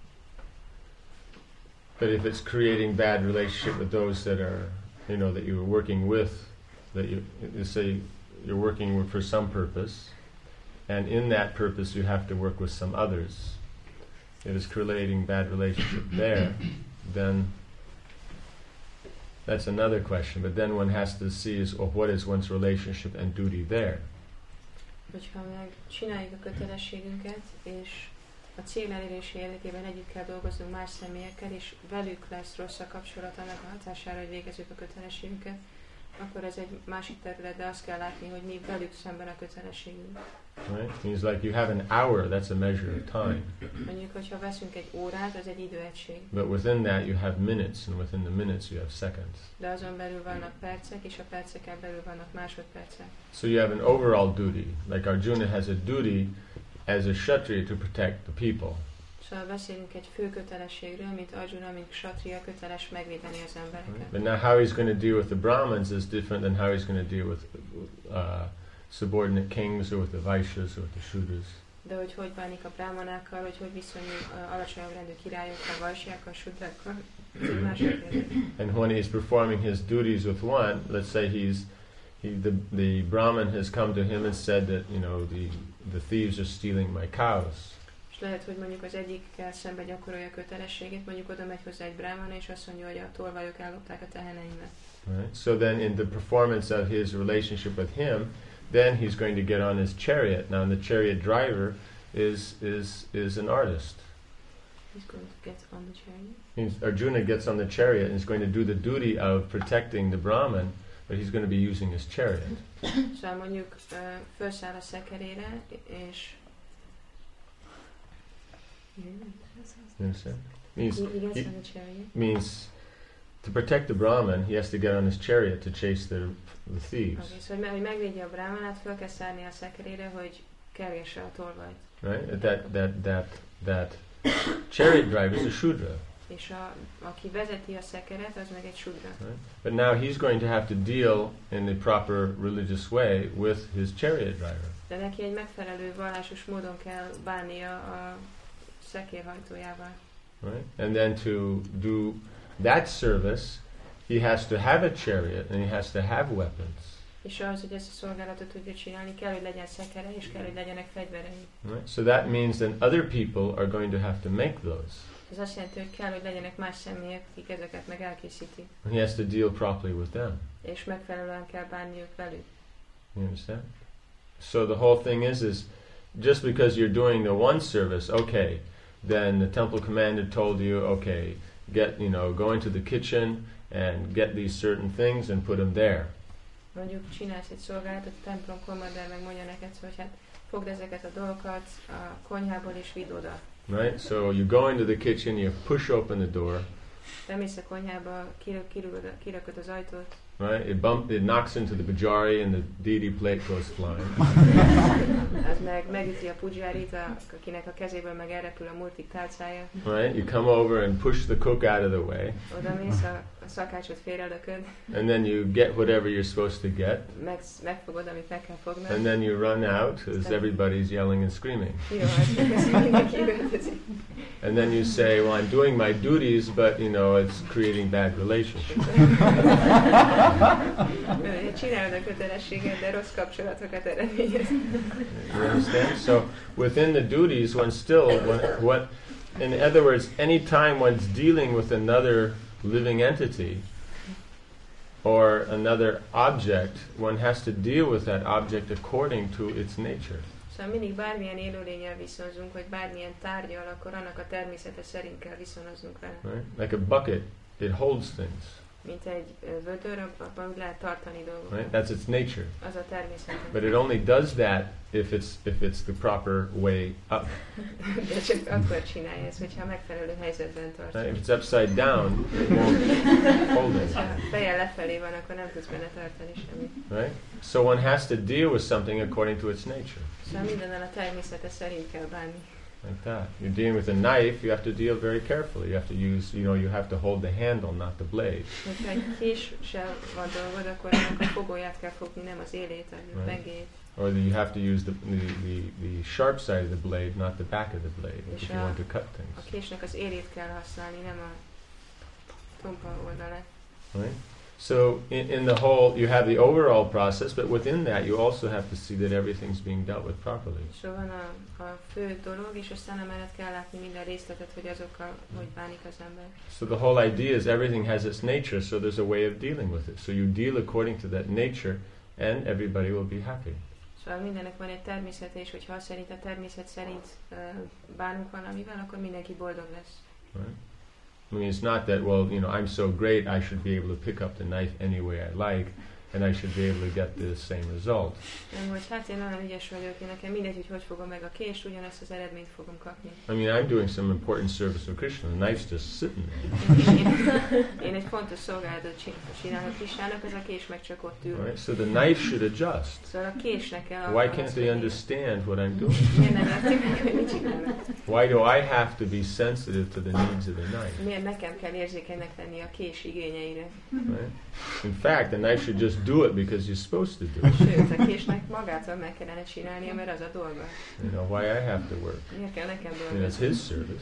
But if it's creating bad relationship with those that are, you know, that you're working with, that you, you say you're working with for some purpose, and in that purpose you have to work with some others. If it's creating bad relationship there, then that's another question. But then one has to see is, well, what is one's relationship and duty there? Hogyha meg csináljuk a kötelességünket, és a cél elérése érdekében együtt kell dolgoznunk más személyekkel, és velük lesz rossz a kapcsolat annak a hatására, hogy végezzük a kötelességünket, akkor ez egy másik terület, de azt kell látni, hogy mi velük szemben a kötelességünk. Right? Means like you have an hour, that's a measure of time. Mondjuk, hogyha veszünk egy órát, az egy időegység. But within that you have minutes, and within the minutes you have seconds. De azon belül vannak percek, és a perceken belül vannak másodpercek. So you have an overall duty. Like Arjuna has a duty as a Kshatriya to protect the people. Szóval beszélünk egy fő kötelességről, mint Arjuna, mint Kshatriya köteles megvédeni az embereket. Right? But now how he's going to deal with the Brahmins is different than how he's going to deal with uh, subordinate kings or with the Vaishyas or with the Shudras. De hogy hogy bánik a brámanákkal, hogy hogy viszonyul uh, alacsonyabb rendű királyokkal, vajsjákkal, sudrákkal, ez egy másik kérdés. And when he's performing his duties with one, let's say he's he the the Brahmin has come to him and said that, you know, the the thieves are stealing my cows. És lehet, hogy mondjuk az egyikkel szemben gyakorolja a kötelességét, mondjuk oda megy hozzá egy brámana, és azt mondja, hogy a tolvajok ellopták a teheneimet. Right? So then in the performance of his relationship with him, then he's going to get on his chariot. Now the chariot driver is is is an artist. He's going to get on the chariot. He's, Arjuna gets on the chariot and is going to do the duty of protecting the Brahman, but he's going to be using his chariot. Szóval mondjuk uh, felszáll a szekerére, és... You understand? Means, He, he gets he, on the chariot. means to protect the Brahman, he has to get on his chariot to chase the, the thieves. Okay, szóval hogy megvédje a Brahmanát, fel kell szállni a szekerére, hogy kergesse a tolvajt. Right? That, that, that, that chariot driver is a Shudra. És a, aki vezeti a szekeret, az meg egy Shudra. Right? But now he's going to have to deal in the proper religious way with his chariot driver. De neki egy megfelelő vallásos módon kell bánnia a szekérhajtójával. Right? And then to do that service, he has to have a chariot and he has to have weapons. És az, hogy ezt a szolgálatot tudja csinálni, kell, hogy legyen szekere, és kell, hogy legyenek fegyverei. Right? So that means that other people are going to have to make those. Ez azt jelenti, hogy kell, hogy legyenek más személyek, akik ezeket meg elkészítik. And he has to deal properly with them. És megfelelően kell bánniuk velük. You understand? So the whole thing is, is just because you're doing the one service, okay, then the temple commander told you, okay, get, you know, go into the kitchen and get these certain things and put them there. Mondjuk csinálsz egy szolgálatot, a templom kommander megmondja neked, hogy hát fogd ezeket a dolgokat a konyhából és vidd oda. Right? So you go into the kitchen, you push open the door. Bemész a konyhába, kirakod az ajtót. Right? It bump, it knocks into the pujari and the deity plate goes flying. Az meg megüti a pujárit, akinek a kezéből meg elrepül a multik tálcája. Right? You come over and push the cook out of the way. Oda mész, a, a szakácsot félrelököd. And then you get whatever you're supposed to get. Meg, megfogod, amit meg kell fognod. And then you run out as everybody's yelling and screaming. And then you say, well, I'm doing my duties, but, you know, it's creating bad relationships. Csinálod a kötelességet, de rossz kapcsolatokat eredményez. You understand? So within the duties, one still, one, what, in other words, any time one's dealing with another living entity or another object, one has to deal with that object according to its nature. Szóval mindig bármilyen élőlénnyel viszonzunk, vagy bármilyen tárgyal, akkor annak a természete szerint kell viszonoznunk vele. Right? Like a bucket, it holds things. Mint egy vödör, abban úgy lehet tartani dolgokat. Right? That's its nature. Az a természete. But it only does that if it's if it's the proper way up. De csak akkor csinálja ezt, hogyha a megfelelő helyzetben tartja. Right? If it's upside down, it won't hold it. Ha fejjel lefelé van, akkor nem tudsz benne tartani semmit. Right? So one has to deal with something according to its nature. Szóval mindennel a természete szerint kell bánni. Like that. You're dealing with a knife, you have to deal very carefully. You have to use, you know, you have to hold the handle, not the blade. Hogyha egy késsel van dolgod, akkor annak a fogóját kell fogni, nem az élét, a pengéjét. Or you have to use the, the, the, the sharp side of the blade, not the back of the blade, És if a, you want to cut things. a késnek az élét kell használni, nem a tompa oldalát. Right? So in, in the whole, you have the overall process, but within that you also have to see that everything's being dealt with properly. So van a, a fő dolog, és aztán emellett kell látni minden részletet, hogy azokkal hogy bánik az ember. So the whole idea is everything has its nature, so there's a way of dealing with it. So you deal according to that nature, and everybody will be happy. Szóval mindennek van egy természete, és hogyha szerint a természet szerint uh, bánunk valamivel, akkor mindenki boldog lesz. Right? I mean, it's not that, well, you know, I'm so great, I should be able to pick up the knife any way I like, and I should be able to get the same result. Nem, hogy hát én nagyon ügyes vagyok, én nekem mindegy, hogy hogy fogom meg a kést, ugyanazt az eredményt fogom kapni. I mean, I'm doing some important service for Krishna, the knife's just sitting there. Én, én egy fontos szolgálatot csinálok Krishnának, az a kés meg csak ott ül. Right? So the knife should adjust. Szóval a késnek kell Why can't they understand what I'm doing? Miért nem értik meg, hogy mit csinálnak? Why do I have to be sensitive to the needs of the knife? Miért nekem kell érzékenynek lenni a kés igényeire? Right? In fact, the knife should just do it because you're supposed to do it. Sőt, a késnek magától meg kellene csinálnia, mert az a dolga. You know, why I have to work? Miért kell nekem I mean, dolgozni? it's his service.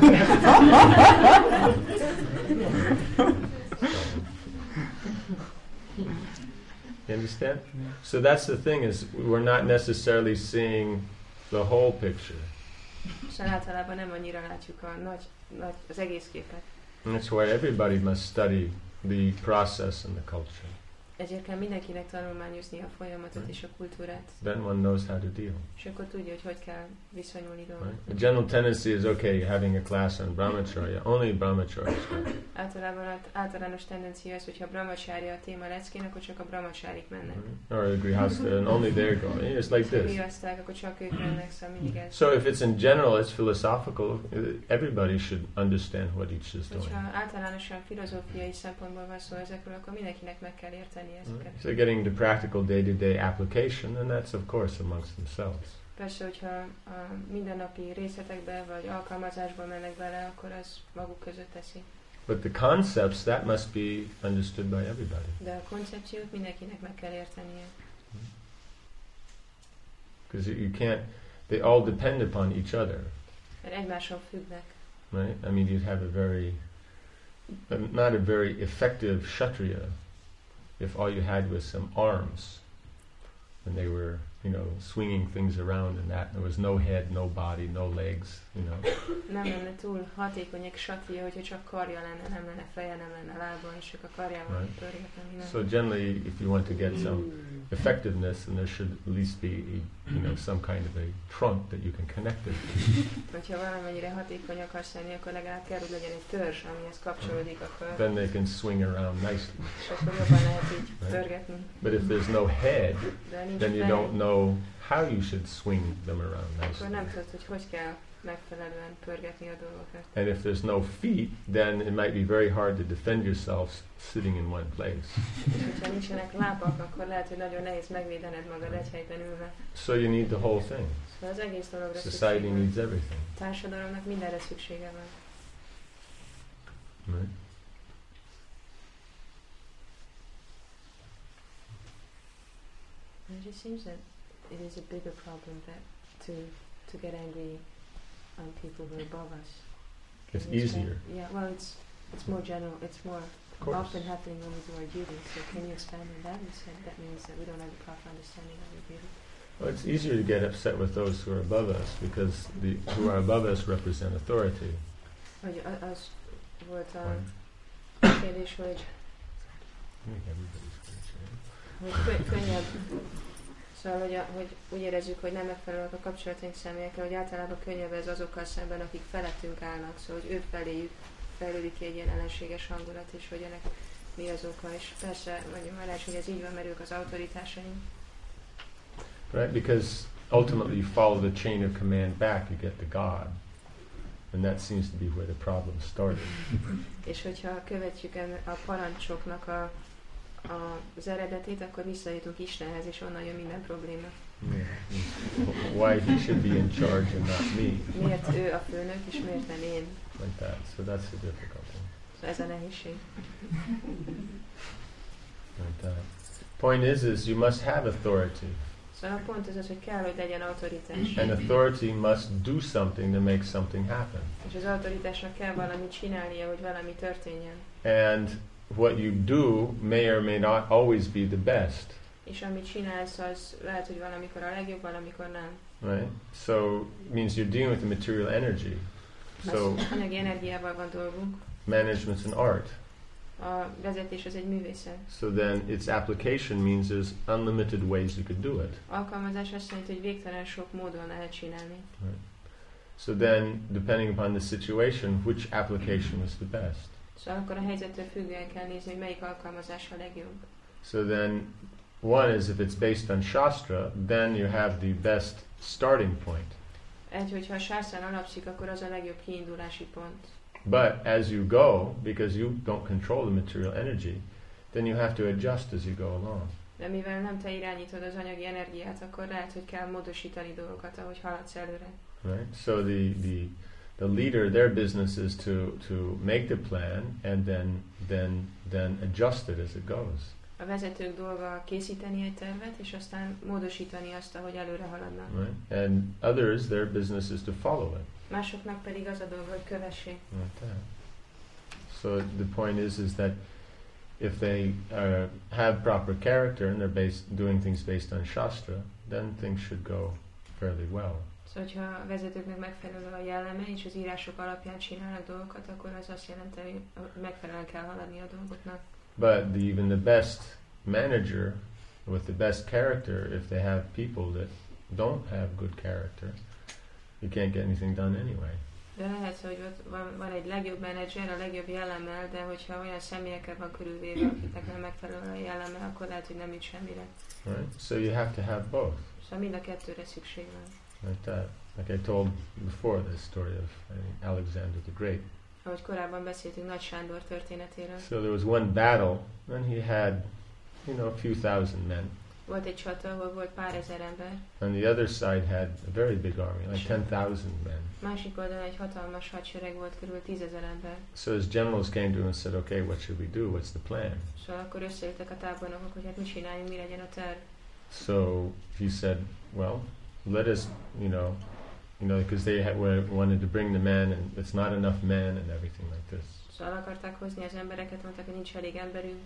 You understand? So that's the thing, is we're not necessarily seeing the whole picture. Szóval általában nem annyira látjuk a nagy, nagy, az egész képet. And that's why everybody must study the process and the culture. Ezért kell mindenkinek tanulmányozni a folyamatot és a kultúrát. Then one knows how to deal. És akkor tudja, hogy hogy kell viszonyulni dolgokhoz. Right? The general tendency is, okay, you're having a class on brahmacharya, only brahmacharya. Általában az általános tendencia az, hogyha brahmacharya a téma leckén, akkor csak a brahmacharik mennek. Right? Or a grihastha, and only they're going. It's like this. Grihaszták, akkor csak ők mennek, szóval mindig ez. So if it's in general, it's philosophical, everybody should understand what each is doing. Hogyha általánosan filozófiai szempontból van szó ezekről, akkor mindenkinek meg kell érteni ezeket. Right? So getting the practical day-to-day application, and that's of course amongst themselves. Persze, hogyha a mindennapi részletekbe vagy alkalmazásba mennek bele, akkor az maguk között teszi. But the concepts, that must be understood by everybody. De a koncepciót mindenkinek meg kell értenie. Because you can't, they all depend upon each other. Mert egymáson függnek. Right? I mean, you'd have a very, not a very effective kshatriya if all you had was some arms and they were, you know, swinging things around and that. There was no head, no body, no legs, you know. Nem lenne túl hatékony egy kshatriya, hogyha csak karja lenne, nem lenne feje, nem lenne lába, és csak a karjával Right. pörgetne minden. So generally, if you want to get some effectiveness, then there should at least be, a, you know, some kind of a trunk that you can connect it to. Hogyha valamennyire hatékony akarsz lenni, akkor legalább kell, hogy legyen egy törzs, amihez kapcsolódik a kör. Then they can swing around nicely. És akkor jobban lehet így Right. pörgetni. But if there's no head, De nincs then you fej, don't know how you should swing them around akkor nicely. nem tudod, hogy hogy kell megfelelően pörgetni a dolgokat. And if there's no feet, then it might be very hard to defend yourself sitting in one place. És hogyha nincsenek lábak, akkor lehet, hogy nagyon nehéz megvédened magad egy helyben ülve. So you need the whole thing. Szóval az egész dologra Society szükség van. needs everything. Társadalomnak mindenre szüksége van. Right? And it just seems that it is a bigger problem that to to get angry on people who are above us. It's Can you explain- easier. Yeah, well, it's it's more general. It's more Of course. often happening when we do our duty. So can you expand on that? You said that means that we don't have a proper understanding of our duty. Well, it's easier to get upset with those who are above us because the who are above us represent authority. Hogy a- az volt a Right? kérdés, hogy I think everybody's spiritual. hogy kö- könnyebb, szóval, hogy, a, hogy úgy érezzük, hogy nem megfelelőek a kapcsolataink személyekkel, hogy általában könnyebb ez azokkal szemben, akik felettünk állnak, szóval, hogy ő feléjük fejlődik ki egy ilyen ellenséges hangulat, és hogy ennek mi az oka, és persze, mondjuk már lehet, hogy ez így van, mert ők az autoritásaink. Right? Because ultimately you follow the chain of command back, you get to God. And that seems to be where the problem started. És hogyha követjük en- a parancsoknak a, a, az eredetét, akkor visszajutunk Istenhez, és onnan jön minden probléma. Yeah. Why he should be in charge and not me. Miért ő a főnök, és miért nem én? Like that. So that's the difficulty. Szóval ez a nehézség. Like that. Point is, is you must have authority. Szóval a pont az az, hogy kell, hogy legyen autoritás. And authority must do something to make something happen. És az autoritásnak kell valamit csinálnia, hogy valami történjen. And what you do may or may not always be the best. És amit csinálsz, az lehet, hogy valamikor a legjobb, valamikor nem. Right? So it means you're dealing with the material energy. So Az anyagi energiával van dolgunk. management's an art. A vezetés az egy művészet. So then its application means there's unlimited ways you could do it. Alkalmazás azt jelenti, hogy végtelen sok módon lehet csinálni. Right? So then, depending upon the situation, which application was the best? Szóval akkor a helyzettől függően kell nézni, hogy melyik alkalmazás a legjobb. So then, one is if it's based on Shastra, then you have the best starting point. Egy, hogyha a sászán alapszik, akkor az a legjobb kiindulási pont. But as you go, because you don't control the material energy, then you have to adjust as you go along. De mivel nem te irányítod az anyagi energiát, akkor lehet, hogy kell módosítani dolgokat, ahogy haladsz előre. Right? So the, the, the leader, their business is to, to make the plan and then, then, then adjust it as it goes. A vezetők dolga készíteni egy tervet, és aztán módosítani azt, ahogy előre haladnak. Right? And others, their business is to follow it. Másoknak pedig az a dolga, hogy kövessék. Like that. So the point is, is that if they uh, have proper character and they're based, doing things based on Shastra, then things should go fairly well. Szóval, hogyha a vezetőknek megfelelő a jelleme, és az írások alapján csinálnak dolgokat, akkor az azt jelenti, hogy megfelelően kell haladni a dolgoknak. But the, even the best manager with the best character, if they have people that don't have good character, you can't get anything done anyway. De lehet, hogy ott van, van egy legjobb menedzser, a legjobb jellemmel, de hogyha olyan személyekkel van körülvéve, akiknek nem megfelelő a jellemmel, akkor lehet, hogy nem jut semmire. Right? So you have to have both. Szóval mind a kettőre szükség van. Like that. Like I told before, the story of I think, Alexander the Great. Ahogy korábban beszéltünk Nagy Sándor történetéről. So there was one battle, and he had, you know, a few thousand men. Volt egy csata, ahol volt pár ezer ember. And the other side had a very big army, like ten thousand men. Másik oldalon egy hatalmas hadsereg volt, körül tízezer ember. So his generals came to him and said, okay, what should we do? What's the plan? Szóval akkor összeültek a tábornokok, hogy hát mit csináljunk, mi legyen a terv. So he said, well, let us, you know, you know, because they had, were, wanted to bring the men, and it's not enough men, and everything like this. Szóval akarták hozni az embereket, mondták, hogy nincs elég emberünk.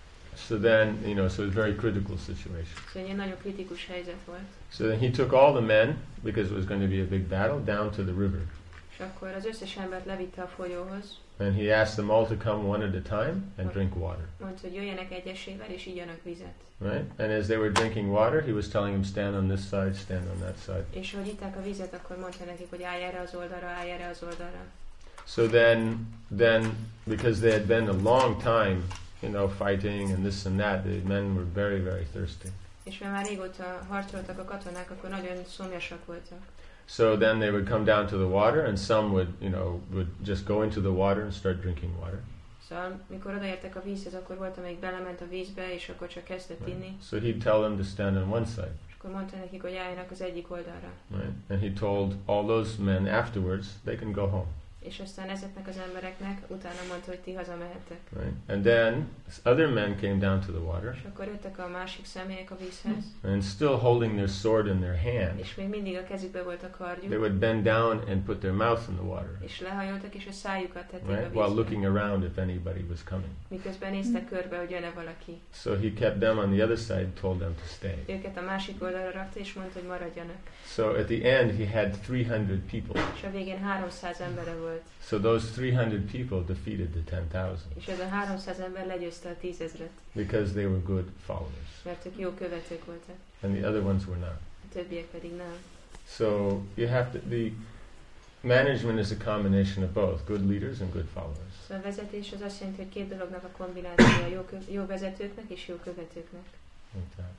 So then, you know, so it was a very critical situation. Szóval egy nagyon kritikus helyzet volt. So then he took all the men, because it was going to be a big battle, down to the river. És akkor az összes embert levitte a folyóhoz. And he asked them all to come one at a time and drink water. Mondta, hogy jöjjenek egyesével és igyanak vizet. Right? And as they were drinking water, he was telling them, stand on this side, stand on that side. És ahogy itták a vizet, akkor mondta nekik, hogy állj erre az oldalra, állj erre az oldalra. So then, then, because they had been a long time, you know, fighting and this and that, the men were very, very thirsty. És mivel már régóta harcoltak a katonák, akkor nagyon szomjasak voltak. So then they would come down to the water, and some would, you know, would just go into the water and start drinking water. Szóval, mikor odaértek a vízhez, akkor volt, amelyik belement a vízbe, és akkor csak kezdett inni. Right. So he'd tell them to stand on one side. És akkor mondta nekik, hogy álljanak az egyik oldalra. Right? And he told all those men afterwards, they can go home. És aztán ezeknek az embereknek utána mondta, hogy ti hazamehettek. Right? And then other men came down to the water. És akkor jöttek a másik személyek a vízhez. And still holding their sword in their hand. És még mindig a kezükbe volt a kardjuk. They would bend down and put their mouth in the water. És lehajoltak, és a szájukat tették Right? a vízbe. While looking around if anybody was coming. Miközben néztek körbe, hogy jön-e valaki. So he kept them on the other side, told them to stay. Őket a másik oldalra rakta, és mondta, hogy maradjanak. So at the end he had three hundred people. És a végén háromszáz embere volt. So those three hundred people defeated the ten thousand. És ez a háromszáz ember legyőzte a tízezret. Because they were good followers. Mert ők jó követők voltak. And the other ones were not. A többiek pedig nem. So you have to, the management is a combination of both, good leaders and good followers. Szóval a vezetés az azt jelenti, hogy két dolognak a kombinációja, jó, kö- jó vezetőknek és jó követőknek. Like that.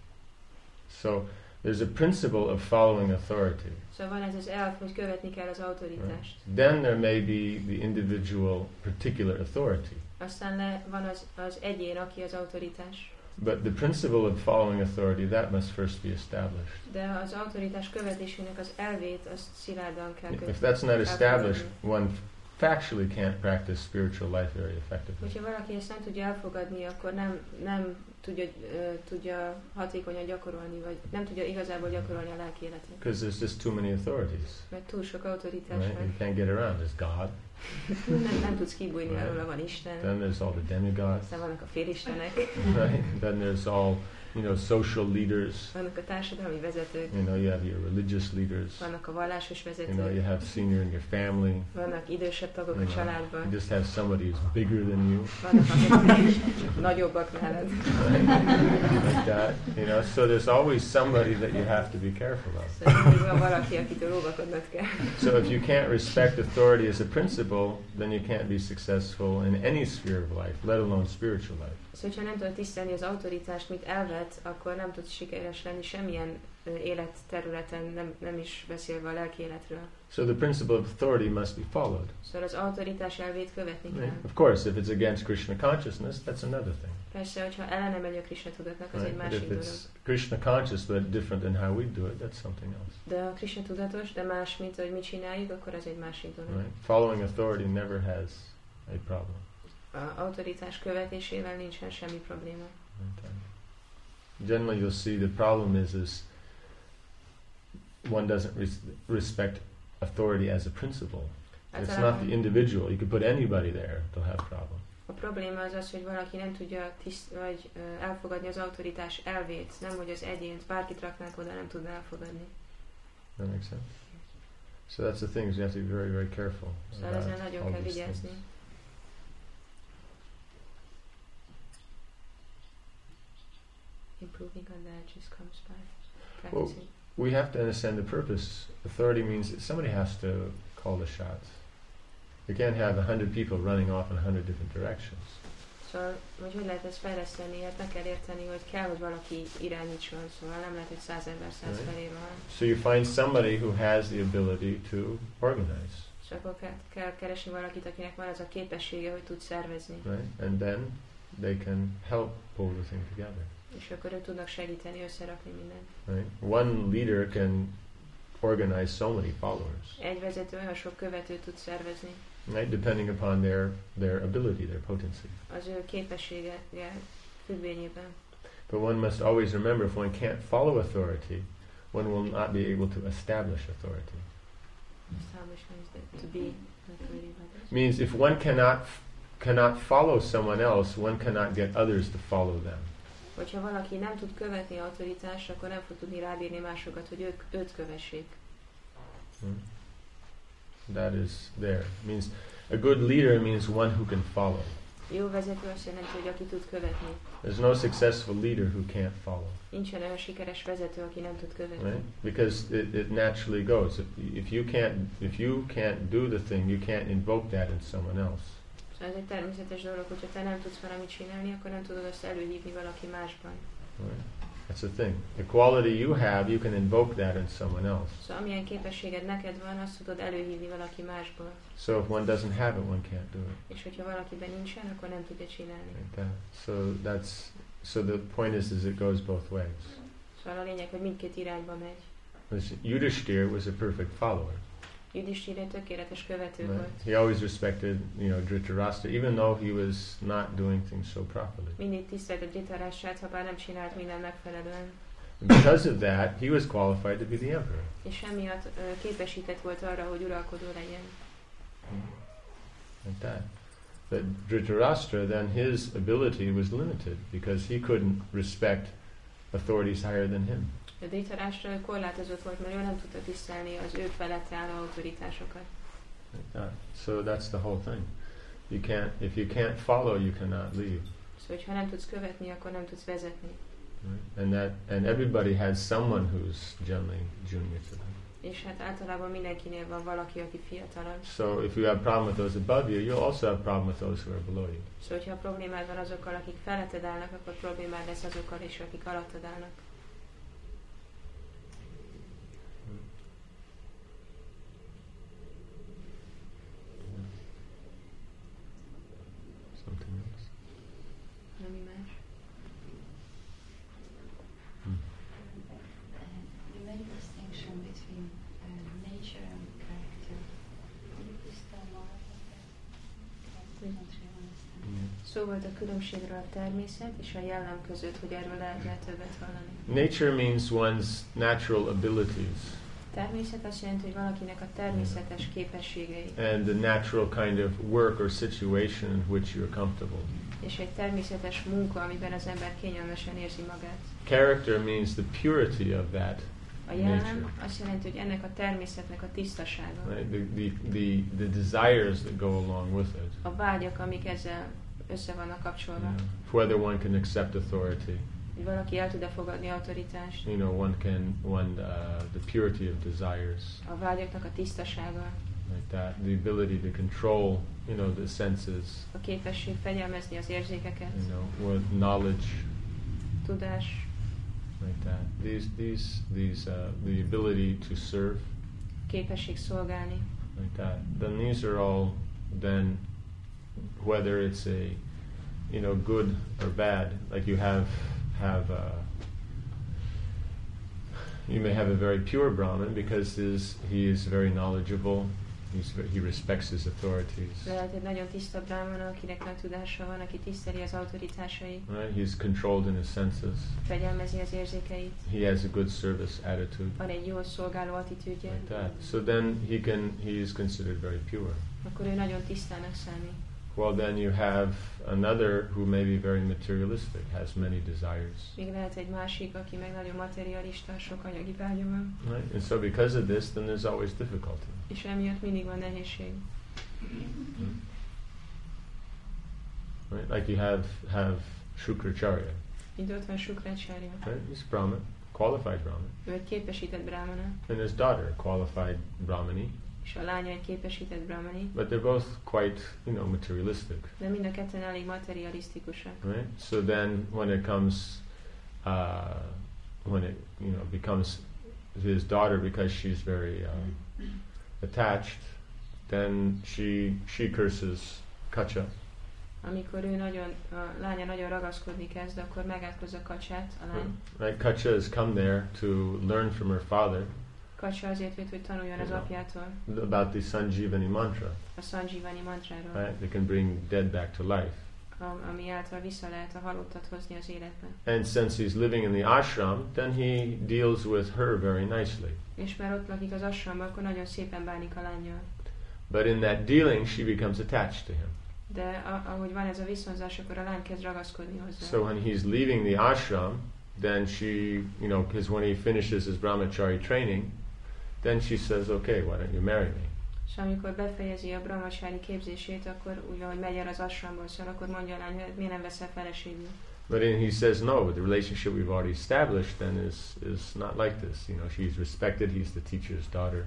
So there's a principle of following authority. Szóval van ez az elv, hogy követni kell az autoritást. Right. Then there may be the individual particular authority. Aztán le van az, az egyén, aki az autoritás. But the principle of following authority, that must first be established. De az autoritás követésének az elvét, azt szilárdan kell követni. If that's not established, one factually can't practice spiritual life very effectively. Hogyha valaki ezt nem tudja elfogadni, akkor nem, nem tudja, uh, tudja hatékonyan gyakorolni, vagy nem tudja igazából gyakorolni a lelki életet. Because there's just too many authorities. Mert túl sok autoritás Right? van. You can't get around. There's God. nem, nem tudsz kibújni, Right. arról van Isten. Then there's all the demigods. Aztán vannak a félistenek. Right? Then there's all, you know, social leaders. Vannak a társadalmi vezetők. You know, you have your religious leaders. Vannak a vallásos You vezetők. know, you have senior in your family. Vannak idősebb tagok You a know, családban. you just have somebody who's bigger than you. Vannak akik nagyobbak nálad. Like that. You know, so there's always somebody that you have to be careful of. Szóval mindig van valaki, akitől óvakodnod kell. So if you can't respect authority as a principle, then you can't be successful in any sphere of life, let alone spiritual life. Szóval, hogyha nem tudod tisztelni az autoritást, mint elvet, akkor nem tudsz sikeres lenni semmilyen uh, életterületen, nem, nem is beszélve a lelki életről. So the principle of authority must be followed. Szóval az autoritás elvét követni kell. Right? Of course, if it's against Krishna consciousness, that's another thing. Persze, hogyha ellene megy a Krishna tudatnak, az Right? egy But másik if dolog. it's Krishna conscious but different than how we do it, that's something else. De a Krishna tudatos, de más, mint hogy mit csináljuk, akkor az egy másik dolog. Right? Following authority never has a problem. A autoritás követésével nincsen semmi probléma. Right? Generally, you'll see the problem is is one doesn't res- respect authority as a principle. It's not the individual. You could put anybody there; they'll have problem. A probléma az az, hogy valaki nem tudja tiszt, vagy uh, elfogadni az autoritás elvét, nem hogy az egyént, bárkit raknánk oda, nem tudná elfogadni. That makes sense. So that's the thing. You have to be very, very careful. Szóval ezzel nagyon kell these vigyázni. things. improving on that just comes by Well, practicing. we have to understand the purpose. Authority means that somebody has to call the shots. You can't have a hundred people running off in a hundred different directions. Szóval, hogy hogy lehet ezt fejleszteni, hát meg kell érteni, hogy kell, hogy valaki irányítson, szóval nem lehet, hogy száz ember száz Right. felé van. So you find somebody who has the ability to organize, És akkor kell, kell keresni valakit, akinek van az a képessége, hogy tud szervezni. right? And then they can help pull the thing together, És akkor ők tudnak segíteni, összerakni mindent. right? One leader can organize so many followers, Egy vezető olyan sok követőt tud szervezni, right? Depending upon their, their ability, their potency. az ő képessége függvényében. But one must always remember, if one can't follow authority, one will not be able to establish authority. Establishment is that to be authority by this. Means if one cannot cannot follow someone else, one cannot get others to follow them. Hogyha valaki nem tud követni autoritást, akkor nem fog tudni rábírni másokat, hogy ők, őt kövessék. Hmm? That is there. Means a good leader means one who can follow. Jó vezető azt jelenti, hogy aki tud követni. There's no successful leader who can't follow, Nincsen olyan sikeres vezető, aki nem tud követni. right? Because it, it naturally goes. If, if you can't if you can't do the thing, you can't invoke that in someone else. Szóval ez egy természetes dolog, hogyha te nem tudsz valamit csinálni, akkor nem tudod azt előhívni valaki másban. Right? That's the thing. The quality you have, you can invoke that in someone else. Szóval amilyen képességed neked van, azt tudod előhívni valaki másból. So if one doesn't have it, one can't do it. És hogyha valakiben nincsen, akkor nem tudja csinálni. Like that. So that's so the point is, is it goes both ways. Szóval a lényeg, hogy mindkét irányba megy. Because Yudhishthir was a perfect follower. Yudhishthir egy tökéletes követő Right? volt. He always respected, you know, Dhritarashtra, even though he was not doing things so properly. Mindig tisztelte Dhritarashtrát, ha bár nem csinált minden megfelelően. And because of that, he was qualified to be the emperor. És emiatt ö, képesített volt arra, hogy uralkodó legyen. Like that. But Dhritarashtra, then his ability was limited because he couldn't respect authorities higher than him. A Dhritarashtra korlátozott volt, mert ő nem tudta tisztelni az ő felett álló autoritásokat. Like that. So that's the whole thing. You can't, if you can't follow, you cannot lead. Szóval, ha nem tudsz követni, akkor nem tudsz vezetni. Right? And that, and everybody has someone who's generally junior to them. És hát általában mindenkinél van valaki, aki fiatalabb. So if you have a problem with those above you, you'll also have a problem with those who are below you. Szóval, hogyha problémád van azokkal, akik feletted állnak, akkor problémád lesz azokkal is, akik alattad állnak. Something else. Ami más. Hmm. You made a distinction between uh, nature and character. Can you please tell more about that? I don't really understand. Yeah. Szó volt a különbségről a természet és a jellem között, hogy erről lehetne többet hallani. Nature means one's natural abilities Természet azt jelenti, hogy valakinek a természetes képességei, and the natural kind of work or situation in which you're comfortable. és egy természetes munka, amiben az ember kényelmesen érzi magát. Character means the purity of that A jellem nature. azt jelenti, hogy ennek a természetnek a tisztasága, Right? The, the, the, the desires that go along with it. a vágyak, amik ezzel össze vannak kapcsolva. Yeah. Whether one can accept authority. Hogy valaki el tud-e fogadni autoritást, You know, one can, one, uh, the purity of desires. a vágyaknak a tisztasága, Like that. The ability to control, you know, the senses. a képesség fegyelmezni az érzékeket, You know, with knowledge. tudás, Like that. These, these, these, uh, the ability to serve. képesség szolgálni. Like that. Then these are all then, whether it's a, you know, good or bad. Like you have, have, uh, you may have a very pure Brahmin because his, he is very knowledgeable. He's, ve- he respects his authorities. Lehet egy nagyon tiszta brahmana, akinek nagy tudása van, aki tiszteli az autoritásait, Right? He's controlled in his senses. fegyelmezi az érzékeit, He has a good service attitude. van egy jól szolgáló attitűdje, Like that. So then he can, he is considered very pure. akkor ő nagyon tisztának számít. Well, then you have another who may be very materialistic, has many desires. Még lehet egy másik, aki meg nagyon materialista, sok anyagi vágya van, Right? And so because of this, then there's always difficulty. és emiatt mindig van nehézség. Right? Like you have, have Shukracharya. Mint ott van Shukracharya. Right? He's a Brahmin, qualified Brahmin. Ő egy képesített brahmana. And his daughter, qualified Brahmani. És a lánya egy képesített brahmani. But they're both quite, you know, materialistic. De mind a ketten elég materialisztikusak. Right? So then when it comes, uh, when it, you know, becomes his daughter because she's very uh, attached, then she she curses Kacha. Amikor ő nagyon, a lánya nagyon ragaszkodni kezd, akkor megátkozza Kacsát, a lány. Right? Kacha has come there to learn from her father. Kacsa azért jött, hogy tanuljon az apjától. About the Sanjivani mantra. A Sanjivani mantráról. Right? They can bring dead back to life. Ami által vissza lehet a halottat hozni az életbe. And since he's living in the ashram, then he deals with her very nicely. És mert ott lakik az ashramban, akkor nagyon szépen bánik a lánnyal. But in that dealing, she becomes attached to him. De a- ahogy van ez a viszonzás, akkor a lány kezd ragaszkodni hozzá. So when he's leaving the ashram, then she, you know, because when he finishes his brahmachari training, then she says, okay, why don't you marry me? És amikor befejezi a brahmacsári képzését, akkor úgy, ahogy megy el az ashramból, szóval akkor mondja a lány, hogy miért nem veszel feleségül. But then he says, no, the relationship we've already established then is is not like this. You know, she's respected, he's the teacher's daughter.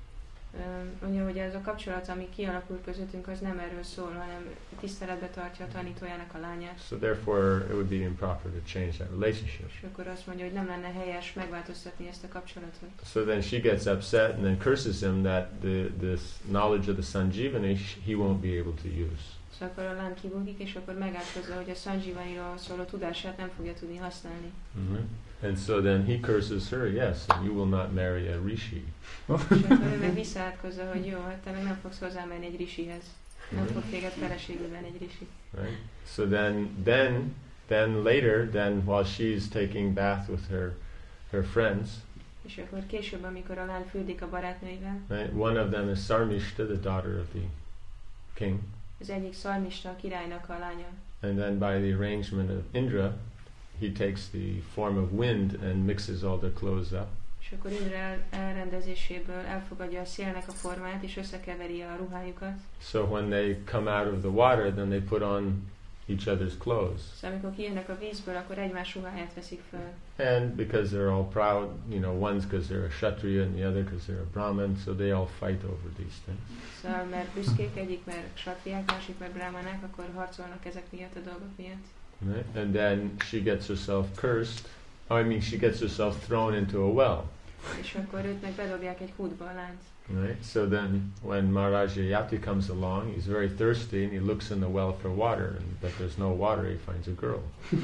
Um, mondja, hogy ez a kapcsolat, ami kialakult közöttünk, az nem erről szól, hanem tiszteletbe tartja a tanítójának a lányát. So therefore, it would be improper to change that relationship. És akkor azt mondja, hogy nem lenne helyes megváltoztatni ezt a kapcsolatot. So then she gets upset and then curses him that the this knowledge of the Sanjivani sh- he won't be able to use. Szóval akkor a lány kibukik, és akkor megátkozza, hogy a Sanjivaniról szóló tudását nem fogja tudni használni. Mm-hmm. And so then he curses her, yes, and you will not marry a rishi. És akkor ő meg visszaátkozza, hogy jó, hát te meg nem fogsz hozzámenni egy rishihez. Nem fog téged feleségül venni egy rishi. Right? So then, then, then later, then while she's taking bath with her, her friends, És akkor később, amikor a lány fürdik a barátnőivel, right? One of them is Sarmishta, the daughter of the king, az egyik Szarmista, a királynak a lánya. and then by the arrangement of Indra, he takes the form of wind and mixes all their clothes up. És akkor Indra el- elrendezéséből elfogadja a szélnek a formát, és összekeveri a ruhájukat. So when they come out of the water, then they put on each other's clothes. Szóval amikor kijönnek a vízből, akkor egymás ruháját veszik föl. And because they're all proud, you know, one's because they're a Kshatriya and the other because they're a Brahmin, so they all fight over these things. Szóval mert büszkék, egyik mert satriák, másik mert brahmanák, akkor harcolnak ezek miatt a dolgok miatt. Right? And then she gets herself cursed. Oh, I mean, she gets herself thrown into a well. És akkor őt meg bedobják egy kútba a lányt. Right? So then when Maharaja Yati comes along, he's very thirsty and he looks in the well for water, and but there's no water, he finds a girl.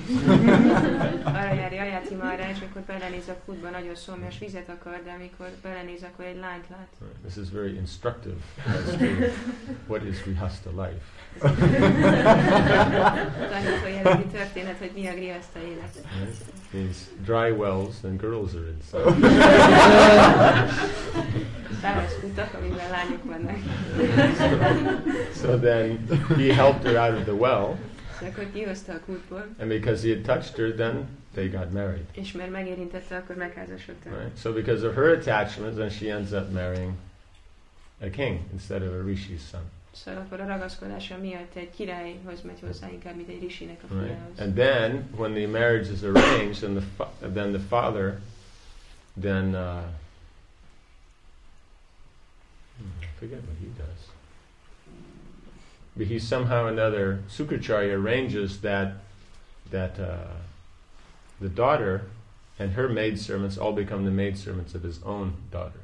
Arra jár Jayati Maharaj, és akkor belenéz a kútba, nagyon szomjas vizet akar, de amikor belenéz, akkor egy lányt lát. Right? This is very instructive as to what is Grihastha life. Tanító jellegű történet, hogy mi a grihaszta élet. Right? These dry wells and girls are inside. Száraz kutak, amiben lányok vannak. So then he helped her out of the well, És akkor kihozta a kútból, and because he had touched her, then they got married. és mert megérintette, akkor megházasodtak. Right? So because of her attachment, then she ends up marrying a king instead of a rishi's son. Szóval akkor a ragaszkodása miatt egy királyhoz megy hozzá inkább, mint egy risinek a Right? fiához. And then when the marriage is arranged, and the fa- then the father, then uh, I forget what he does. But he somehow or another, Sukracharya arranges that that uh, the daughter and her maidservants all become the maidservants of his own daughter.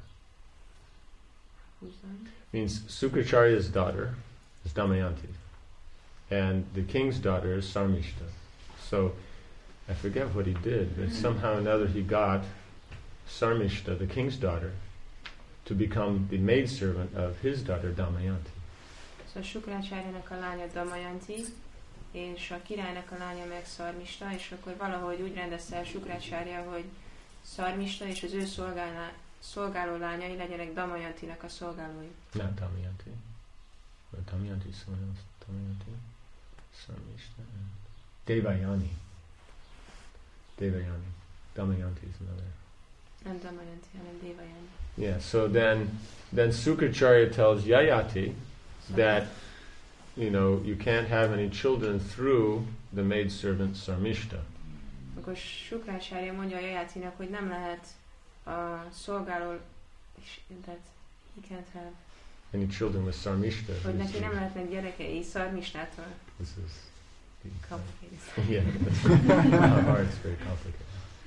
Means Sukracharya's daughter is Damayanti, and the king's daughter is Sarmishta. So I forget what he did, but somehow or another he got Sarmishta, the king's daughter, to become the maidservant of his daughter Damayanti. Szóval Sukrácsáryának a lánya Damayanti, és a királynak a lánya meg Szarmista, és akkor valahogy úgy rendezte el Sukrácsárya, hogy Szarmista és az ő szolgálná, szolgáló lányai legyenek Damayantinak a szolgálói. Not Damayanti. But Damayanti is someone else. Damayanti, Sarmishta, and Devayani. Devayani. Damayanti is another. Nem Damayanti, hanem Devayani. Yeah, so then then Sukracharya tells Yayati that, you know, you can't have any children through the maidservant Sarmishta. Akkor Shukracharya mondja a Jayatinak, hogy nem lehet a szolgáló, és tehát he can't have any children with Sarmishta. hogy neki nem lehetnek gyerekei Szarmisnától. This is Complicated. yeah, that's not hard, it's very complicated.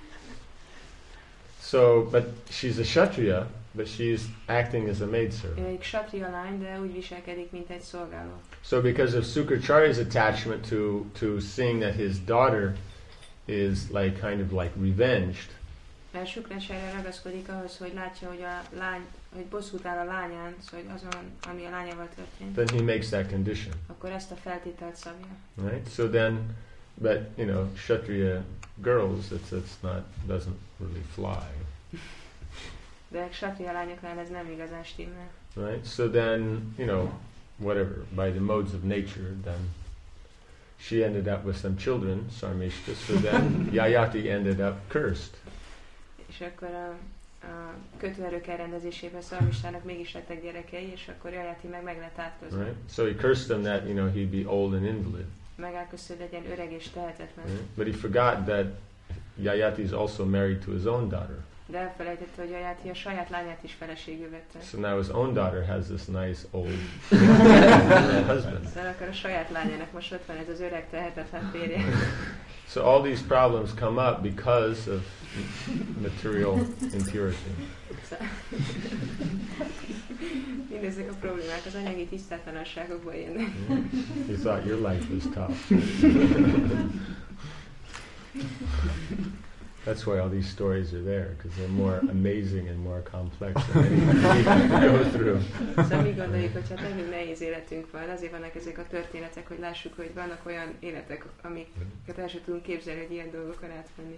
So, but she's a Kshatriya, but she's acting as a Ő maidservant. egy Kshatriya lány, de úgy viselkedik, mint egy szolgáló. So because of Sukracharya's attachment to, to seeing that his daughter is like kind of like revenged, Mert Shukracharya ragaszkodik ahhoz, hogy látja, hogy a lány, hogy bosszút áll a lányán, szóval azon, ami a lányával történt, then he makes that condition, akkor ezt a feltételt szabja. right? So then, but you know, Kshatriya girls, it's it's not doesn't really fly, De Kshatriya lányoknál ez nem igazán stimmel. right? So then, you know, whatever, by the modes of nature, then she ended up with some children, Sarmishta. So then Yayati ended up cursed. És akkor a, a kötőerők elrendezésében Szarmistának mégis lettek gyerekei, és akkor Jayati meg meg lett átközve. Right? So he cursed them that, you know, he'd be old and invalid. Megálkozta, hogy legyen öreg és tehetetlen. Right? But he forgot that Yayati is also married to his own daughter. De elfelejtette, hogy Jayati a saját lányát is feleségül vette. So now his own daughter has this nice old husband. Szóval akkor a saját lányának most ott van ez az öreg tehetetlen férje. So all these problems come up because of material impurity. Szóval mindezek a problémák az anyagi tisztátlanságokból jönnek. You thought your life was tough. That's why all these stories are there, because they're more amazing and more complex than anything we have to go through. Szóval mi gondoljuk, hogy hát nekünk nehéz életünk van, azért vannak ezek a történetek, hogy lássuk, hogy vannak olyan életek, amiket el sem tudunk képzelni, hogy ilyen dolgokon átmenni.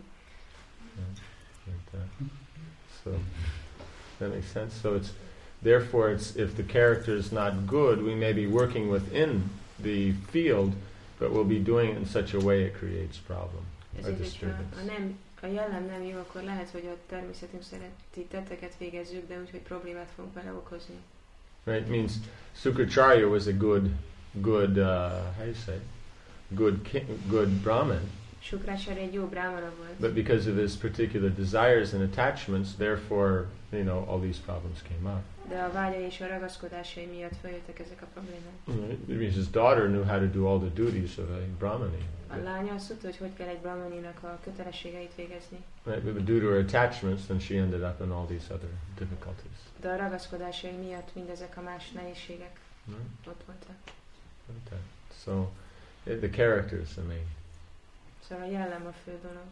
Like that. So that makes sense. So it's therefore it's if the character is not good, we may be working within the field, but we'll be doing it in such a way it creates problem or Ezért, hogyha disturbance. a, nem, a jellem nem jó, akkor lehet, hogy a természetünk szerinti tetteket végezzük, de úgy, hogy problémát fogunk vele okozni. Right? It means Sukracharya was a good, good, uh, how do you say, good, king, good Brahmin. Shukracharya egy jó brámana volt, But because of his particular desires and attachments, therefore, you know, all these problems came up. de a vágyai és a ragaszkodásai miatt feljöttek ezek a problémák. Right? It means his daughter knew how to do all the duties of a Brahmani. A lánya azt tudta, hogy hogy kell egy brahmaninak a kötelességeit végezni, Right? But due to her attachments, then she ended up in all these other difficulties. de a ragaszkodásai miatt mindezek a más nehézségek Right? ott voltak. Like that. So, eh, the character is the main. Szóval a jellem a fő dolog.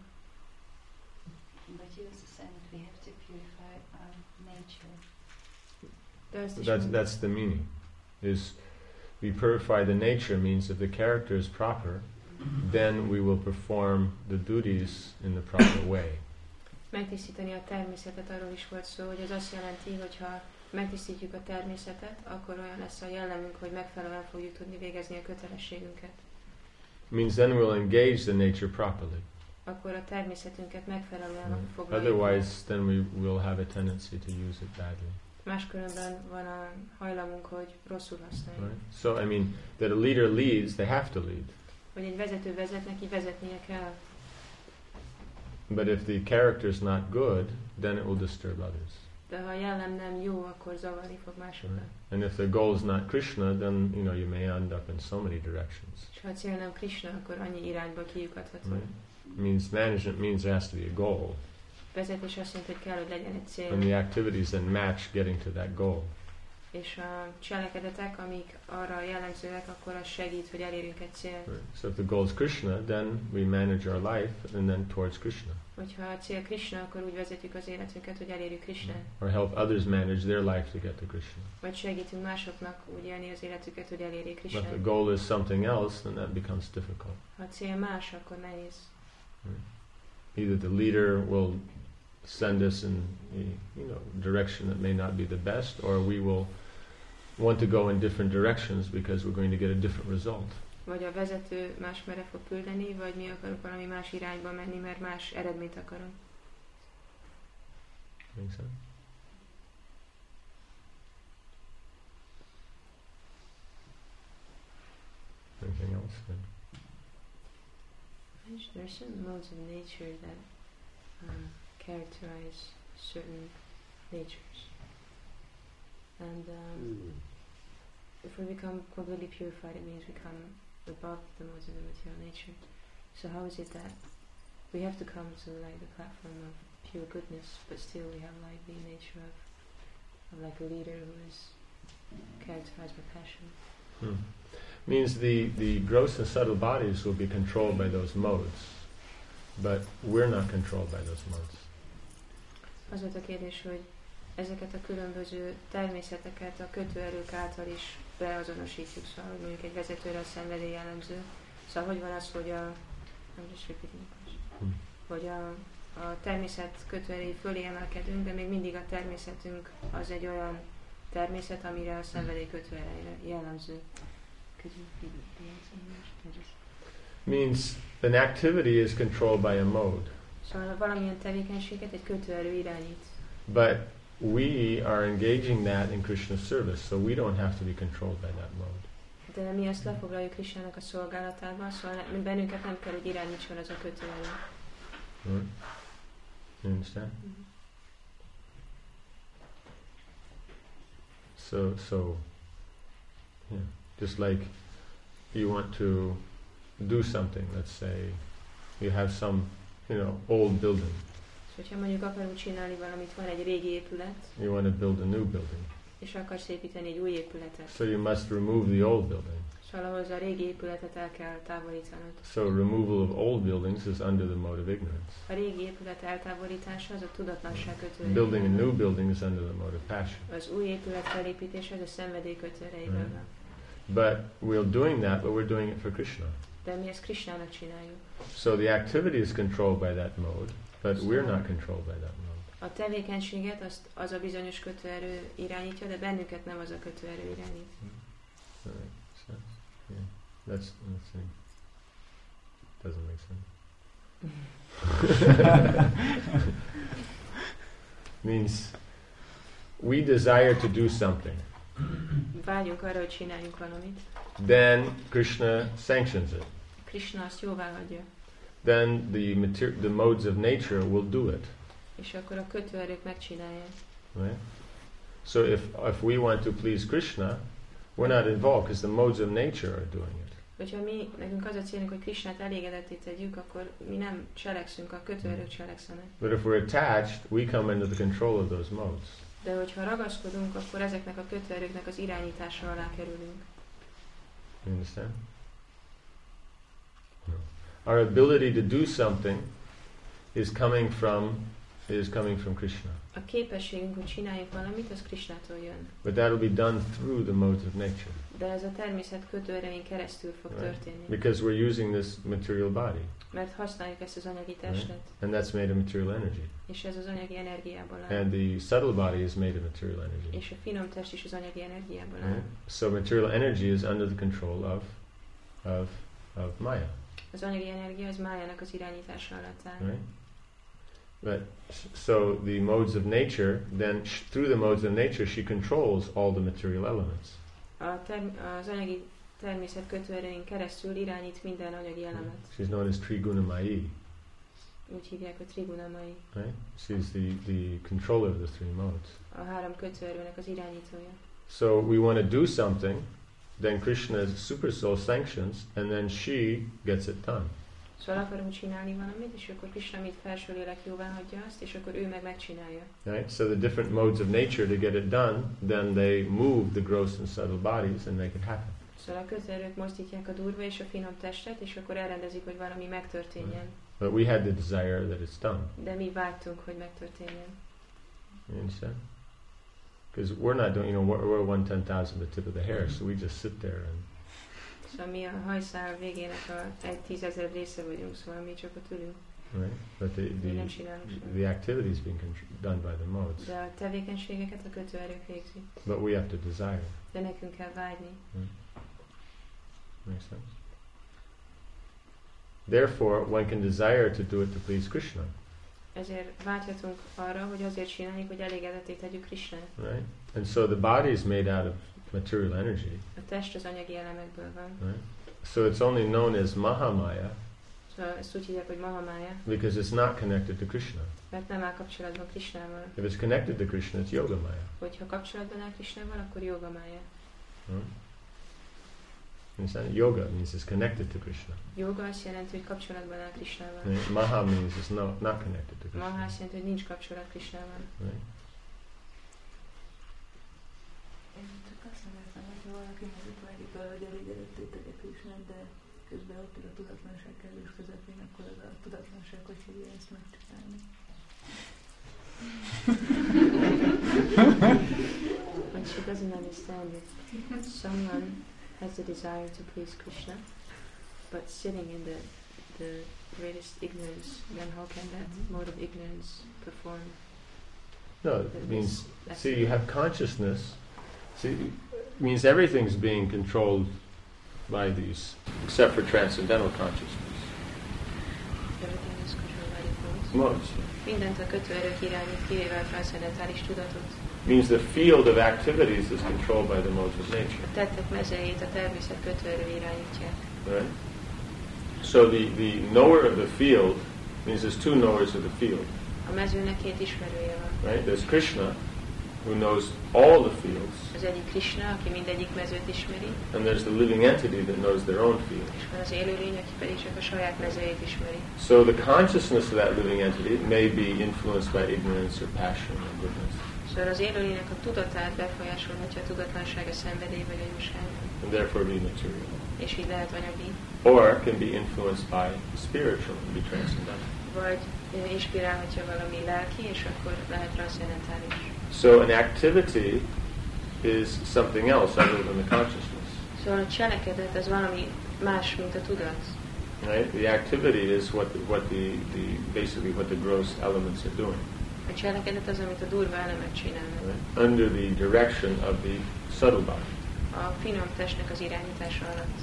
But you also said that we have to purify our nature. De azt is That's mondta, that's the meaning. Is we purify the nature means if the character is proper, then we will perform the duties in the proper way. megtisztítani a természetet, arról is volt szó, hogy ez azt jelenti, hogy ha megtisztítjuk a természetet, akkor olyan lesz a jellemünk, hogy megfelelően fogjuk tudni végezni a kötelességünket. Means then we'll engage the nature properly. Akkor a természetünket megfelelően Right. foglaljuk. Otherwise, then we will have a tendency to use it badly. Máskülönben van a hajlamunk, hogy rosszul használjuk. Right? So, I mean, that a leader leads, they have to lead. Hogy egy vezető vezet, neki vezetnie kell. But if the character is not good, then it will disturb others. De ha a jellem nem jó, akkor zavarni fog másokat. Right? And if the goal is not Krishna, then you know you may end up in so many directions. És ha a cél nem Krishna, akkor annyi irányba kiukadható. Right? It means management means there has to be a goal, Vezetés azt jelenti, hogy kell, hogy legyen egy cél. and the activities then match getting to that goal. És a cselekedetek, amik arra jellemzőek, akkor az segít, hogy elérjünk egy célt. Right? So if the goal is Krishna, then we manage our life and then towards Krishna, Hogyha a cél Krishna, akkor úgy vezetjük az életünket, hogy elérjük Krishnát. or help others manage their life to get to Krishna. Vagy segítünk másoknak úgy élni az életüket, hogy elérjék But if the Krishnát. goal is something else, then that becomes difficult. Ha a cél más, akkor nehéz. Either the leader will send us in a you know direction that may not be the best, or we will want to go in different directions because we're going to get a different result. Vagy a vezető más mere fog küldeni, vagy mi akarunk valami más irányba menni, mert más eredményt akarunk. Make sense? Anything else? És There are certain modes of nature that um, characterize certain natures. And um, if we become completely purified, it means we come above the modes of the material nature. So how is it that we have to come to like the platform of pure goodness, but still we have like the nature of, of like a leader who is characterized by passion? Hmm. Means the, the gross and subtle bodies will be controlled by those modes, but we're not controlled by those modes. Az volt a kérdés, hogy ezeket a különböző természeteket a kötőerők által is beazonosítjuk, szóval hogy mondjuk egy vezetőre a szenvedély jellemző. Szóval hogy van az, hogy a, I'm just repeating the question. Hmm. Hogy a, a természet kötőerői fölé emelkedünk, de még mindig a természetünk az egy olyan természet, amire a szenvedély kötőereje jellemző. Could you repeat the answer in English? Means an activity is controlled by a mode. Szóval valamilyen tevékenységet egy kötőerő irányít. But we are engaging that in Krishna's service, so we don't have to be controlled by that mode. De mi azt lefoglaljuk Krishnának a szolgálatában, szóval ne, bennünket nem kell, hogy irányítson az a kötőerő. Right? You understand? Mm-hmm. So, so, yeah. Just like you want to do something, let's say you have some, you know, old building. És hogyha mondjuk akarunk csinálni valamit, van egy régi épület, You want to build a new building. és akarsz építeni egy új épületet. So you must remove the old building. Szóval ahhoz a régi épületet el kell távolítanod. So removal of old buildings is under the mode of ignorance. A régi épület eltávolítása az a tudatlanság kötőerő. Building a new building is under the mode of passion. Az új épület felépítése az a szenvedély kötőerejében Right. van. But we're doing that, but we're doing it for Krishna. De mi ezt Krishnának csináljuk. So the activity is controlled by that mode, but we're not controlled by that mode. A tevékenységet azt az a bizonyos kötőerő irányítja, de bennünket nem az a kötőerő irányít. That makes sense. Yeah. That's, let's see. Doesn't make sense. Means we desire to do something. Vágyunk arra, hogy csináljunk valamit. Then Krishna sanctions it. Krishna azt jóvá hagyja. Then the mater- the modes of nature will do it. És akkor a kötőerők megcsinálják. Right? So if if we want to please Krishna, we're not involved because the modes of nature are doing it. Hogyha mi, nekünk az a célunk, hogy Krishnát elégedetté tegyük, akkor mi nem cselekszünk, a kötőerők cselekszenek. But if we're attached, we come under the control of those modes. De hogyha ragaszkodunk, akkor ezeknek a kötőerőknek az irányítása alá kerülünk. You understand? No. Our ability to do something is coming from is coming from Krishna. A képességünk, hogy csináljuk valamit, az Krishnától jön. But that will be done through the modes of nature. De ez a természet kötőerein keresztül fog Right. történni. Because we're using this material body. Mert használjuk ezt az anyagi testet, And that's made of material energy. és ez az anyagi energiából áll. And the subtle body is made of material energy. És a finom test is az anyagi energiából áll. Right? So material energy is under the control of of of Maya. Az anyagi energia az májának az irányítása alatt áll. Right? But so the modes of nature, then sh- through the modes of nature, she controls all the material elements. A term- az anyagi természet kötőerején keresztül irányít minden anyagi elemet. She's known as Trigunamayi, Úgy hívják, hogy Trigunamai. right? She's the, the controller of the three modes. A három kötőerőnek az irányítója. So we want to do something, then Krishna's super soul sanctions, and then she gets it done. Szóval akarunk csinálni valamit, és akkor Krishna, mint felső lélek jóvá hagyja azt, és akkor ő meg megcsinálja. Right? So the different modes of nature to get it done, then they move the gross and subtle bodies and make it happen. Szóval a kötőerők mozdítják a durva és a finom testet, és akkor elrendezik, hogy valami megtörténjen. But we had the desire that it's done. De mi vágytunk, hogy megtörténjen. You understand? Because we're not doing, you know, we're, we're one ten thousand the tip of the hair, so we just sit there and. Szóval mi a hajszál végének a egy tízezer része vagyunk, szóval mi csak ott ülünk. Right? But the Mi nem the, csinálunk semmit. the activities being contr- done by the modes. De a tevékenységeket a kötőerők végzik. But we have to desire. De nekünk kell vágyni. Makes sense? Therefore, one can desire to do it to please Krishna. Ezért vágyhatunk arra, hogy azért csináljuk, hogy elégedetté tegyük Krishnát. Right? And so the body is made out of material energy. A test az anyagi elemekből van. Right? So it's only known as Mahamaya Szóval ezt úgy hívják, hogy Mahamaya, because it's not connected to Krishna. mert nem áll kapcsolatban Krishnával. If it's connected to Krishna, it's Yogamaya. Hogyha kapcsolatban áll Krishnával, akkor Yogamaya. Hmm? Understand? Yoga means it's connected to Krishna. Yoga azt jelenti, hogy kapcsolatban áll Krishnával. Right? Maha means it's no, not connected to Krishna. Maha azt jelenti, hogy nincs kapcsolat Krishnával. Right? Én csak azt mondanám, hogy valaki mondjuk vágyik, hogy elégedettétek a Krishnát, de közben ott tud a tudatlanság kellős közepén, akkor az a tudatlanság, hogy hívja ezt megcsinálni. When she doesn't understand it, someone has the desire to please Krishna, but sitting in the the greatest ignorance, then how can that mode of ignorance perform? No, it means, see, you have consciousness. See, it means everything's being controlled by these, except for transcendental consciousness. Everything is controlled by the thoughts. Modes. Mindent a kötőerők irányít, kivéve a transzendentális tudatot. Means the field of activities is controlled by the modes of nature. A tettek mezejét a természet kötőerő irányítják. Right? So the, the knower of the field means there's two knowers of the field. A mezőnek két ismerője van. Right? There's Krishna, who knows all the fields. Az egyik Krishna, aki mindegyik mezőt ismeri. And there's the living entity that knows their own field. És van az élőlény, aki pedig csak a saját mezőjét ismeri. So the consciousness of that living entity may be influenced by ignorance or passion or goodness. Szóval az élőlénynek a tudatát befolyásolhatja a tudatlanság, a szenvedély vagy a jóság. And therefore be material. És így lehet anyagi. Or can be influenced by the spiritual and be transcendental. Vagy inspirálhatja valami lelki, és akkor lehet transzendentális. So an activity is something else other than the consciousness. Szóval a cselekedet az valami más, mint a tudat. Right? The activity is what the, what the, the basically what the gross elements are doing. A cselekedet az, amit a durva elemek csinálnak. Right? Under the direction of the subtle body. A finom testnek az irányítása alatt.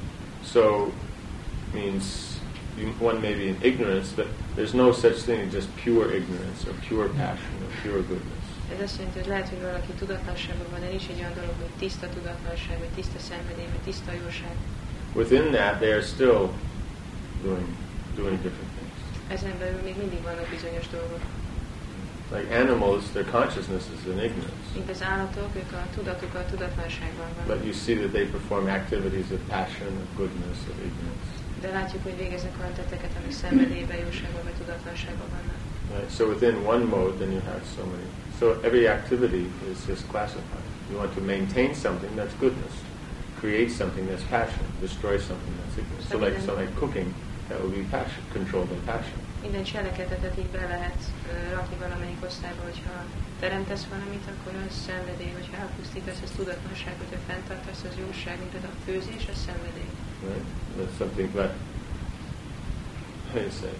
So means you, one may be in ignorance, but there's no such thing as just pure ignorance or pure passion or pure goodness. Ez azt jelenti, hogy lehet, hogy valaki tudatlanságban van, de nincs egy olyan dolog, hogy tiszta tudatlanság, vagy tiszta szenvedély, vagy tiszta jóság. Within that, they are still doing doing different things. Ezen belül még mindig vannak bizonyos dolgok. Like animals, their consciousness is in ignorance. Mint az állatok, ők a tudatuk a tudatlanságban van. But you see that they perform activities of passion, of goodness, of ignorance. De látjuk, hogy végeznek olyan tetteket, amik szenvedélyben, jóságban vagy tudatlanságban vannak. Right? So within one mode, then you have so many. So every activity is just classified. You want to maintain something that's goodness, create something that's passion, destroy something that's ignorance. So like, so like cooking, that will be passion, controlled by passion. Minden cselekedetet így be lehet uh, rakni valamelyik osztályba, hogyha teremtesz valamit, akkor az szenvedély, hogyha elpusztítasz, az tudatlanság, hogyha fenntartasz, az jóság, mint a főzés, az szenvedély. Right? That's something that, how do you say,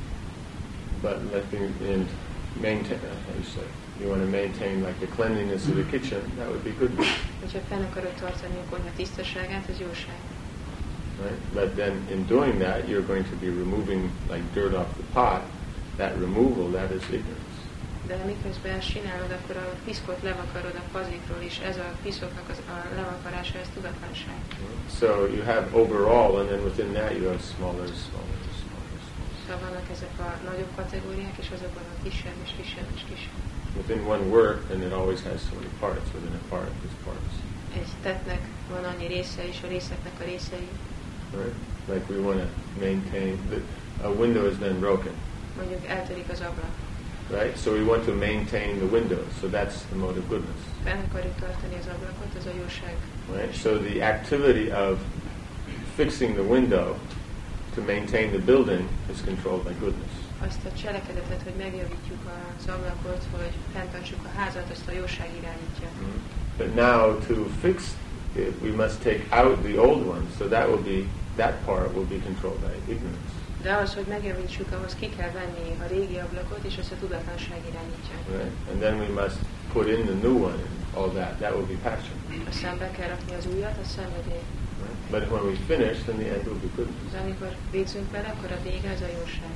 but letting in maintain, uh, how do you say, you want to maintain like the cleanliness of the kitchen, that would be good. Hogyha fenn akarod tartani a konyha tisztaságát, az jóság. Right? But then in doing that, you're going to be removing like dirt off the pot. That removal, that is ignorance. De miközben ezt csinálod, akkor a piszkot levakarod a pazikról, és ez a piszoknak az, a levakarása, ez tudatlanság. So you have overall, and then within that you have smaller, smaller, smaller, smaller. Szóval vannak ezek a nagyobb kategóriák, és azokban a kisebb, és kisebb, és kisebb. Within one work, and it always has so many parts. Within a part, there's parts. Egy tettnek van annyi része, és a részeknek a részei. Right? Like we want to maintain, the, a window has been broken. Mondjuk eltörik az ablak. Right? So we want to maintain the window. So that's the mode of goodness. Fenn akarjuk tartani az ablakot, az a jóság. Right? So the activity of fixing the window to maintain the building is controlled by goodness. Azt a cselekedetet, hogy megjavítjuk az ablakot, hogy fenntartsuk a házat, azt a jóság irányítja. Mm-hmm. But now to fix it, we must take out the old one. So that will be, that part will be controlled by ignorance. De ahhoz, hogy megjavítsuk, ahhoz ki kell venni a régi ablakot, és azt a tudatlanság irányítja. Right? And then we must put in the new one and all that. That will be passion. Aztán be kell rakni az újat, a szenvedély. Right? But when we finish, then the end will be goodness. De amikor végzünk vele, akkor a vége az a jóság.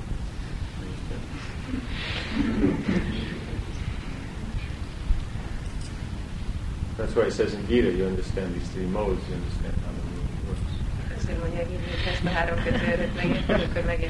That's why it says in Gita, you understand these three modes, you understand how the moon works. egyszer mondják így, hogy ezt a három kötő előtt megérted, akkor megérted.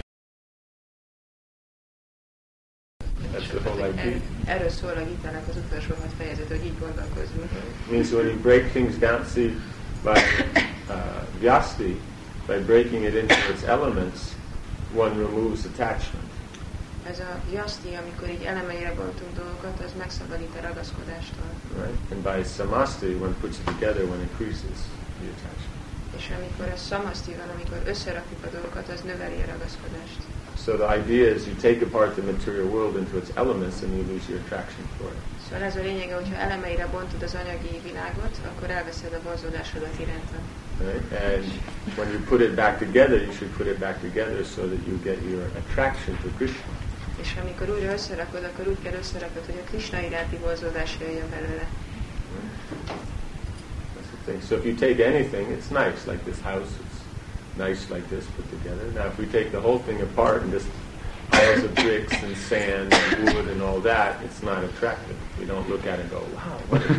Erről szól a Gítának az utolsó hat fejezet, hogy így gondolkozunk. Means when you break things down, see, by uh, Vyasti, by breaking it into its elements, one removes attachment. Ez a Vyasti, amikor így elemeire bontunk dolgokat, az megszabadít a ragaszkodástól. Right? And by Samasti, one puts it together, one increases the attachment. És amikor a Samasti van, amikor összerakjuk a dolgokat, az növeli a ragaszkodást. So the idea is you take apart the material world into its elements and you lose your attraction for it. Szóval ez a lényege, hogyha elemeire bontod az anyagi világot, akkor elveszed a vonzódásodat iránta. Right? And when you put it back together, you should put it back together so that you get your attraction to Krishna. És amikor újra összerakod, akkor úgy kell összerakod, hogy a Krishna iránti vonzódás jöjjön belőle. That's the thing. So if you take anything, it's nice, like this house, it's nice like this put together. Now if we take the whole thing apart and just piles of bricks and sand and wood and all that, it's not attractive. We don't look at it and go, wow, what a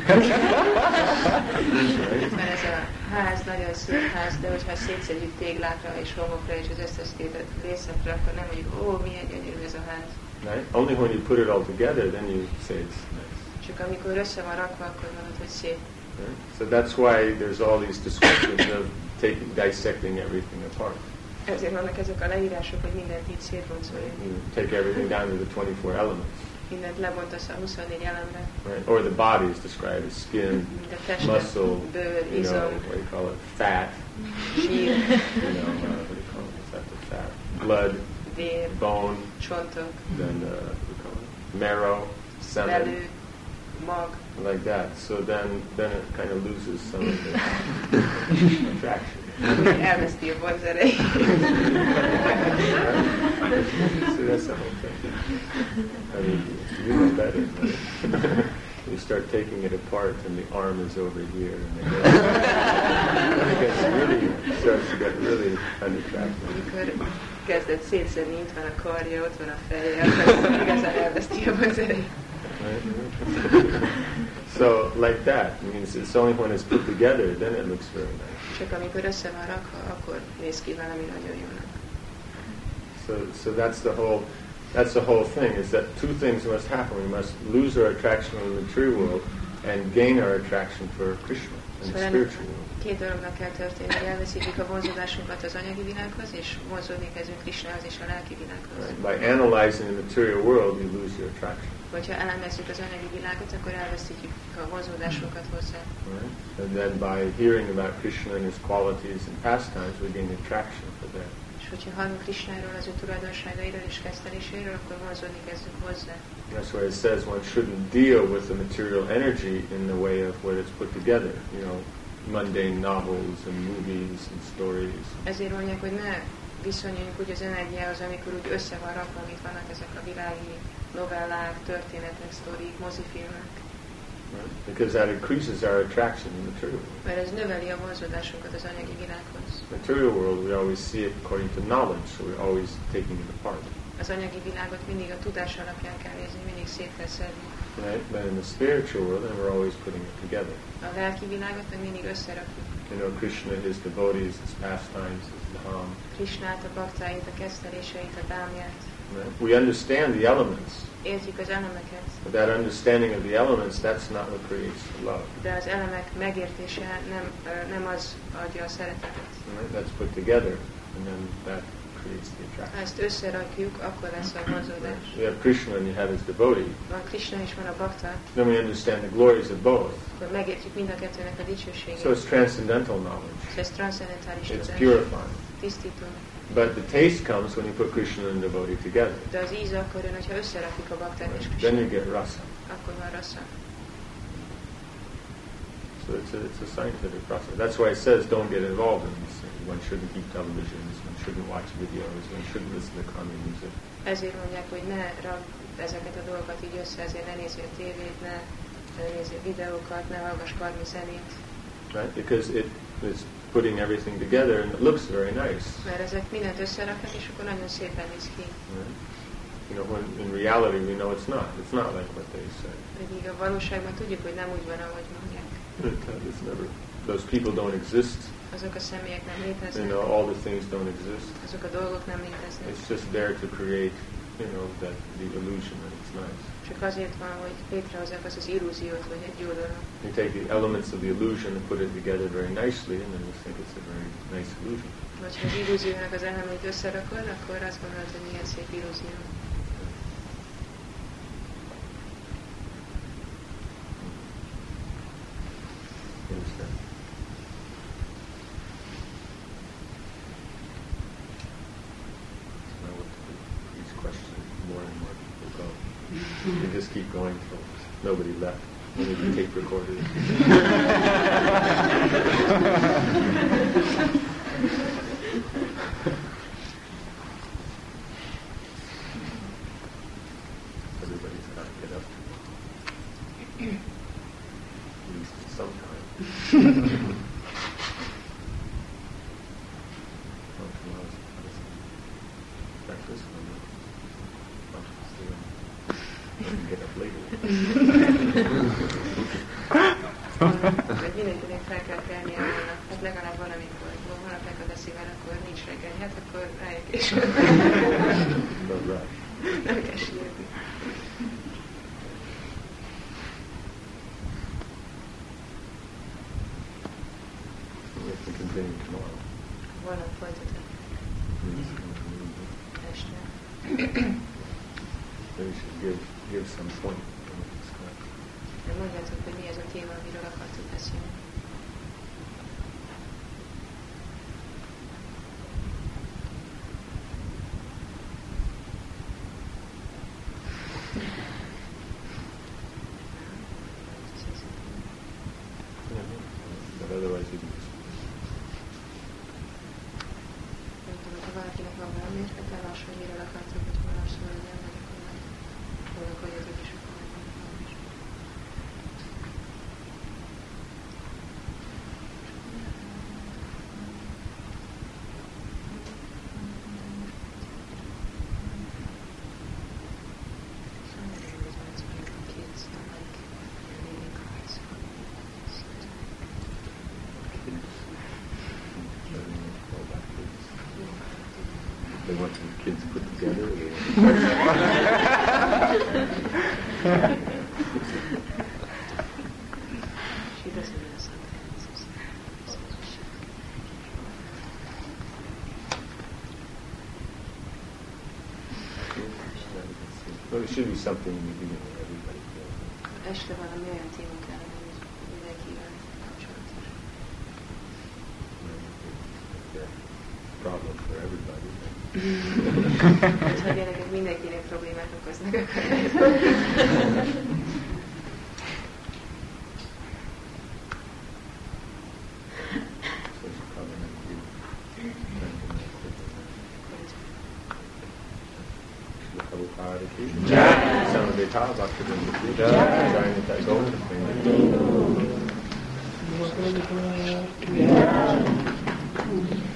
right? Mert ez a ház nagyon szép ház, de hogyha szétszedjük téglákra és homokra és az összesztétett részekre, akkor nem mondjuk, ó, milyen gyönyörű ez a ház. Right? Only when you put it all together, then you say it's nice. Csak amikor össze van rakva, akkor mondod, hogy szép. Right? So that's why there's all these descriptions of taking, dissecting everything apart. Ezért vannak ezek a leírások, hogy mindent így szétboncoljuk. You take everything down to the twenty-four elements. Mindent lebontasz a huszonnégy elembe. Right? Or the body is described as skin, muscle, bőr, you know, what do you call it, fat, sír, you know, uh, what do you call it, what's after fat, blood, vér, bone, csontok, then uh, what do you call it, marrow, semen, belő, mag. like that. So then, then it kind of loses some of the attraction. Elveszti a vonzerejét. So that's the whole thing. I mean, you know better, right? You start taking it apart and the arm is over here and it gets, it gets really, starts to get really unattractive. Amikor kezded szétszedni, itt van a karja, ott van a feje, akkor igazán elveszti a vonzerejét. So like that means it's only when it's put together then it looks very nice. Csak amikor össze van rakva, akkor néz ki valami nagyon jónak. So so that's the whole that's the whole thing is that two things must happen. We must lose our attraction in the material world and gain our attraction for Krishna and the spiritual world. Két dolognak kell történni, hogy elveszítjük a vonzódásunkat az anyagi világhoz, és vonzódni kezdünk Krishnához és a lelki világhoz. Right. By analyzing the material world, you lose your attraction. Hogyha elemezzük az anyagi világot, akkor elveszítjük a vonzódásunkat hozzá. Right. And then by hearing about Krishna and his qualities and pastimes, we gain attraction for that. És hogyha hallunk Krishnáról, az ő tulajdonságairól és kezdeléséről, akkor vonzódni kezdünk hozzá. That's why it says one shouldn't deal with the material energy in the way of what it's put together. You know, mundane novels and movies and stories. Ezért mondják, hogy ne viszonyuljunk úgy az energiához, amikor úgy össze van rakva, amit vannak ezek a világi novellák, történetek, sztorik, mozifilmek. Right? Because that increases our attraction in the material world. Mert ez növeli a vonzódásunkat az anyagi világhoz. Material world, we always see it according to knowledge, so we're always taking it apart. Az anyagi világot mindig a tudás alapján kell nézni, mindig szét kell szedni. Right? But in the spiritual world, then we're always putting it together. A lelki világot meg mindig összerakjuk. You know, Krishna, his devotees, his pastimes, his dham. Krishnát, a baktáit, a kezdeléseit, a dámját. Right? We understand the elements. Értjük az elemeket. But that understanding of the elements, that's not what creates love. De az elemek megértése nem, nem az adja a szeretetet. Right? That's put together, and then that creates the attraction. Ha ezt összerakjuk, akkor lesz a vonzódás. We have Krishna and you have his devotee. Van Krishna és van a bakta. Then we understand the glories of both. Akkor megértjük mind a kettőnek a dicsőségét. So it's transcendental knowledge. Ez transzendentális It's tudás. purifying. Tisztító. But the taste comes when you put Krishna and devotee together. De az íz akkor jön, hogyha összerakjuk a baktát és Then you Krishnát. get rasa. Akkor van rasa. So it's a, it's a scientific process. That's why it says don't get involved in these things. One shouldn't eat televisions, one shouldn't watch videos, one shouldn't listen to common music. Ezért mondják, hogy ne ragd ezeket a dolgokat így össze, ezért ne nézzél tévét, ne nézzél videókat, ne hallgass karmi zenét. Right? Because it is putting everything together and it looks very nice. Mert ezek mindent összeraknak, és akkor nagyon szépen néz ki. Right? You know, when in reality we know it's not. It's not like what they say. Pedig a valóságban tudjuk, hogy nem úgy van, ahogy mondják. It's never, those people don't exist azok a személyek nem léteznek. You know, all the things don't exist. Azok a dolgok nem léteznek. It's just there to create, you know, that the illusion that it's nice. Csak azért van, hogy létrehozzák azt az illúziót, hogy egy jó dolog. You take the elements of the illusion and put it together very nicely, and then you think it's a very nice illusion. Vagy ha az illúziónak az elemeit összerakod, akkor azt gondolod, hogy milyen szép illúzió. Understand? Now what to do? These questions, more and more people go. You just keep going till nobody left. Only the tape recorders. Everybody's got to get up. At least sometime. Oh, tomorrow's breakfast. I can get up later. Mindenkinek fel kell kelnie holnap, hát legalább valamikor, ha holnap megad a szívvel, akkor nincs reggel, hát akkor rájuk később. Nem kell sírni. We have to continue tomorrow. Holnap folytatom. Este. Maybe we should give, give some point. Mondjátok, hogy mi ez a téma, amiről akartuk beszélni. But otherwise you can just... Nem tudom, ha valakinek van valami ötletelás, hogy miről akartok, hogy holnap szóljon, vagy akkor majd gondolkodjatok is, akkor megmondom is. They want some kids put together. She doesn't know something. Well, it should be something you know everybody feels. Este valami olyan téma kellene, hogy mindenkivel kapcsolatos. Problem for everybody. Hát, ha gyerekek mindenkinek problémát okoznak, akkor Jai.